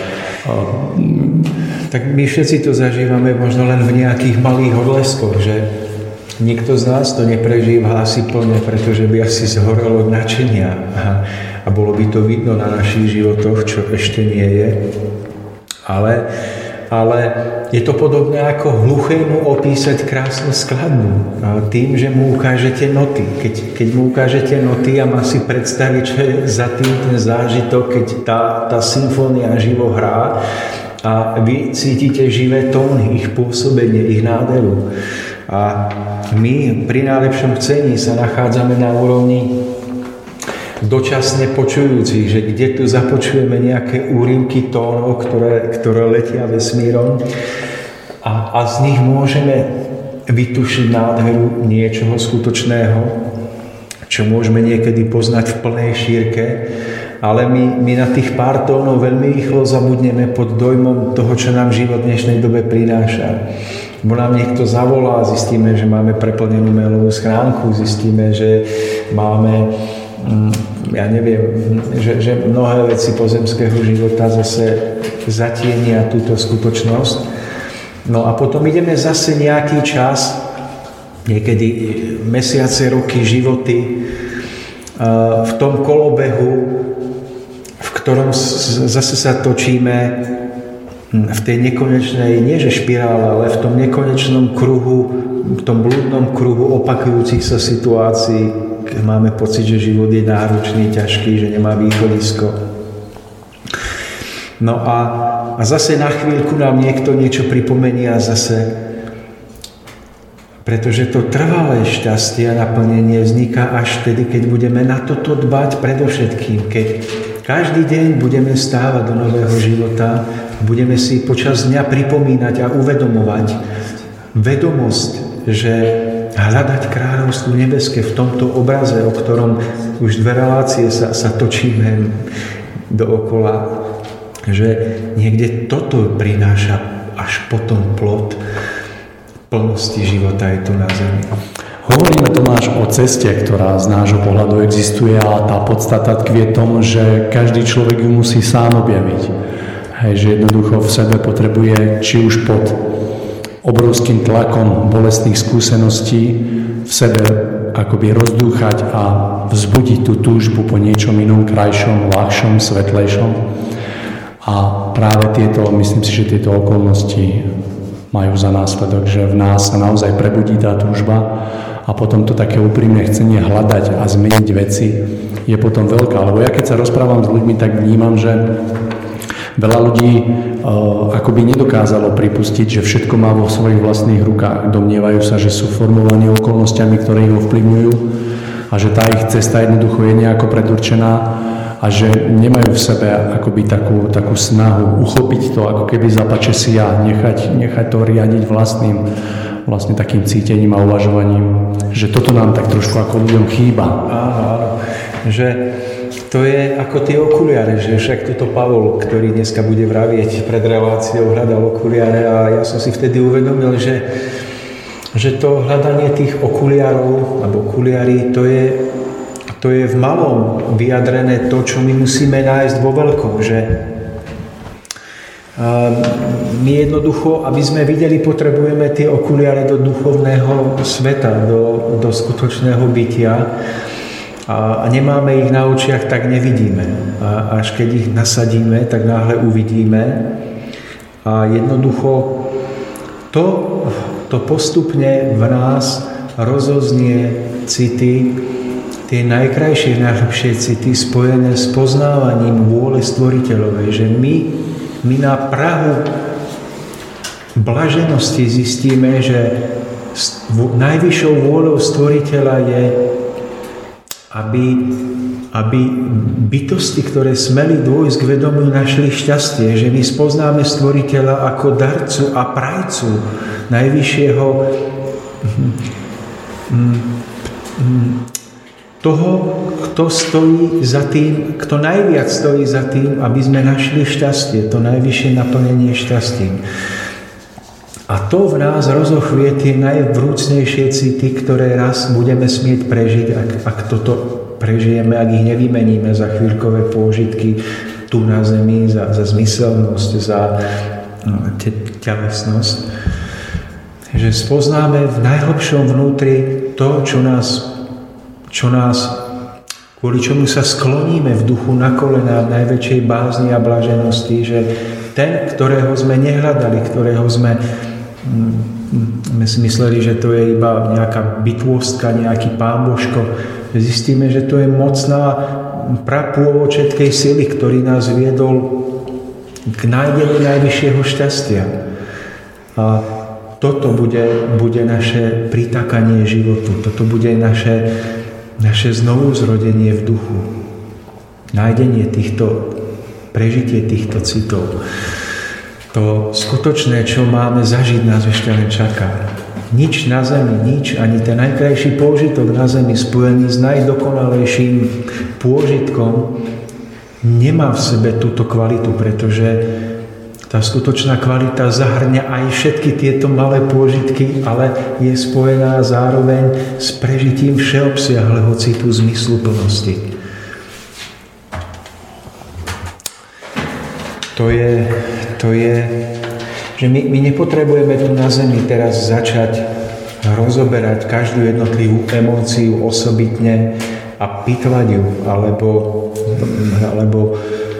[SPEAKER 4] Tak my všetci to zažívame možno len v nejakých malých odleskoch, že nikto z nás to neprežíva asi plne, pretože by asi zhorel od nadšenia a bolo by to vidno na našich životoch, čo ešte nie je. Ale je to podobné ako hluchému opísať krásnu skladbu tým, že mu ukážete noty. Keď mu ukážete noty a má si predstaviť, čo je za tým ten zážitok, keď tá symfónia živo hrá a vy cítite živé tóny, ich pôsobenie, ich nádheru. A my pri najlepšom chcení sa nachádzame na úrovni dočasne počujúcich, že kde tu započujeme nejaké úryvky tónov, ktoré letia vesmírom a z nich môžeme vytušiť nádheru niečoho skutočného, čo môžeme niekedy poznať v plnej šírke, ale my na tých pár tónov veľmi rýchlo zabudneme pod dojmom toho, čo nám život v dnešnej dobe prináša. Bo nám niekto zavolá, zistíme, že máme preplnenú mailovú schránku, zistíme, že máme ja neviem, že mnohé veci pozemského života zase zatienia túto skutočnosť. No a potom ideme zase nejaký čas, niekedy mesiace, roky, životy v tom kolobehu, v ktorom zase sa točíme v tej nekonečnej, nie že špirále, ale v tom nekonečnom kruhu, v tom blúdnom kruhu opakujúcich sa situácií, keď máme pocit, že život je náročný, ťažký, že nemá východisko. No a zase na chvíľku nám niekto niečo pripomenie a zase, pretože to trvalé šťastie a naplnenie vzniká až vtedy, keď budeme na toto dbať predovšetkým, keď každý deň budeme stávať do nového života, budeme si počas dňa pripomínať a uvedomovať vedomosť, že hľadať kráľovstvo nebeské v tomto obraze, o ktorom už 2 relácie sa točíme dookola, že niekde toto prináša až potom plod plnosti života aj tu na zemi.
[SPEAKER 2] Hovoríme, Tomáš, o ceste, ktorá z nášho pohľadu existuje a tá podstata tkvie tom, že každý človek ju musí sám objaviť. Hej, že jednoducho v sebe potrebuje, či už pod obrovským tlakom bolestných skúseností v sebe akoby rozdúchať a vzbudiť tú túžbu po niečom inom, krajšom, ľahšom, svetlejšom. A práve myslím si, že tieto okolnosti majú za následok, že v nás sa naozaj prebudí tá túžba a potom to také úprimné chcenie hľadať a zmeniť veci je potom veľká. Lebo ja keď sa rozprávam s ľuďmi, tak vnímam, že veľa ľudí akoby nedokázalo pripustiť, že všetko má vo svojich vlastných rukách. Domnievajú sa, že sú formovaní okolnostiami, ktoré ich ovplyvňujú a že tá ich cesta jednoducho je nejako predurčená a že nemajú v sebe akoby takú snahu uchopiť to, ako keby za pačesia, nechať to riadiť vlastne takým cítením a uvažovaním. Že toto nám tak trošku ako ľuďom chýba.
[SPEAKER 4] Áno, že to je ako tie okuliare, že však toto Pavol, ktorý dneska bude vravieť pred reláciou, hľadal okuliare a ja som si vtedy uvedomil, že to hľadanie tých okuliarov alebo okuliarí, to je v malom vyjadrené to, čo my musíme nájsť vo veľkom, že my jednoducho, aby sme videli, potrebujeme tie okuliare do duchovného sveta, do skutočného bytia. A nemáme ich na očiach, tak nevidíme. A až keď ich nasadíme, tak náhle uvidíme. A jednoducho to postupne v nás rozoznie city, tie najkrajšie, najlepšie city spojené s poznávaním vôle stvoriteľovej, že my na prahu blaženosti zistíme, že najvyššou vôľou stvoriteľa je, aby bytosti, ktoré smeli dôjsť k vedomiu, našli šťastie, že my spoznáme Stvoriteľa ako darcu a prajcu najvyššieho toho, kto stojí za tým, kto najviac stojí za tým, aby sme našli šťastie, to najvyššie naplnenie šťastím. A to v nás rozochvie tie najvrúcnejšie city, ktoré raz budeme smieť prežiť, ak toto prežijeme, ak ich nevymeníme za chvíľkové pôžitky tu na zemi, za zmyselnosť, za telesnosť. Že spoznáme v najhlbšom vnútri to, čo nás, kvôli čomu sa skloníme v duchu na kolená v najväčšej bázni a blaženosti, že ten, ktorého sme nehľadali, ktorého sme mysleli, že to je iba nejaká bytôstka, nejaký pán Božko, zistíme, že to je mocná prapôvočetkej sily, ktorý nás viedol k nájdeniu najvyššieho šťastia. A toto bude naše pritakanie životu, toto bude naše znovuzrodenie v duchu. Nájdenie prežitie týchto citov. To skutočné, čo máme zažiť, nás ešte len čaká. Nič na zemi, nič, ani ten najkrajší pôžitok na zemi spojený s najdokonalejším pôžitkom nemá v sebe túto kvalitu, pretože tá skutočná kvalita zahrňa aj všetky tieto malé pôžitky, ale je spojená zároveň s prežitím všeobsiahleho citu zmysluplnosti. To je, že my nepotrebujeme tu na zemi teraz začať rozoberať každú jednotlivú emóciu osobitne a pitvať ju, alebo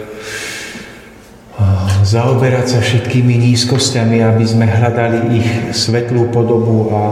[SPEAKER 4] zaoberať sa všetkými nízkosťami, aby sme hľadali ich svetlú podobu. A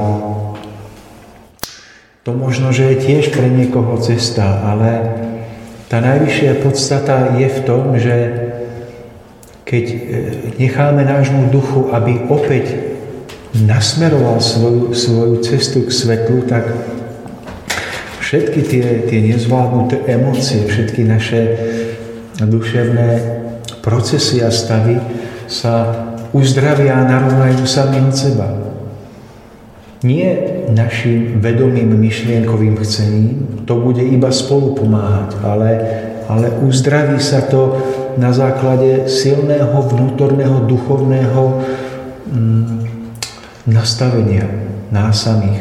[SPEAKER 4] to možno, že je tiež pre niekoho cesta, ale tá najvyššia podstata je v tom, že keď necháme nášmu duchu, aby opäť nasmeroval svoju cestu k svetlu, tak všetky tie nezvládnuté emócie, všetky naše duševné procesy a stavy sa uzdravia a narovnajú sami od seba. Nie našim vedomým myšlienkovým chcením, to bude iba spolu pomáhať, ale uzdraví sa to na základe silného vnútorného duchovného nastavenia nás samých.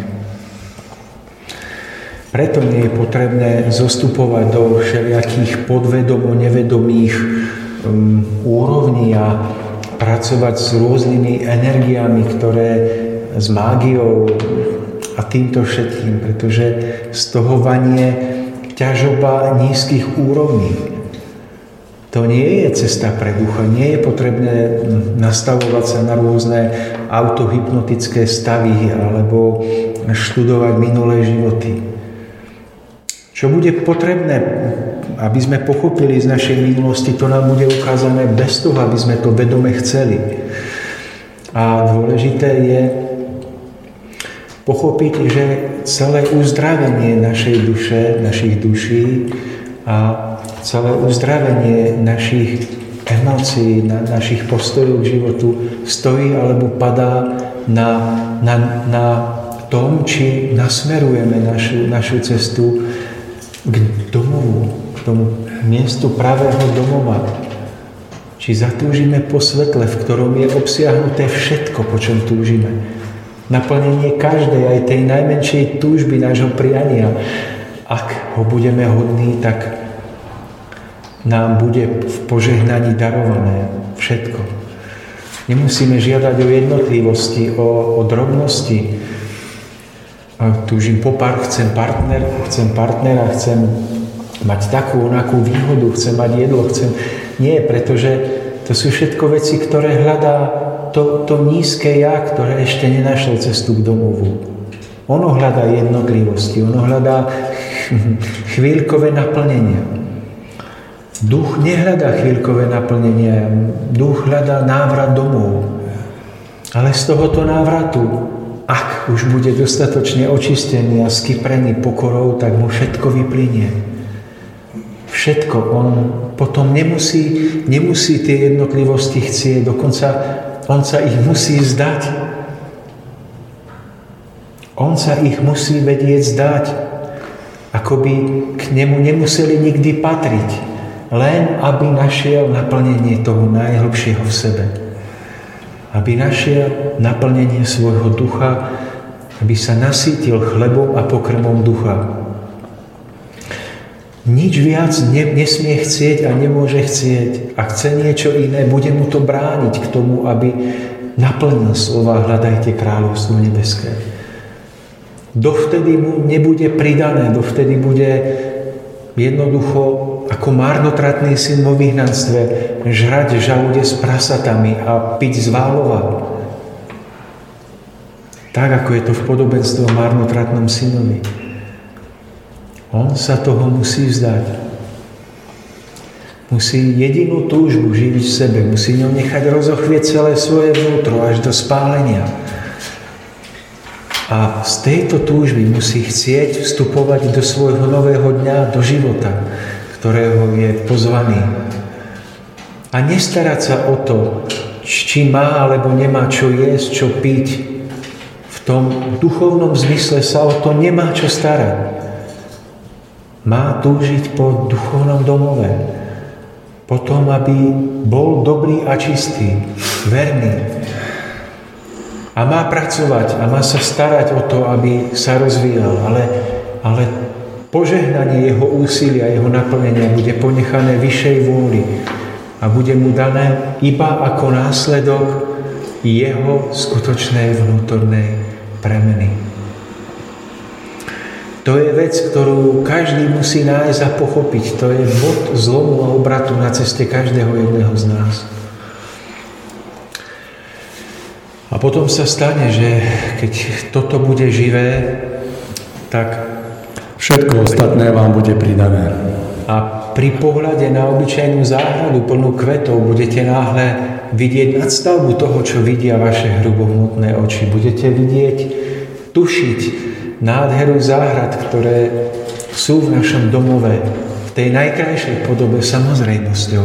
[SPEAKER 4] Preto nie je potrebné zostupovať do všelijakých podvedomo-nevedomých úrovní a pracovať s rôznymi energiami, s mágiou a týmto všetkým, pretože z toho vanie ťažoba nízkych úrovní. To nie je cesta pre ducha, nie je potrebné nastavovať sa na rôzne autohypnotické stavy alebo študovať minulé životy. Čo bude potrebné, aby sme pochopili z našej minulosti, to nám bude ukázané bez toho, aby sme to vedome chceli. A dôležité je pochopiť, že celé uzdravenie našej duše, našich duší a celé uzdravenie našich emócií, našich postojov k životu stojí alebo padá na tom, či nasmerujeme našu cestu k domovu, k tomu miestu pravého domova. Či zatúžime po svetle, v ktorom je obsiahnuté všetko, po čom túžime. Naplnenie každej, aj tej najmenšej túžby nášho priania. Ak ho budeme hodní, tak nám bude v požehnaní darované všetko. Nemusíme žiadať o jednotlivosti, o drobnosti. Túžim po chcem partnera, chcem mať takú, onakú výhodu, chcem mať jedlo, Nie, pretože to sú všetko veci, ktoré hľadá to nízke ja, ktoré ešte nenašlo cestu k domovu. Ono hľadá jednotlivosti, ono hľadá chvíľkové naplnenia. Duch nehľadá chvíľkové naplnenia, duch hľadá návrat domov. Ale z tohoto návratu
[SPEAKER 7] ak už bude dostatočne očistený a skyprený pokorou, tak mu všetko vyplynie. Všetko. On potom nemusí tie jednotlivosti chcieť, dokonca on sa ich musí zdať. On sa ich musí vedieť zdať, ako by k nemu nemuseli nikdy patriť, len aby našiel naplnenie toho najhlbšieho v sebe. Aby našiel naplnenie svojho ducha, aby sa nasýtil chlebom a pokrmom ducha. Nič viac nesmie chcieť a nemôže chcieť. A chce niečo iné, bude mu to brániť k tomu, aby naplnil slova hľadajte kráľovstvo nebeské. Dovtedy mu nebude pridané, dovtedy bude jednoducho ako marnotratný syn vo vyhnanstve žrať žalude s prasatami a piť z válova. Tak, ako je to v podobenstve o marnotratnom synovi. On sa toho musí vzdať. Musí jedinú túžbu živiť v sebe. Musí ňou nechať rozochvieť celé svoje vnútro až do spálenia. A z tejto túžby musí chcieť vstupovať do svojho nového dňa, do života, ktorého je pozvaný. A nestarať sa o to, či má alebo nemá čo jesť, čo piť. V tom duchovnom zmysle sa o to nemá čo starať. Má túžiť po duchovnom domove. Potom, aby bol dobrý a čistý, verný. A má pracovať a má sa starať o to, aby sa rozvíjal. Ale požehnanie jeho úsilia, jeho naplnenia bude ponechané vyššej vôli a bude mu dané iba ako následok jeho skutočnej vnútornej premeny. To je vec, ktorú každý musí nájsť a pochopiť. To je bod zlomu a obratu na ceste každého jedného z nás. A potom sa stane, že keď toto bude živé, tak
[SPEAKER 2] všetko ostatné vám bude pridané.
[SPEAKER 7] A pri pohľade na obyčajnú záhradu plnú kvetov budete náhle vidieť nadstavbu toho, čo vidia vaše hrubohmotné oči. Budete vidieť, tušiť nádheru záhrad, ktoré sú v našom domove, v tej najkrajšej podobe samozrejmosťou.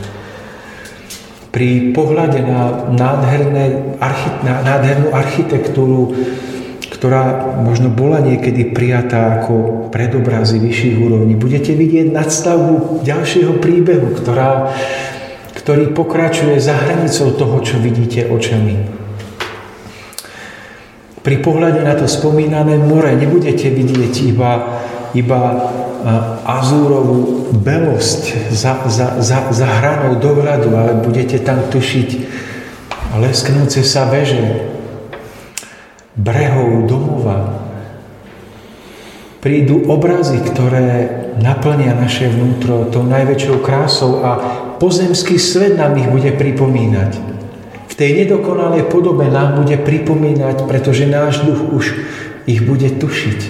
[SPEAKER 7] Pri pohľade na nádhernú architektúru, ktorá možno bola niekedy prijatá ako predobrazy vyšších úrovní, budete vidieť nadstavbu ďalšieho príbehu, ktorý pokračuje za hranicou toho, čo vidíte očami. Pri pohľade na to spomínané more nebudete vidieť iba azúrovú belosť za hranou dohľadu, ale budete tam tušiť lesknúce sa veže brehov domova. Prídu obrazy, ktoré naplnia naše vnútro tou najväčšou krásou a pozemský svet nám ich bude pripomínať. V tej nedokonalej podobe nám bude pripomínať, pretože náš duch už ich bude tušiť.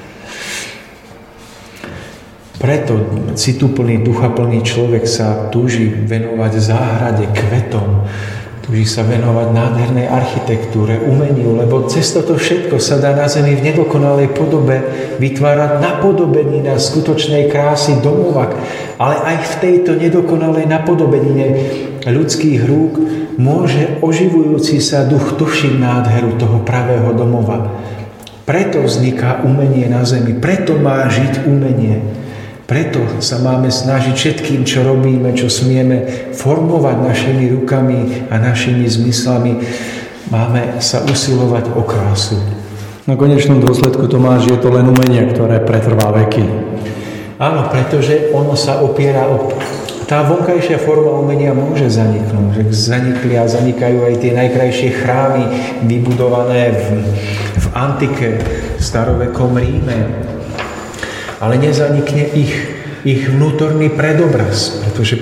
[SPEAKER 7] Preto cituplný, duchaplný človek sa túži venovať záhrade, kvetom, túži sa venovať nádhernej architektúre, umeniu, lebo cez toto všetko sa dá na zemi v nedokonalej podobe vytvárať napodobenina skutočnej krásy domova, ale aj v tejto nedokonalej napodobenine ľudských rúk môže oživujúci sa duch tušiť nádheru toho pravého domova. Preto vzniká umenie na zemi, preto má žiť umenie. Preto sa máme snažiť všetkým, čo robíme, čo smieme formovať našimi rukami a našimi zmyslami. Máme sa usilovať o krásu.
[SPEAKER 2] Na konečnom dôsledku, Tomáš, je to len umenie, ktoré pretrvá veky.
[SPEAKER 7] Áno, pretože ono sa opiera o... Tá vonkajšia forma umenia môže zaniknúť. Zanikli a zanikajú aj tie najkrajšie chrámy vybudované v antike, v starovekom Ríme. Ale nezanikne ich vnútorný predobraz, pretože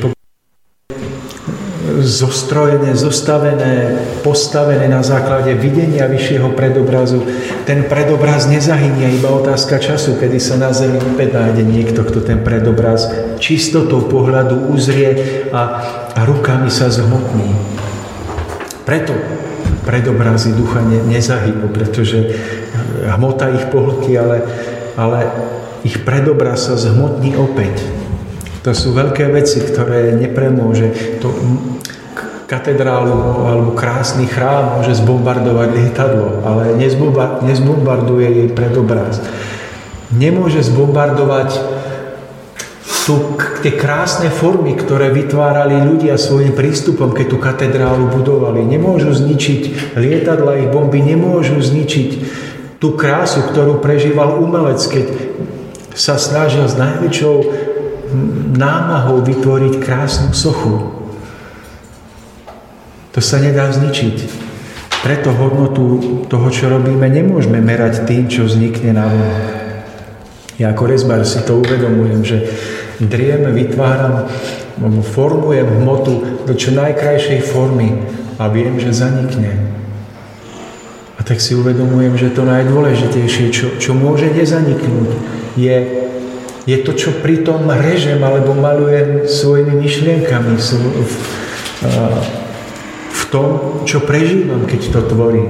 [SPEAKER 7] zostrojené, zostavené, postavené na základe videnia vyššieho predobrazu. Ten predobraz nezahynie, iba otázka času, kedy sa na zemi opäť nájde niekto, kto ten predobraz čistotou pohľadu uzrie a rukami sa zhmotní. Preto predobrazy ducha nezahynú, pretože hmota ich pohltí, ale ich predobraz sa zhmotní opäť. To sú veľké veci, ktoré nepremôže. To katedrálu alebo krásny chrám môže zbombardovať lietadlo, ale nezbombarduje jej predobraz. Nemôže zbombardovať tie krásne formy, ktoré vytvárali ľudia svojím prístupom, keď tú katedrálu budovali. Nemôžu zničiť lietadla, ich bomby nemôžu zničiť tú krásu, ktorú prežíval umelec, keď sa snažil s najväčšou námahou vytvoriť krásnu sochu. To sa nedá zničiť. Preto hodnotu toho, čo robíme, nemôžeme merať tým, čo vznikne na vonok. Ja ako rezbár si to uvedomujem, že driem, vytváram, formujem hmotu do čo najkrajšej formy a viem, že zanikne. A tak si uvedomujem, že to najdôležitejšie, čo môže nezaniknúť, je to, čo pri tom režem alebo malujem svojimi myšlienkami v tom, čo prežívam, keď to tvorím.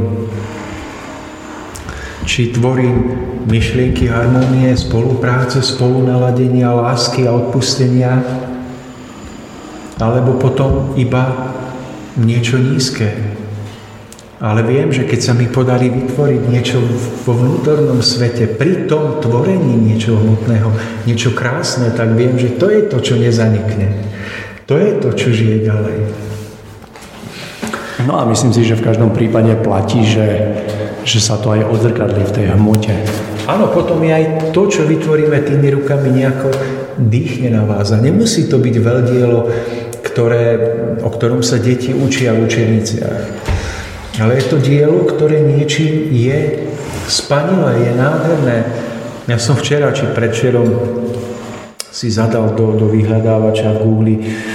[SPEAKER 7] Či tvorím myšlienky harmónie, spolupráce, spolunaladenia, lásky a odpustenia, alebo potom iba niečo nízke. Ale viem, že keď sa mi podarí vytvoriť niečo vo vnútornom svete, pri tom tvorení niečo hmotného, niečo krásne, tak viem, že to je to, čo nezanikne. To je to, čo žije ďalej.
[SPEAKER 2] No a myslím si, že v každom prípade platí, že sa to aj odzrkadlí v tej hmote.
[SPEAKER 7] Áno, potom je aj to, čo vytvoríme tými rukami, nejako dýchne na vás. A nemusí to byť veľdielo, o ktorom sa deti učia v učebniciach. Ale je to dielo, ktoré niečím je spanilé, je nádherné. Ja som včera či predvčerom si zadal do vyhľadávača v Google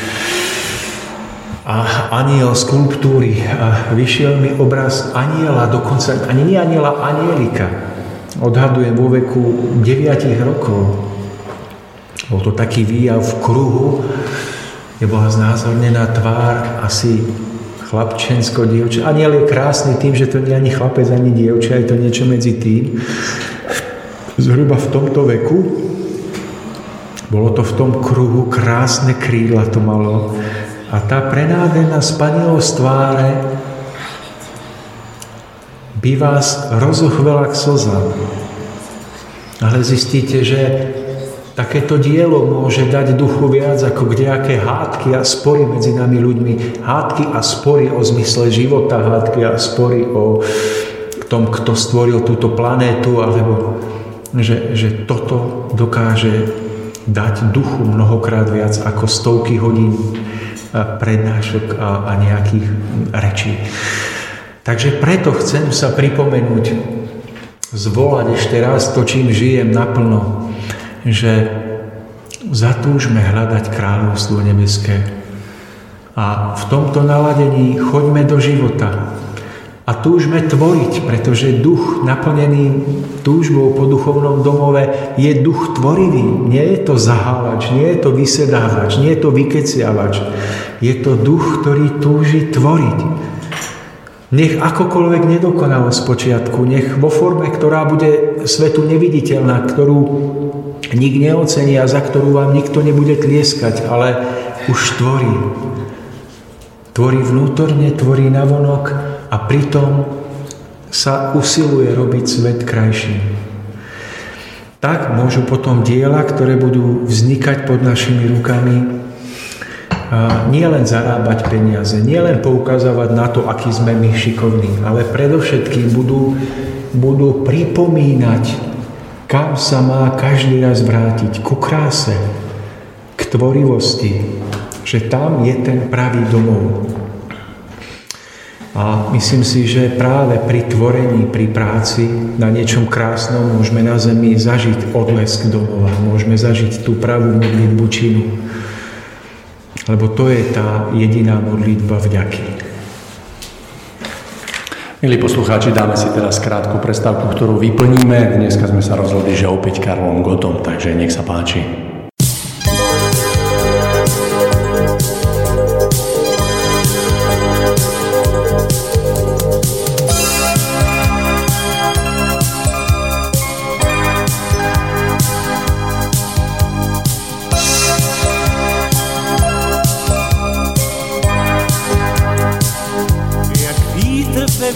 [SPEAKER 7] a aniel skulptúry a vyšiel mi obraz aniela, dokonca ani nie aniela, anielika. Odhadujem vo veku 9 rokov. Bol to taký výjav v kruhu, kde bola znázornená tvár asi chlapčensko-dievča. Aniel je krásny tým, že to nie je ani chlapec, ani dievča, je to niečo medzi tým. Zhruba v tomto veku bolo to v tom kruhu, krásne krídla to malo. A tá prenádherná spanilosť tváre by vás rozochvela k slzám. Ale zistíte, že takéto dielo môže dať duchu viac ako kdejaké hádky a spory medzi nami ľuďmi. Hádky a spory o zmysle života, hádky a spory o tom, kto stvoril túto planétu, alebo že toto dokáže dať duchu mnohokrát viac ako stovky hodín prednášok a nejakých rečí. Takže preto chcem sa pripomenúť, zvolať ešte raz to, čím žijem naplno, že zatúžme hľadať kráľovstvo nebeské. A v tomto naladení choďme do života a túžme tvoriť, pretože duch naplnený túžbou po duchovnom domove je duch tvorivý. Nie je to zahávač, nie je to vysedávač, nie je to vykeciavač. Je to duch, ktorý túži tvoriť. Nech akokoľvek nedokonalo spočiatku, nech vo forme, ktorá bude svetu neviditeľná, ktorú nik neocení a za ktorú vám nikto nebude tlieskať, ale už tvorí. Tvorí vnútorne, tvorí navonok a pritom sa usiluje robiť svet krajším. Tak môžu potom diela, ktoré budú vznikať pod našimi rukami, nie len zarábať peniaze, nie len poukazovať na to, aký sme my šikovní, ale predovšetkým budú pripomínať, kam sa má každý raz vrátiť, ku kráse, k tvorivosti, že tam je ten pravý domov. A myslím si, že práve pri tvorení, pri práci na niečom krásnom môžeme na zemi zažiť odlesk domova, môžeme zažiť tú pravú modlitbu činu. Lebo to je tá jediná modlitba vďaky.
[SPEAKER 2] Milí poslucháči, dáme si teraz krátku prestávku, ktorú vyplníme. Dneska sme sa rozhodli, že opäť Karlom Gottom, takže nech sa páči.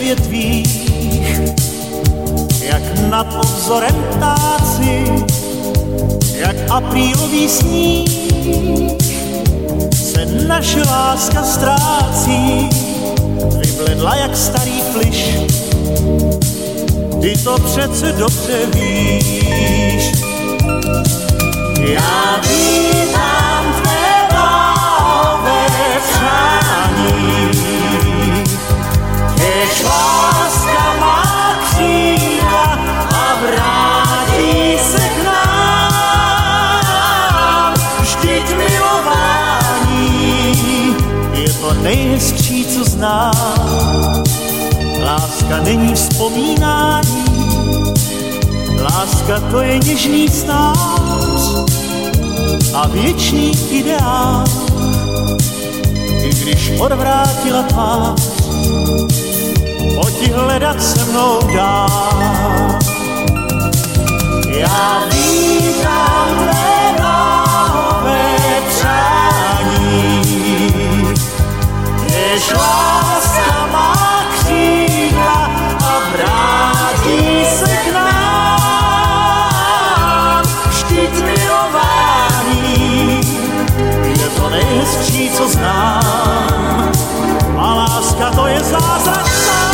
[SPEAKER 5] větvích, jak nad obzorem ptáci, jak aprílový sníh, se naše láska ztrácí, vybledla jak starý plyš. Ty to přece dobře víš. Já vítám tvé bláhové přání, kež láska má křídla a vrátí se k nám. Vždyť milování je to nejhezčí, co znám. Láska není vzpomínání, láska to je něžný snář a věčný ideál. I když odvrátila tvář, pojď hledat se mnou dál. Já vítám tvé bláhové přání, jež láska má křídla a vrátí se k nám. Vždyť milování je to nejhezčí, co znám, a láska to je zázrak sám.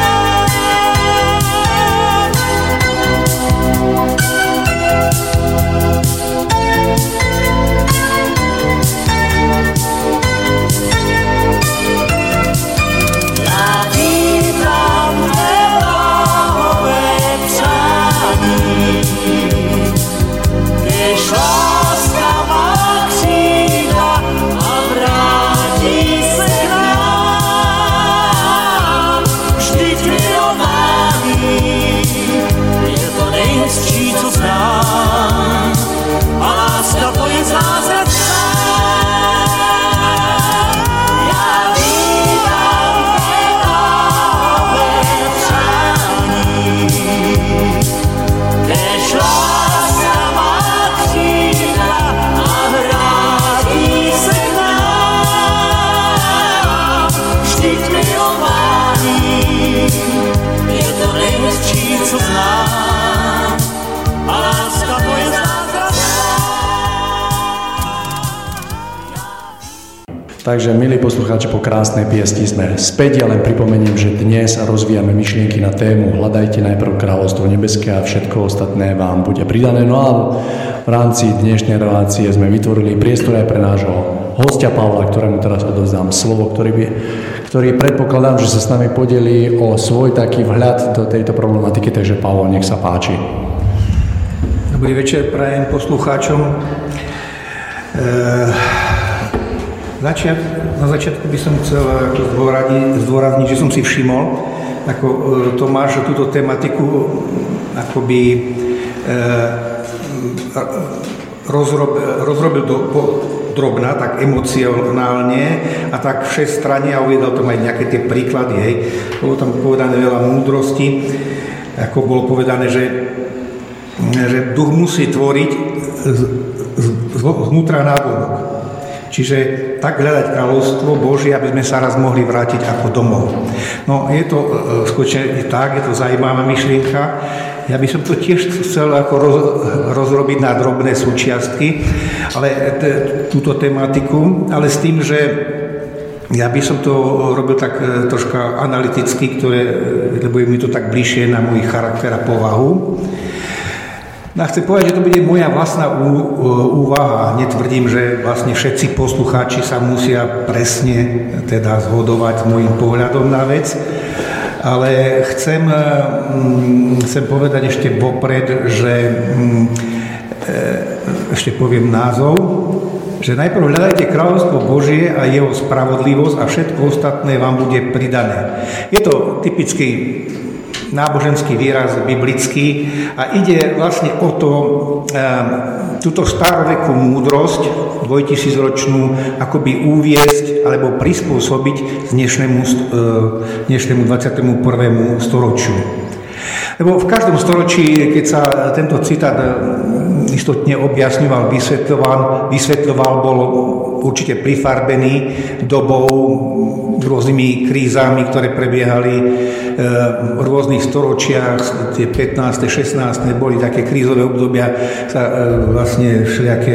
[SPEAKER 2] Takže, milí poslucháči, po krásnej piesni sme späť. Ja len pripomeniem, že dnes rozvíjame myšlienky na tému Hľadajte najprv kráľovstvo nebeské a všetko ostatné vám bude pridané. No a v rámci dnešnej relácie sme vytvorili priestor aj pre nášho hostia Pavla, ktorému teraz odovzdám slovo, ktorý predpokladám, že sa s nami podelí o svoj taký vhľad do tejto problematiky. Takže Pavol, nech sa páči.
[SPEAKER 6] Dobrý večer prajem poslucháčom. Na začiatku by som chcel zdôrazniť, že som si všimol, ako Tomáš túto tematiku akoby rozrobil drobná, tak emocionálne a tak všestranne a uviedol tam aj nejaké tie príklady. Hej. Bolo tam povedané veľa múdrosti, ako bolo povedané, že duch musí tvoriť zvnútra návonok. Čiže tak hľadať kráľovstvo Božie, aby sme sa raz mohli vrátiť ako domov. No je to skutočne tak, je to zaujímavá myšlienka. Ja by som to tiež chcel ako rozrobiť na drobné súčiastky, ale túto tematiku, ale s tým, že ja by som to robil tak troška analyticky, lebo je mi to tak bližšie na môj charakter a povahu. No chcem povedať, že to bude moja vlastná úvaha. Netvrdím, že vlastne všetci poslucháči sa musia presne teda zhodovať s môjim pohľadom na vec, ale chcem povedať ešte vopred, že ešte poviem názov, že najprv hľadajte kráľovstvo Božie a jeho spravodlivosť a všetko ostatné vám bude pridané. Je to typický náboženský výraz biblický a ide vlastne o to, túto starovekú múdrosť, 2000-ročnú, akoby uviesť alebo prispôsobiť dnešnému 21. storočiu. Lebo v každom storočí, keď sa tento citát istotne objasňoval, vysvetľoval, bol určite prifarbený dobou, rôznymi krízami, ktoré prebiehali v rôznych storočiach, tie 15., 16. boli také krízové obdobia, vlastne všelijaké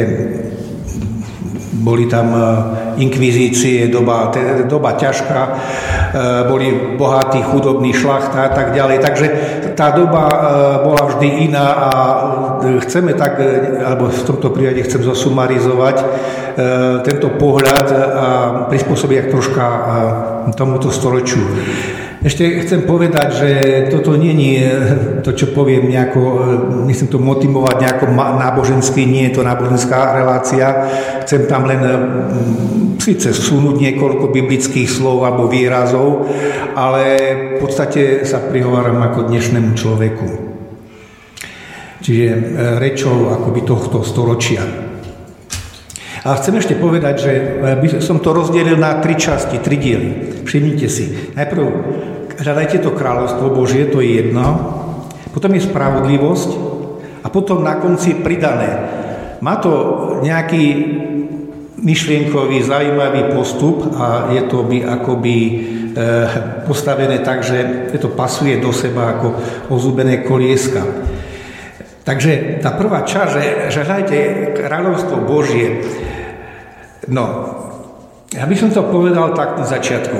[SPEAKER 6] boli tam inkvizície, doba ťažká, boli bohatí, chudobní, šlachta a tak ďalej. Takže tá doba bola vždy iná a chceme tak, alebo v tomto prípade chcem zosumarizovať tento pohľad a prispôsobiť troška tomuto storočiu. Ešte chcem povedať, že toto nie je to, čo poviem nejako, nechcem to motivovať nejako nábožensky, nie je to náboženská relácia. Chcem tam len síce vsunúť niekoľko biblických slov alebo výrazov, ale v podstate sa prihováram ako dnešnému človeku. Čiže rečou akoby tohto storočia. A chcem ešte povedať, že by som to rozdelil na 3 časti, 3 diely. Všimnite si. Najprv hľadajte to kráľovstvo Božie, to je jedno. Potom je spravodlivosť a potom na konci pridané. Má to nejaký myšlienkový, zaujímavý postup a je to by akoby postavené tak, že to pasuje do seba ako ozúbené kolieska. Takže tá prvá časť, že hľadajte kráľovstvo Božie. No, ja by som to povedal tak na začiatku.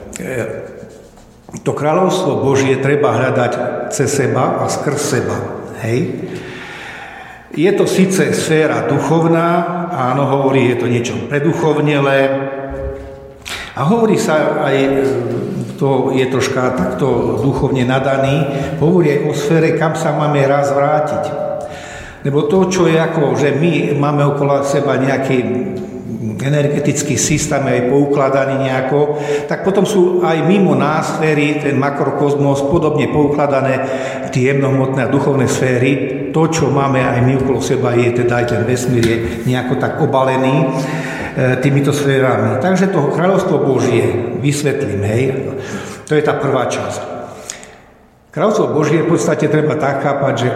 [SPEAKER 6] To kráľovstvo Božie treba hľadať cez seba a skrz seba. Hej? Je to síce sféra duchovná, áno, hovorí, je to niečo preduchovnelé a hovorí sa aj, to je troška takto duchovne nadaný, hovorí aj o sfére, kam sa máme raz vrátiť. Lebo to, čo je ako, že my máme okolo seba nejaký energetický systém aj poukladaný nejako, tak potom sú aj mimo nás sféry, ten makrokozmos, podobne poukladané tie jemnohmotné a duchovné sféry. To, čo máme aj my okolo seba, je teda aj ten vesmír je nejako tak obalený týmito sférami. Takže to kráľovstvo Božie vysvetlím, hej. To je tá prvá časť. Kráľovstvo Božie v podstate treba tak chápať, že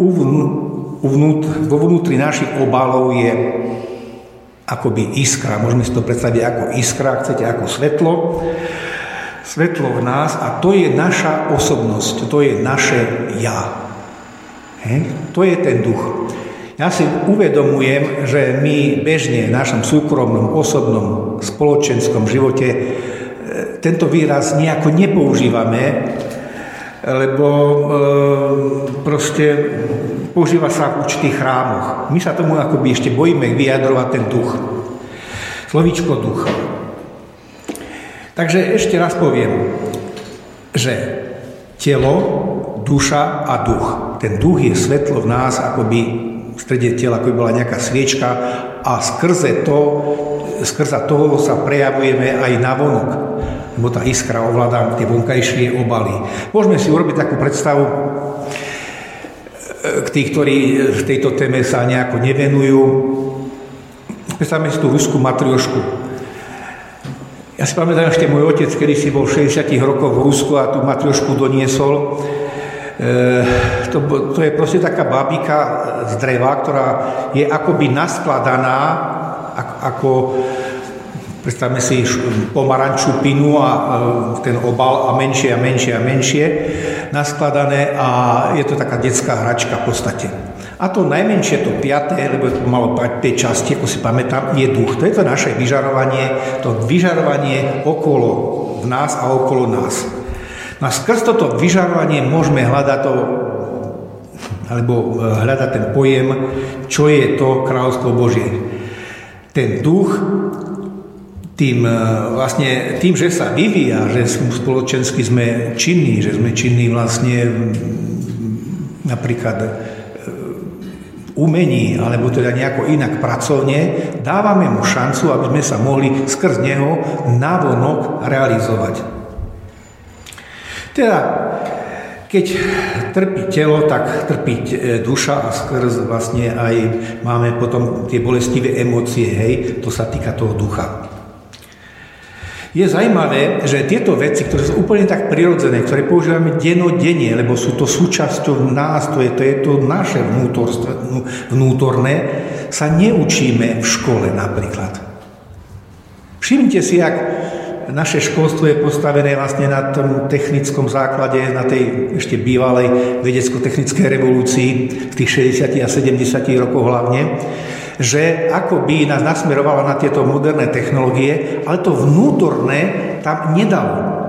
[SPEAKER 6] vo vnútri našich obalov je akoby iskra, môžeme si to predstaviť ako iskra, chcete ako svetlo v nás a to je naša osobnosť, to je naše ja. To je ten duch. Ja si uvedomujem, že my bežne v našom súkromnom, osobnom, spoločenskom živote tento výraz nejako nepoužívame, lebo proste používa sa v určitých chrámoch. My sa tomu akoby ešte bojíme vyjadrovať ten duch. Slovíčko duch. Takže ešte raz poviem, že telo, duša a duch. Ten duch je svetlo v nás, akoby v strede tela, ako by bola nejaká sviečka a skrze toho sa prejavujeme aj navonok. Lebo tá iskra ovláda tie vonkajšie obaly. Môžeme si urobiť takú predstavu, k tých, ktorí v tejto téme sa nejako nevenujú. Predstavme si tú ruskú matriošku. Ja si pamätám, ešte môj otec, kedy si bol v 60 rokoch v Rusku a tú matriošku doniesol. To je proste taká babika z dreva, ktorá je akoby naskladaná ako predstavme si pomarančú pinu a ten obal a menšie a menšie a menšie naskladané a je to taká detská hračka v podstate. A to najmenšie, to 5., lebo to malo 5 časti, ako si pamätám, je duch. To je to naše vyžarovanie okolo v nás a okolo nás. No a skrz toto vyžarovanie môžeme hľadať hľadať ten pojem, čo je to kráľovstvo Božie. Ten duch tým, že sa vyvíja, že spoločensky sme činní, že sme činní vlastne napríklad umení, alebo teda nejako inak pracovne, dávame mu šancu, aby sme sa mohli skrz neho navonok realizovať. Teda, keď trpí telo, tak trpí duša a skrz vlastne aj máme potom tie bolestivé emócie, hej, to sa týka toho ducha. Je zaujímavé, že tieto veci, ktoré sú úplne tak prirodzené, ktoré používame dennodenne, lebo sú to súčasťou nás, to je to naše vnútorné, sa neučíme v škole napríklad. Všimnite si, ak naše školstvo je postavené vlastne na tom technickom základe, na tej ešte bývalej vedecko-technickej revolúcii v tých 60. a 70. rokoch hlavne, že akoby nás nasmerovala na tieto moderné technológie, ale to vnútorné tam nedalo.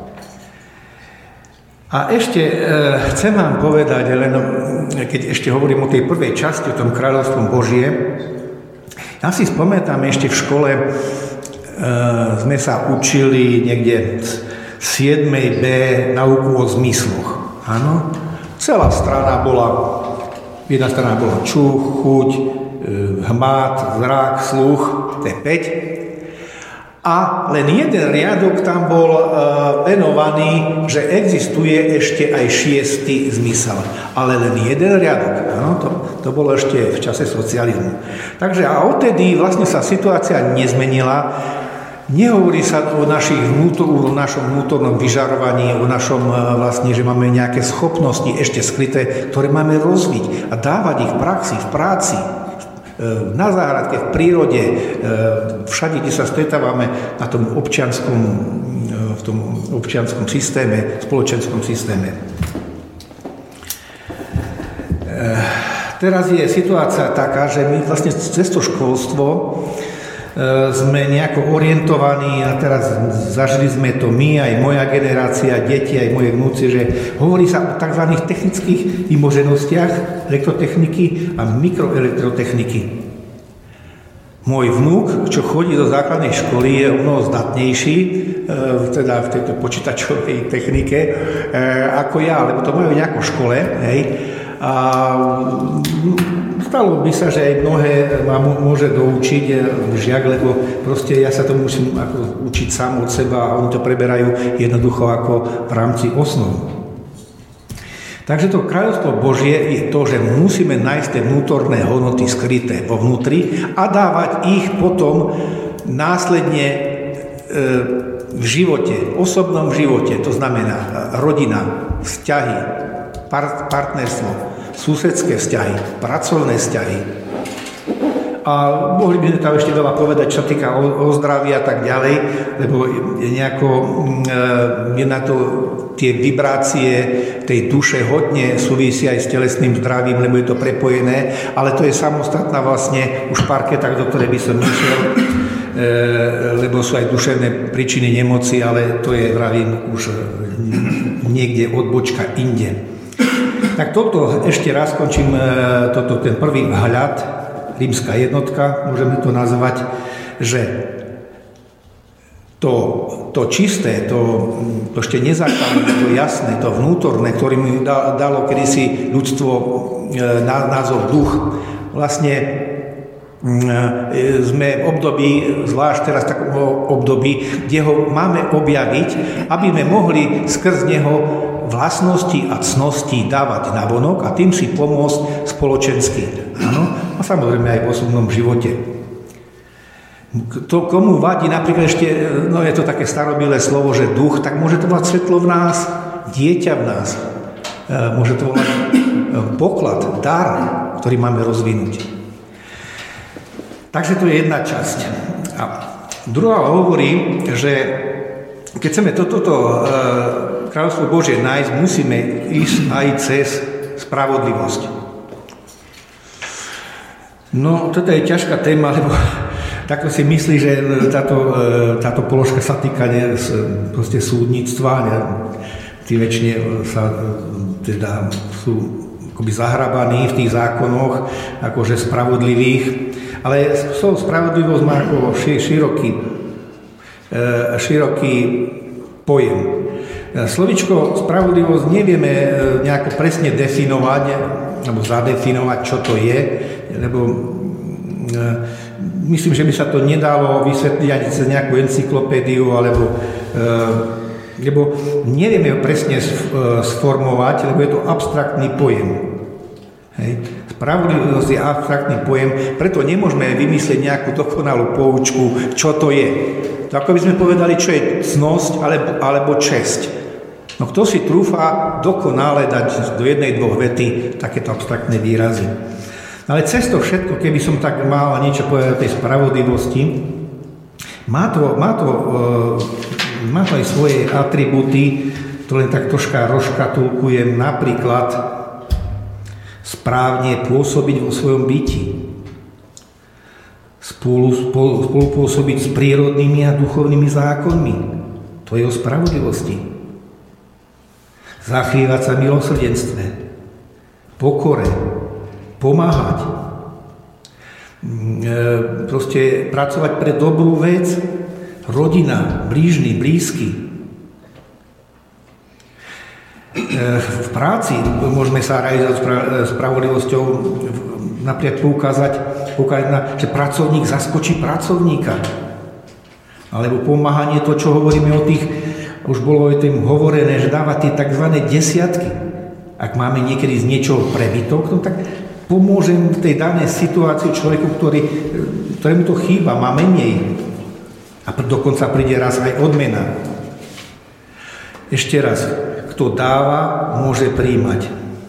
[SPEAKER 6] A ešte chcem vám povedať, len keď ešte hovorím o tej prvej časti, o tom kráľovstvom Božie, ja si spomínam ešte v škole, sme sa učili niekde v 7. B nauku o zmysloch. Áno? Celá strana bola, jedna strana bola čuch, chuť, hmat, zrak, sluch, to je 5. A len jeden riadok tam bol venovaný, že existuje ešte aj 6. zmysel. Ale len jeden riadok. Áno, to bolo ešte v čase socializmu. Takže a odtedy vlastne sa situácia nezmenila. Nehovorí sa o našom vnútornom vyžarovaní, o našom vlastne, že máme nejaké schopnosti ešte skryté, ktoré máme rozviť a dávať ich v praxi, v práci, na záhradke, v prírode, všade, kde sa stretávame na tom občianskom systéme, spoločenskom systéme. Teraz je situácia taká, že my vlastne cez to školstvo sme nejako orientovaní a teraz zažili sme to my, aj moja generácia, deti, aj moje vnúci, že hovorí sa o tzv. Technických vymoženostiach elektrotechniky a mikroelektrotechniky. Môj vnúk, čo chodí do základnej školy, je o mnoho zdatnejší, teda v tejto počítačovej technike, ako ja, lebo to majú nejako v škole, hej. A stalo by sa, že aj mnohé ma môže doučiť žiak, lebo proste ja sa to musím ako učiť sám od seba a oni to preberajú jednoducho ako v rámci osnov. Takže to kráľovstvo Božie je to, že musíme nájsť tie vnútorné hodnoty skryté vo vnútri a dávať ich potom následne v živote, osobnom živote, to znamená rodina, vzťahy, partnerstvo, susedské vzťahy, pracovné vzťahy. A mohli by sme tam ešte veľa povedať, čo týka o zdraví a tak ďalej, lebo je na to tie vibrácie tej duše hodne súvisia aj s telesným zdravím, lebo je to prepojené, ale to je samostatná vlastne už parketa, do ktorej by som nešiel, lebo sú aj duševné príčiny nemoci, ale to je, vravím, už niekde odbočka inde. Tak toto ešte raz končím ten prvý vhľad, rímska jednotka, môžeme to nazvať, že to čisté, to ešte nezákonné, to jasné, to vnútorné, ktorým dalo kedysi ľudstvo názov duch, vlastne sme v období, zvlášť teraz v takom období, kde ho máme objaviť, aby sme mohli skrz neho vlastnosti a cnosti dávať navonok a tým si pomôcť spoločensky. Áno? A samozrejme aj v osobnom živote. To, komu vadí, napríklad ešte, je to také starobilé slovo, že duch, tak môže to mať svetlo v nás, dieťa v nás. Môže to mať poklad, dar, ktorý máme rozvinúť. Takže to je jedna časť. A druhá hovorí, že keď chceme toto kráľovstvo Božie nájsť, musíme ísť aj cez spravodlivosť. No, toto je ťažká téma, lebo takto si myslí, že táto položka sa týka proste súdnictva. Tí väčšine sa teda sú akoby zahrabaní v tých zákonoch, akože spravodlivých. Ale spravodlivosť má ako široký pojem. Slovičko spravodlivosť nevieme nejako presne definovať, alebo zadefinovať, čo to je, lebo myslím, že by sa to nedalo vysvetliť ani cez nejakú encyklopédiu, lebo nevieme ho presne sformovať, lebo je to abstraktný pojem. Hej. Spravodlivosť je abstraktný pojem, preto nemôžeme vymyslieť nejakú dokonalú poučku, čo to je. To ako by sme povedali, čo je cnosť alebo česť. No kto si trúfa dokonale dať do jednej, dvoch vety takéto abstraktné výrazy. Ale cez to všetko, keby som tak mal niečo povedať o tej spravodlivosti, má to aj svoje atribúty, to len tak troška rozškatulkujem, napríklad správne pôsobiť vo svojom byti, spolupôsobiť s prírodnými a duchovnými zákonmi, to je o spravodlivosti. Zachvievať sa milosrdenstve, pokore, pomáhať, proste pracovať pre dobrú vec, rodina, blížny, blízky. V práci môžeme sa realizovať spravodlivosťou, napríklad poukázať na, že pracovník zaskočí pracovníka. Alebo pomáhanie, to, čo hovoríme o tých, už bolo o tým hovorené, že dáva tie tzv. Desiatky. Ak máme niekedy z niečoho prebytok, no tak pomôžem v tej danej situácii človeku, ktorému to chýba, má menej. A dokonca príde raz aj odmena. Ešte raz, kto dáva, môže prijímať.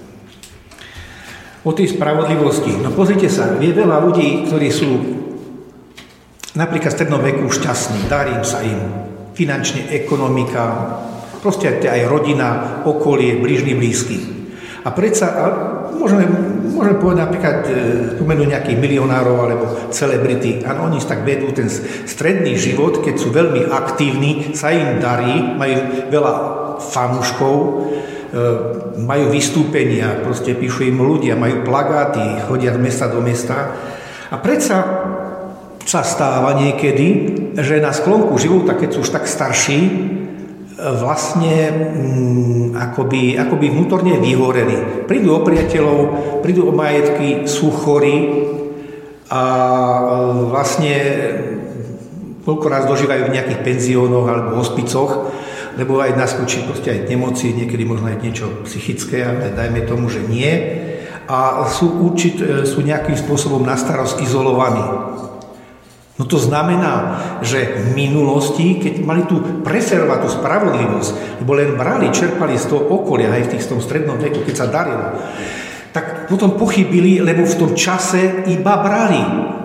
[SPEAKER 6] O tej spravodlivosti. No pozrite sa, je veľa ľudí, ktorí sú napríklad v strednom veku šťastní, darí sa im. Finančne, ekonomika, proste aj rodina, okolie, blížny, blízky. A predsa, môžeme povedať napríklad, spomenúť nejakých milionárov alebo celebrity, a oni tak vedú ten stredný život, keď sú veľmi aktívni, sa im darí, majú veľa fanúškov, majú vystúpenia, proste píšu im ľudia, majú plagáty, chodia z mesta do mesta. A predsa sa stáva niekedy, že na sklonku života, keď sú už tak starší, vlastne akoby vnútorne vyhoreli. Prídu o priateľov, prídu o majetky, sú chorí a vlastne koľko raz dožívajú v nejakých penziónoch alebo hospicoch, lebo aj naskočí proste aj nemoci, niekedy možno aj niečo psychické, ale dajme tomu, že nie. A sú nejakým spôsobom na starosť izolovaní. No to znamená, že v minulosti, keď mali tu preferovať tú spravodlivosť, lebo len brali, čerpali z toho okolia, aj v tom strednom veku, keď sa darilo, tak potom pochybili, lebo v tom čase iba brali.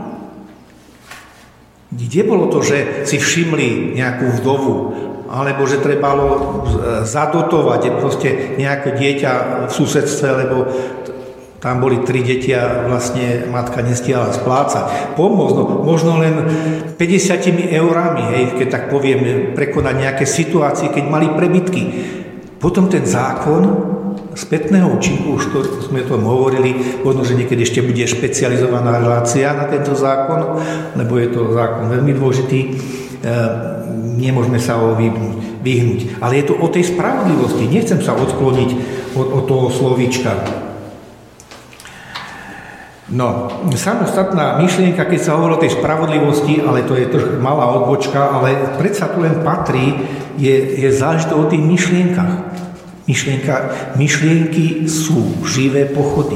[SPEAKER 6] Kde bolo to, že si všimli nejakú vdovu, alebo že trebalo zadotovať proste nejaké dieťa v susedstve, lebo tam boli 3 deti a vlastne matka nestihala splácať. Pomôcť, možno len 50 eurami, hej, keď tak poviem, prekonať nejaké situácie, keď mali prebytky. Potom ten zákon spätného účinku, už to sme o tom hovorili, možno, že niekedy ešte bude špecializovaná relácia na tento zákon, lebo je to zákon veľmi dôležitý, nemôžeme sa ho vyhnúť. Ale je to o tej spravodlivosti, nechcem sa odkloniť od toho slovíčka. No, samostatná myšlienka, keď sa hovorí o tej spravodlivosti, ale to je trošku malá odbočka, ale predsa tu len patrí, je záležité o tých myšlienkach. Myšlienky sú živé pochody.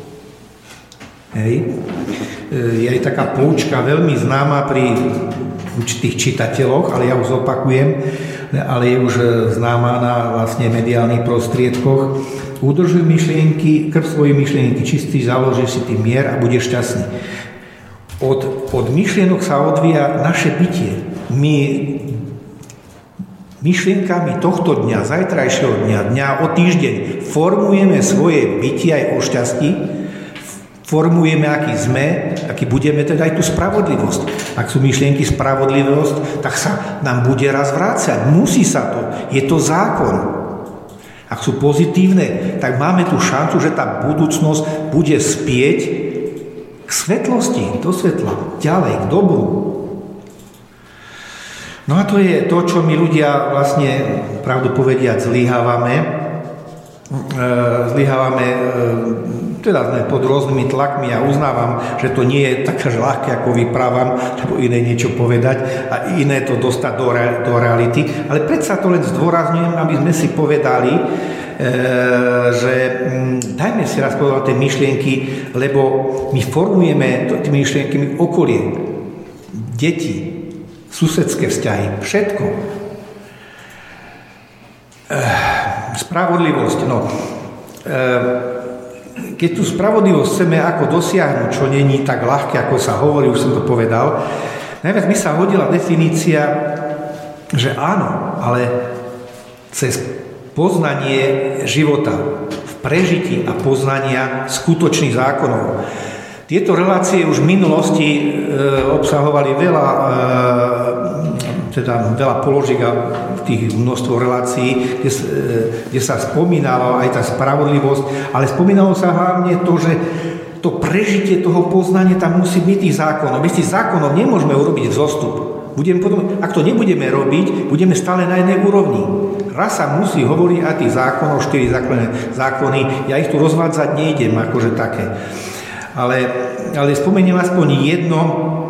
[SPEAKER 6] Hej. Je aj taká poučka veľmi známa pri určitých čitateľoch, ale ja už zopakujem, ale je už známa na vlastne mediálnych prostriedkoch. Udržuj myšlienky, krv svojej myšlienky čistý, založíš si tým mier a budeš šťastný. Od myšlienok sa odvíja naše bytie. My myšlienkami tohto dňa, zajtrajšieho dňa o týždeň formujeme svoje bytie aj o šťastí, formujeme, aký sme, aký budeme, teda aj tú spravodlivosť. Ak sú myšlienky spravodlivosť, tak sa nám bude raz vrácať. Musí sa to. Je to zákon. Ak sú pozitívne, tak máme tu šancu, že tá budúcnosť bude spieť k svetlosti, do svetla, ďalej, k dobru. No a to je to, čo my ľudia vlastne, pravdu povediac, zlyhávame, teda sme pod rôznymi tlakmi a uznávam, že to nie je také ľahké, ako vyprávam, lebo iné niečo povedať a iné to dostať do reality. Ale predsa to len zdôrazňujem, aby sme si povedali, že dajme si raz povedať tie myšlienky, lebo my formujeme tými myšlienkami okolie, deti, susedské vzťahy, všetko. Spravodlivosť, no. Keď tú spravodlivosť chceme ako dosiahnuť, čo není tak ľahké, ako sa hovorí, už som to povedal, najviac mi sa hodila definícia, že áno, ale cez poznanie života, v prežití a poznania skutočných zákonov. Tieto relácie už v minulosti obsahovali veľa položiek a tých množstvo relácií, kde sa spomínala aj tá spravodlivosť, ale spomínalo sa hlavne to, že to prežitie toho poznania tam musí byť tých zákonov. Bez tých zákonov nemôžeme urobiť vzostup. Ak to nebudeme robiť, budeme stále na jednej úrovni. Raz sa musí hovoriť aj tých zákonov, 4 zákony, ja ich tu rozvádzať nejdem, akože také. Ale spomeniem aspoň jedno,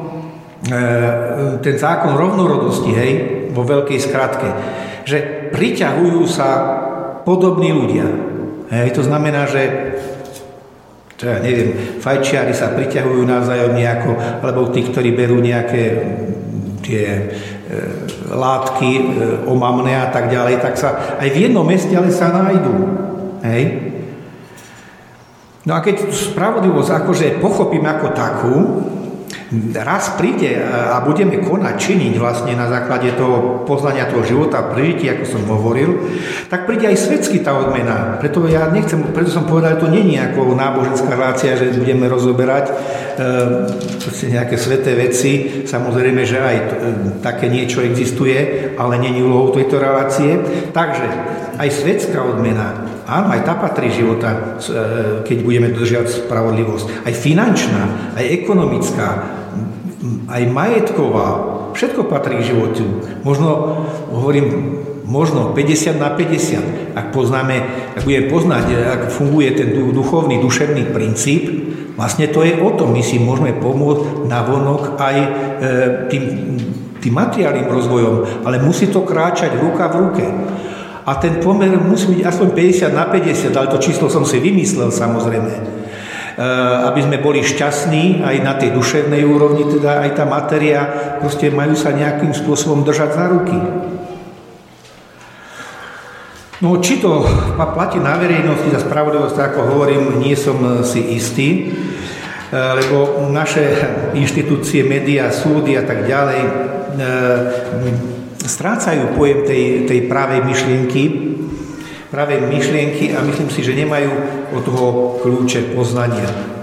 [SPEAKER 6] ten zákon rovnorodosti, hej, vo veľkej skratke, že priťahujú sa podobní ľudia. Hej, to znamená, že ja neviem, fajčiari sa priťahujú navzájom nejako, alebo tí, ktorí berú nejaké tie látky omamné a tak ďalej, tak sa aj v jednom meste ale sa nájdú. Hej. No a keď spravodlivosť akože pochopím ako takú, raz príde a budeme konať, činiť vlastne na základe toho poznania toho života, prežitia, ako som hovoril, tak príde aj svetsky tá odmena. Preto som povedal, že to nie je ako náboženská relácia, že budeme rozoberať nejaké sveté veci. Samozrejme, že aj také niečo existuje, ale nie je úlohou tejto relácie. Takže aj svetská odmena, áno, aj tá patrí života, keď budeme dodržiavať spravodlivosť. Aj finančná, aj ekonomická, aj majetková, všetko patrí k životu. Možno 50 na 50. Ak budeme poznať, ak funguje ten duchovný, duševný princíp, vlastne to je o tom, my si môžeme pomôcť navonok aj tým materiálnym rozvojom, ale musí to kráčať ruka v ruke. A ten pomer musí byť aspoň 50 na 50, ale to číslo som si vymyslel samozrejme. Aby sme boli šťastní aj na tej duševnej úrovni, teda aj tá matéria, proste majú sa nejakým spôsobom držať za ruky. No, či to platí na verejnosti za spravodlivosť, ako hovorím, nie som si istý, lebo naše inštitúcie, médiá, súdy a tak ďalej strácajú pojem tej pravej myšlienky a myslím si, že nemajú od toho kľúče poznania.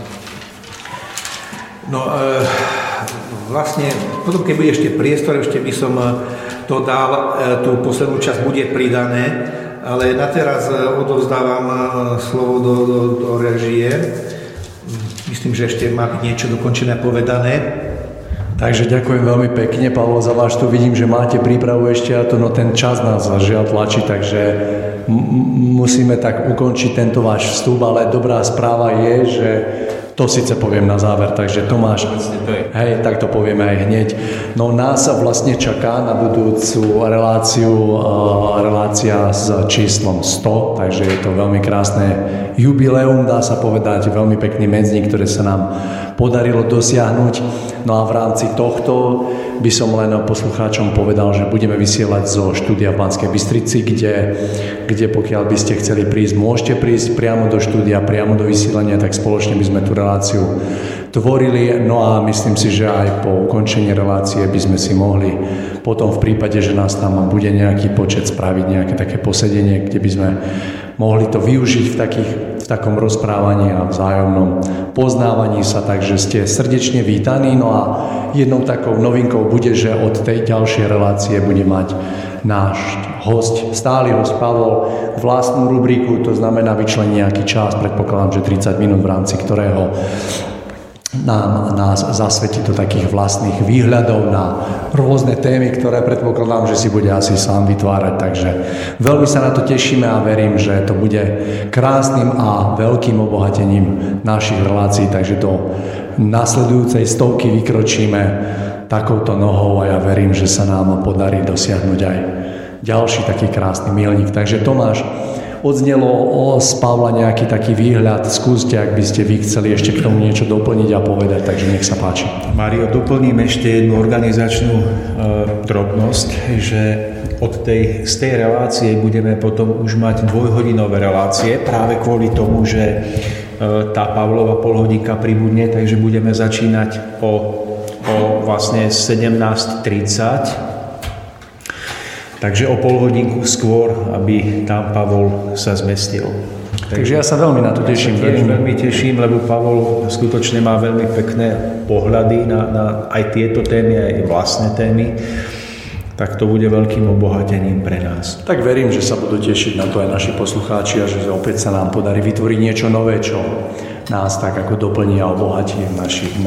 [SPEAKER 6] No vlastne, potom keď bude ešte priestor, ešte by som to dal, tú poslednú časť bude pridané, ale na teraz odovzdávam slovo do režie. Myslím, že ešte má byť niečo dokončené povedané.
[SPEAKER 3] Takže ďakujem veľmi pekne, Pavol, za váš tu. Vidím, že máte prípravu ešte a to, no ten čas nás žiaľ tlačí, takže musíme tak ukončiť tento váš vstup, ale dobrá správa je, že to síce poviem na záver, takže Tomáš, hej, tak to povieme aj hneď. No nás vlastne čaká na budúcu relácia s číslom 100, takže je to veľmi krásne jubileum, dá sa povedať, veľmi pekný medzník, ktoré sa nám podarilo dosiahnuť. No a v rámci tohto by som len poslucháčom povedal, že budeme vysielať zo štúdia v Banskej Bystrici, kde pokiaľ by ste chceli prísť, môžete prísť priamo do štúdia, priamo do vysielania, tak spoločne by sme tú reláciu tvorili. No a myslím si, že aj po ukončení relácie by sme si mohli potom v prípade, že nás tam bude nejaký počet, spraviť nejaké také posedenie, kde by sme mohli to využiť v takom rozprávaní a vzájomnom poznávaní sa, takže ste srdečne vítaní. No a jednou takou novinkou bude, že od tej ďalšej relácie bude mať náš host, stály host Pavol, vlastnú rubriku, to znamená vyčlení nejaký čas, predpokladám, že 30 minút, v rámci ktorého nás zasvetí do takých vlastných výhľadov na rôzne témy, ktoré predpokladám, že si bude asi sám vytvárať. Takže veľmi sa na to tešíme a verím, že to bude krásnym a veľkým obohatením našich relácií. Takže do nasledujúcej 100 vykročíme takouto nohou a ja verím, že sa nám podarí dosiahnuť aj ďalší taký krásny milník. Takže Tomáš,
[SPEAKER 2] odznelo z Pavla nejaký taký výhľad. Skúste, ak by ste vy chceli ešte k tomu niečo doplniť a povedať, takže nech sa páči.
[SPEAKER 7] Mário, doplním ešte jednu organizačnú drobnosť, že z tej relácie budeme potom už mať dvojhodinové relácie, práve kvôli tomu, že tá Pavlova polhodinka pribudne, takže budeme začínať o vlastne 17:30. Takže o pol hodinku skôr, aby tam Pavol sa zmestil.
[SPEAKER 2] Takže ja sa veľmi na to teším.
[SPEAKER 7] Veľmi teším, lebo Pavol skutočne má veľmi pekné pohľady na aj tieto témy, aj vlastné témy. Tak to bude veľkým obohatením pre nás.
[SPEAKER 2] Tak verím, že sa budú tešiť na to aj naši poslucháči a že opäť sa nám podarí vytvoriť niečo nové, čo nás tak ako doplní a obohatí v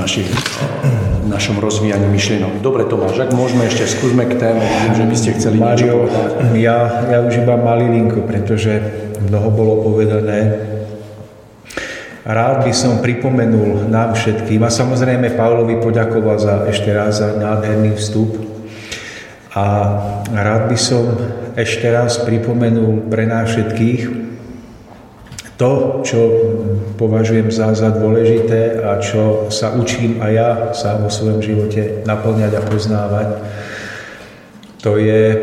[SPEAKER 2] našom rozvíjaní myšlienok. Dobre, Tomáš, ak môžeme ešte skúsme k téme, že by ste chceli niečo povedať.
[SPEAKER 7] Ja už iba malilinko, pretože mnoho bolo povedané. Rád by som pripomenul nám všetkým a samozrejme Pavlovi poďakoval ešte raz za nádherný vstup. A rád by som ešte raz pripomenul pre nás všetkých to, čo považujem za dôležité a čo sa učím aj ja sám vo svojom živote naplňať a poznávať. To je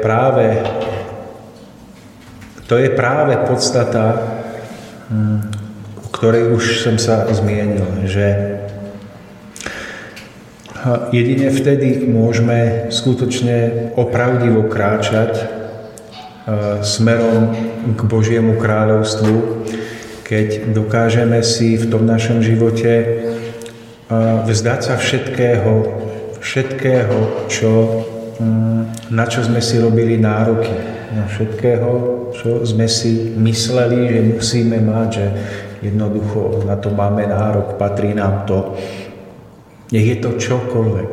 [SPEAKER 7] práve podstata, o ktorej už som sa zmienil, že jedine vtedy môžeme skutočne opravdivo kráčať smerom k Božiemu kráľovstvu, keď dokážeme si v tom našom živote vzdať sa všetkého, na čo sme si robili nároky, na všetkého, čo sme si mysleli, že musíme mať, že jednoducho na to máme nárok, patrí nám to. Nech je to čokoľvek.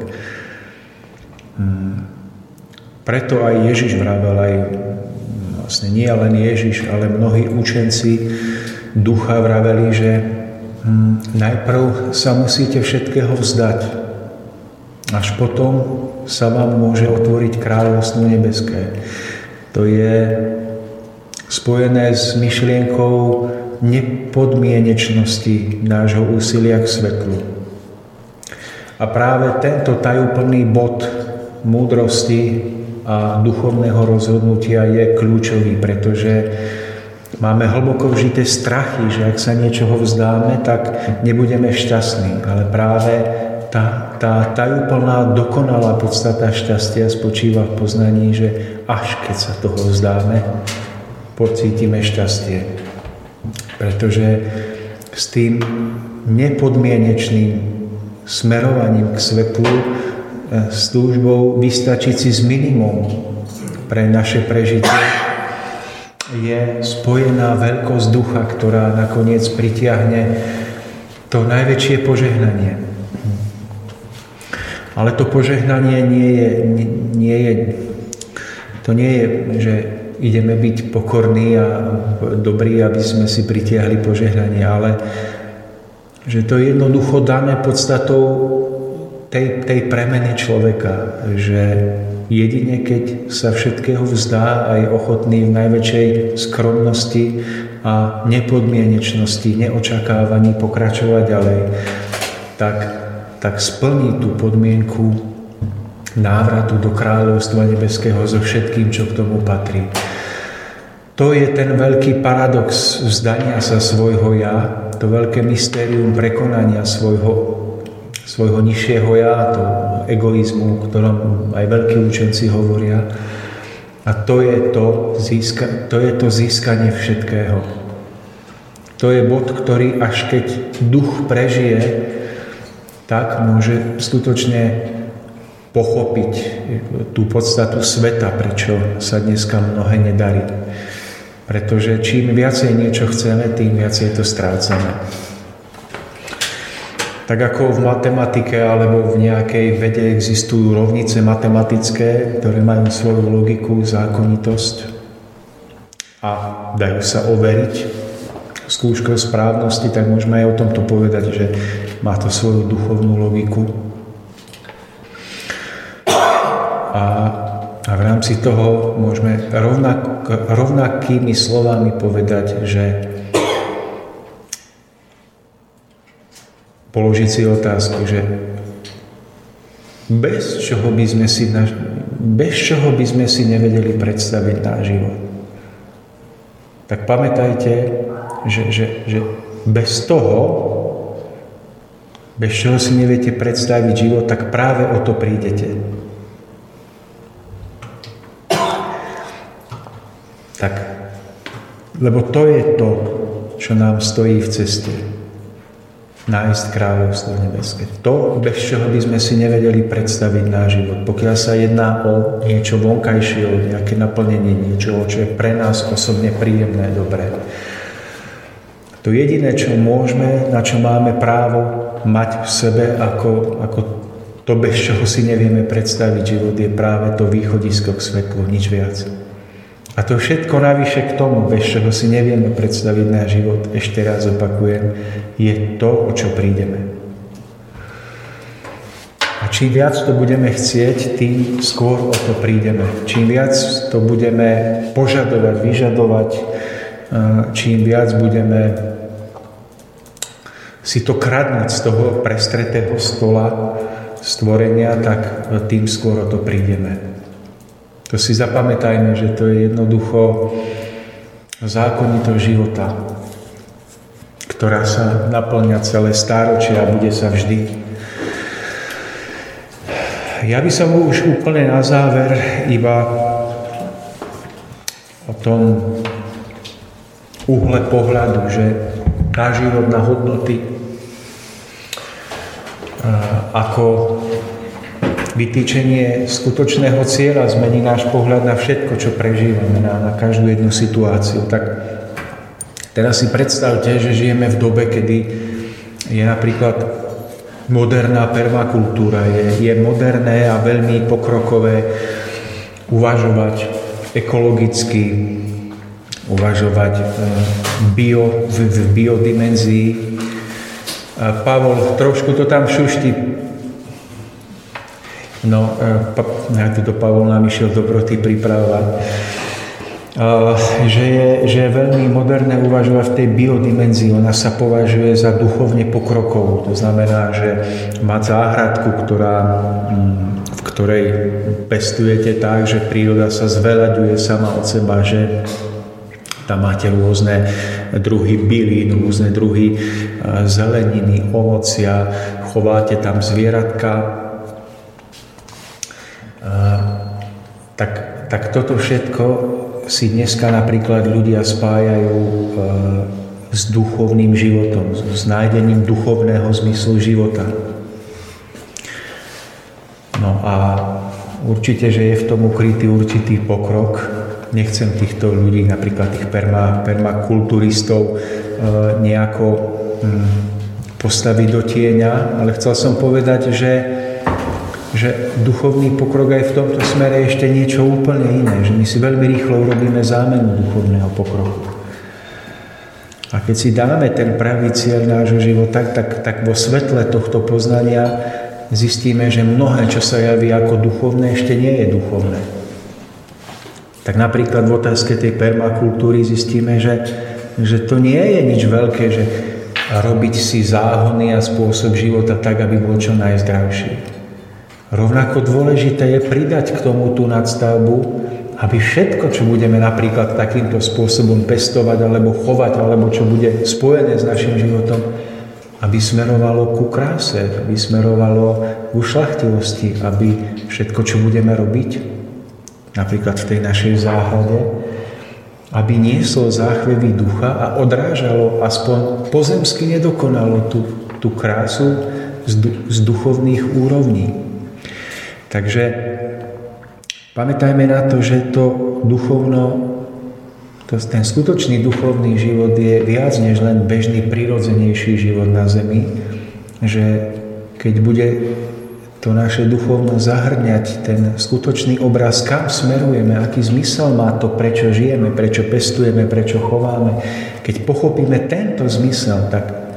[SPEAKER 7] Preto aj Ježiš vravel, aj vlastne nie len Ježiš, ale mnohí učenci ducha vraveli, že najprv sa musíte všetkého vzdať. Až potom sa vám môže otvoriť kráľovstvo nebeské. To je spojené s myšlienkou nepodmienečnosti nášho úsilia k svetlu. A práve tento tajúplný bod múdrosti a duchovného rozhodnutia je kľúčový, pretože máme hlboko vžité strachy, že ak sa niečoho vzdáme, tak nebudeme šťastní. Ale práve tá tajúplná, dokonalá podstata šťastia spočíva v poznaní, že až keď sa toho vzdáme, pocítime šťastie. Pretože s tým nepodmienečným smerovaním k svetlu, s túžbou vystačiť si s minimum pre naše prežitie, je spojená veľkosť ducha, ktorá nakoniec pritiahne to najväčšie požehnanie. Ale to požehnanie nie je, že ideme byť pokorní a dobrí, aby sme si pritiahli požehnanie, ale že to je jednoducho dané podstatou tej premeny človeka, že jedine keď sa všetkého vzdá a je ochotný v najväčšej skromnosti a nepodmienečnosti, neočakávaní pokračovať ďalej, tak splní tú podmienku návratu do kráľovstva nebeského so všetkým, čo k tomu patrí. To je ten veľký paradox vzdania sa svojho ja, to veľké mystérium prekonania svojho nižšieho ja, to egoizmu, o ktorom aj veľkí učenci hovoria. A to je to získanie všetkého. To je bod, ktorý až keď duch prežije, tak môže skutočne pochopiť tú podstatu sveta, prečo sa dneska mnohé nedarí. Pretože čím viacej niečo chceme, tým viacej to strácame. Tak ako v matematike alebo v nejakej vede existujú rovnice matematické, ktoré majú svoju logiku, zákonitosť a dajú sa overiť skúškou správnosti, tak môžeme aj o tomto povedať, že má to svoju duchovnú logiku. A v rámci toho môžeme rovnakými slovami povedať, že položiť si otázku, že bez čoho by sme si nevedeli predstaviť náš život. Tak pamätajte, že bez toho, bez čoho si neviete predstaviť život, tak práve o to prídete. Tak, lebo to je to, čo nám stojí v ceste. Nájsť kráľovstvo nebeské. To, bez čoho by sme si nevedeli predstaviť náš život. Pokiaľ sa jedná o niečo vonkajšie, o nejaké naplnenie niečoho, čo je pre nás osobne príjemné, dobré. To jediné, čo môžeme, na čo máme právo mať v sebe, ako to, bez čoho si nevieme predstaviť život, je práve to východisko k svetlu, nič viac. A to všetko navyše k tomu, bez čoho si nevieme predstaviť náš život, ešte raz opakujem, je to, o čo prídeme. A čím viac to budeme chcieť, tým skôr o to prídeme. Čím viac to budeme požadovať, vyžadovať, čím viac budeme si to kradnúť z toho prestretého stola stvorenia, tak tým skôr o to prídeme. To si zapamätajme, že to je jednoducho zákonitosť života, ktorá sa naplňa celé stáročia a bude sa vždy. Ja by som už úplne na záver iba o tom uhle pohľadu, že náš život na hodnoty ako vytýčenie skutočného cieľa zmení náš pohľad na všetko, čo prežívame, na každú jednu situáciu. Tak teraz si predstavte, že žijeme v dobe, kedy je napríklad moderná permakultúra. Je moderné a veľmi pokrokové uvažovať ekologicky, uvažovať v biodimenzii. Pavol, trošku to tam šušti. No, ja tuto Pavol nám išiel dobroty pripravovať. Že je veľmi moderné uvažovať v tej biodimenzii. Ona sa považuje za duchovne pokrokovú. To znamená, že mať záhradku, v ktorej pestujete tak, že príroda sa zveľaďuje sama od seba, že tam máte rôzne druhy bylín, rôzne druhy zeleniny, ovocia, chováte tam zvieratka. Tak toto všetko si dneska napríklad ľudia spájajú s duchovným životom, s nájdením duchovného zmyslu života. No a určite, že je v tom ukrytý určitý pokrok. Nechcem týchto ľudí, napríklad tých permakulturistov, nejako postaviť do tieňa, ale chcel som povedať, že duchovný pokrok aj v tomto smere je ešte niečo úplne iné, že my si veľmi rýchlo urobíme zámenu duchovného pokroku. A keď si dáme ten pravý cieľ nášho života, tak vo svetle tohto poznania zistíme, že mnohé, čo sa javí ako duchovné, ešte nie je duchovné. Tak napríklad v otázke tej permakultúry zistíme, že to nie je nič veľké, že robiť si záhony a spôsob života tak, aby bol čo najzdravší. Rovnako dôležité je pridať k tomu tú nadstavbu, aby všetko, čo budeme napríklad takýmto spôsobom pestovať, alebo chovať, alebo čo bude spojené s našim životom, aby smerovalo ku kráse, aby smerovalo k ušľachtilosti, aby všetko, čo budeme robiť, napríklad v tej našej záhrade, aby nieslo záchvevy ducha a odrážalo aspoň pozemsky nedokonalo tú krásu z duchovných úrovní. Takže pamätajme na to, že ten skutočný duchovný život je viac než len bežný, prirodzenejší život na zemi, že keď bude to naše duchovno zahrňať ten skutočný obraz, kam smerujeme, aký zmysel má to, prečo žijeme, prečo pestujeme, prečo chováme. Keď pochopíme tento zmysel, tak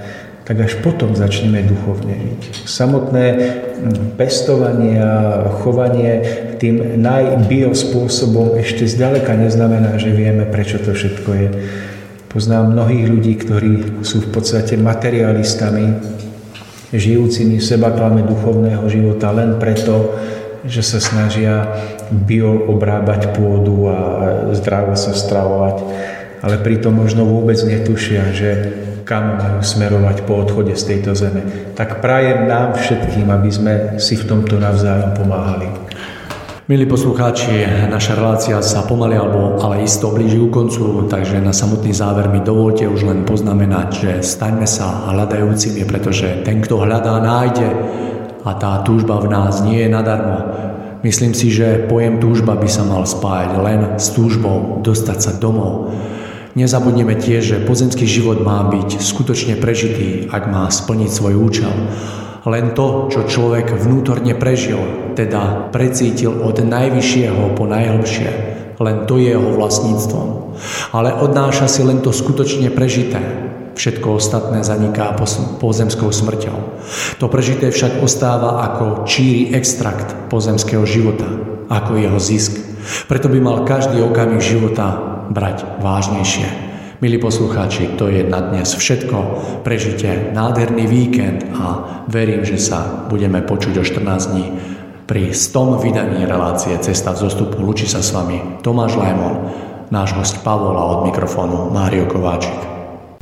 [SPEAKER 7] tak až potom začneme duchovne žiť. Samotné pestovanie a chovanie tým najbiospôsobom ešte zďaleka neznamená, že vieme, prečo to všetko je. Poznám mnohých ľudí, ktorí sú v podstate materialistami, žijúcimi v sebaklame duchovného života len preto, že sa snažia bio obrábať pôdu a zdravo sa stravovať, ale pritom možno vôbec netušia, že kam majú smerovať po odchode z tejto zeme. Tak prajem nám všetkým, aby sme si v tomto navzájom pomáhali.
[SPEAKER 2] Milí poslucháči, naša relácia sa pomaly ale isto blíži ku koncu, takže na samotný záver mi dovolte už len poznamenať, že staňme sa hľadajúcimi, pretože ten, kto hľadá, nájde a tá túžba v nás nie je nadarmo. Myslím si, že pojem túžba by sa mal spájať len s túžbou dostať sa domov. Nezabudneme tiež, že pozemský život má byť skutočne prežitý, ak má splniť svoj účel. Len to, čo človek vnútorne prežil, teda precítil od najvyššieho po najhlbšie, len to je jeho vlastníctvom. Ale odnáša si len to skutočne prežité. Všetko ostatné zaniká pozemskou smrťou. To prežité však ostáva ako číry extrakt pozemského života, ako jeho zisk. Preto by mal každý okamih života brať vážnejšie. Milí poslucháči, to je na dnes všetko. Prežite nádherný víkend a verím, že sa budeme počuť o 14 dní pri 100. vydaní relácie Cesta v zostupu. Lúči sa s vami Tomáš Lajmon, náš host Pavol a od mikrofónu Mário Kováčik.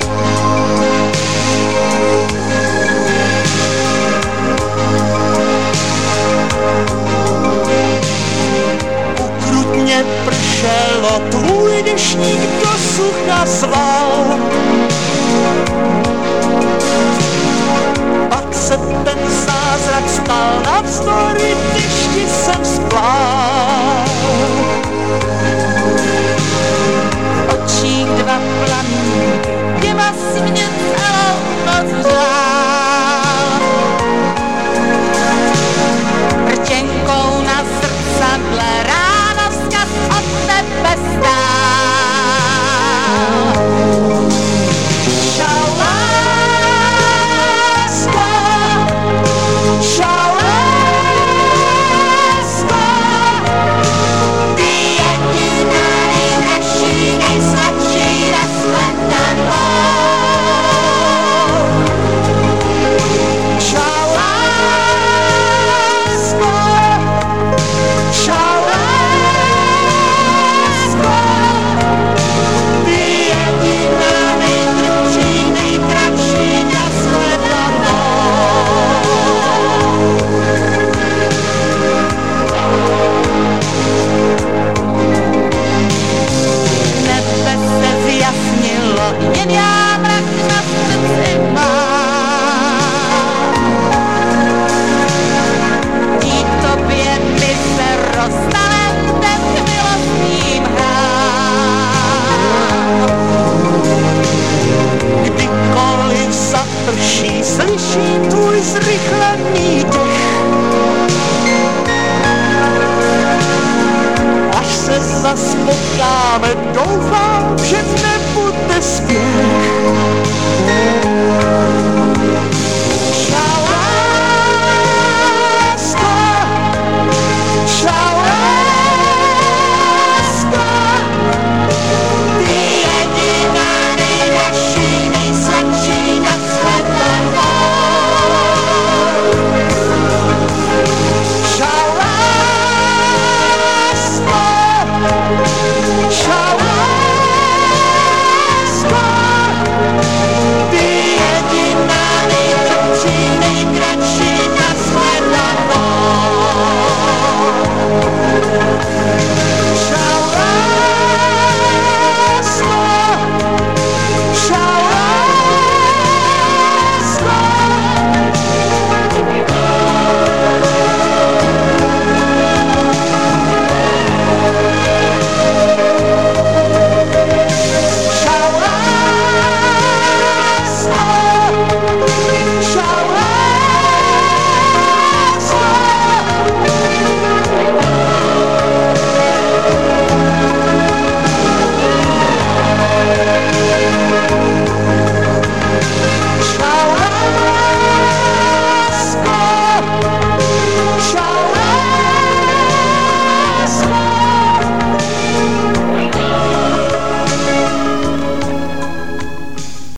[SPEAKER 5] Tvůj dešník do sucha sval. Pak se ten zázrak stal navzdory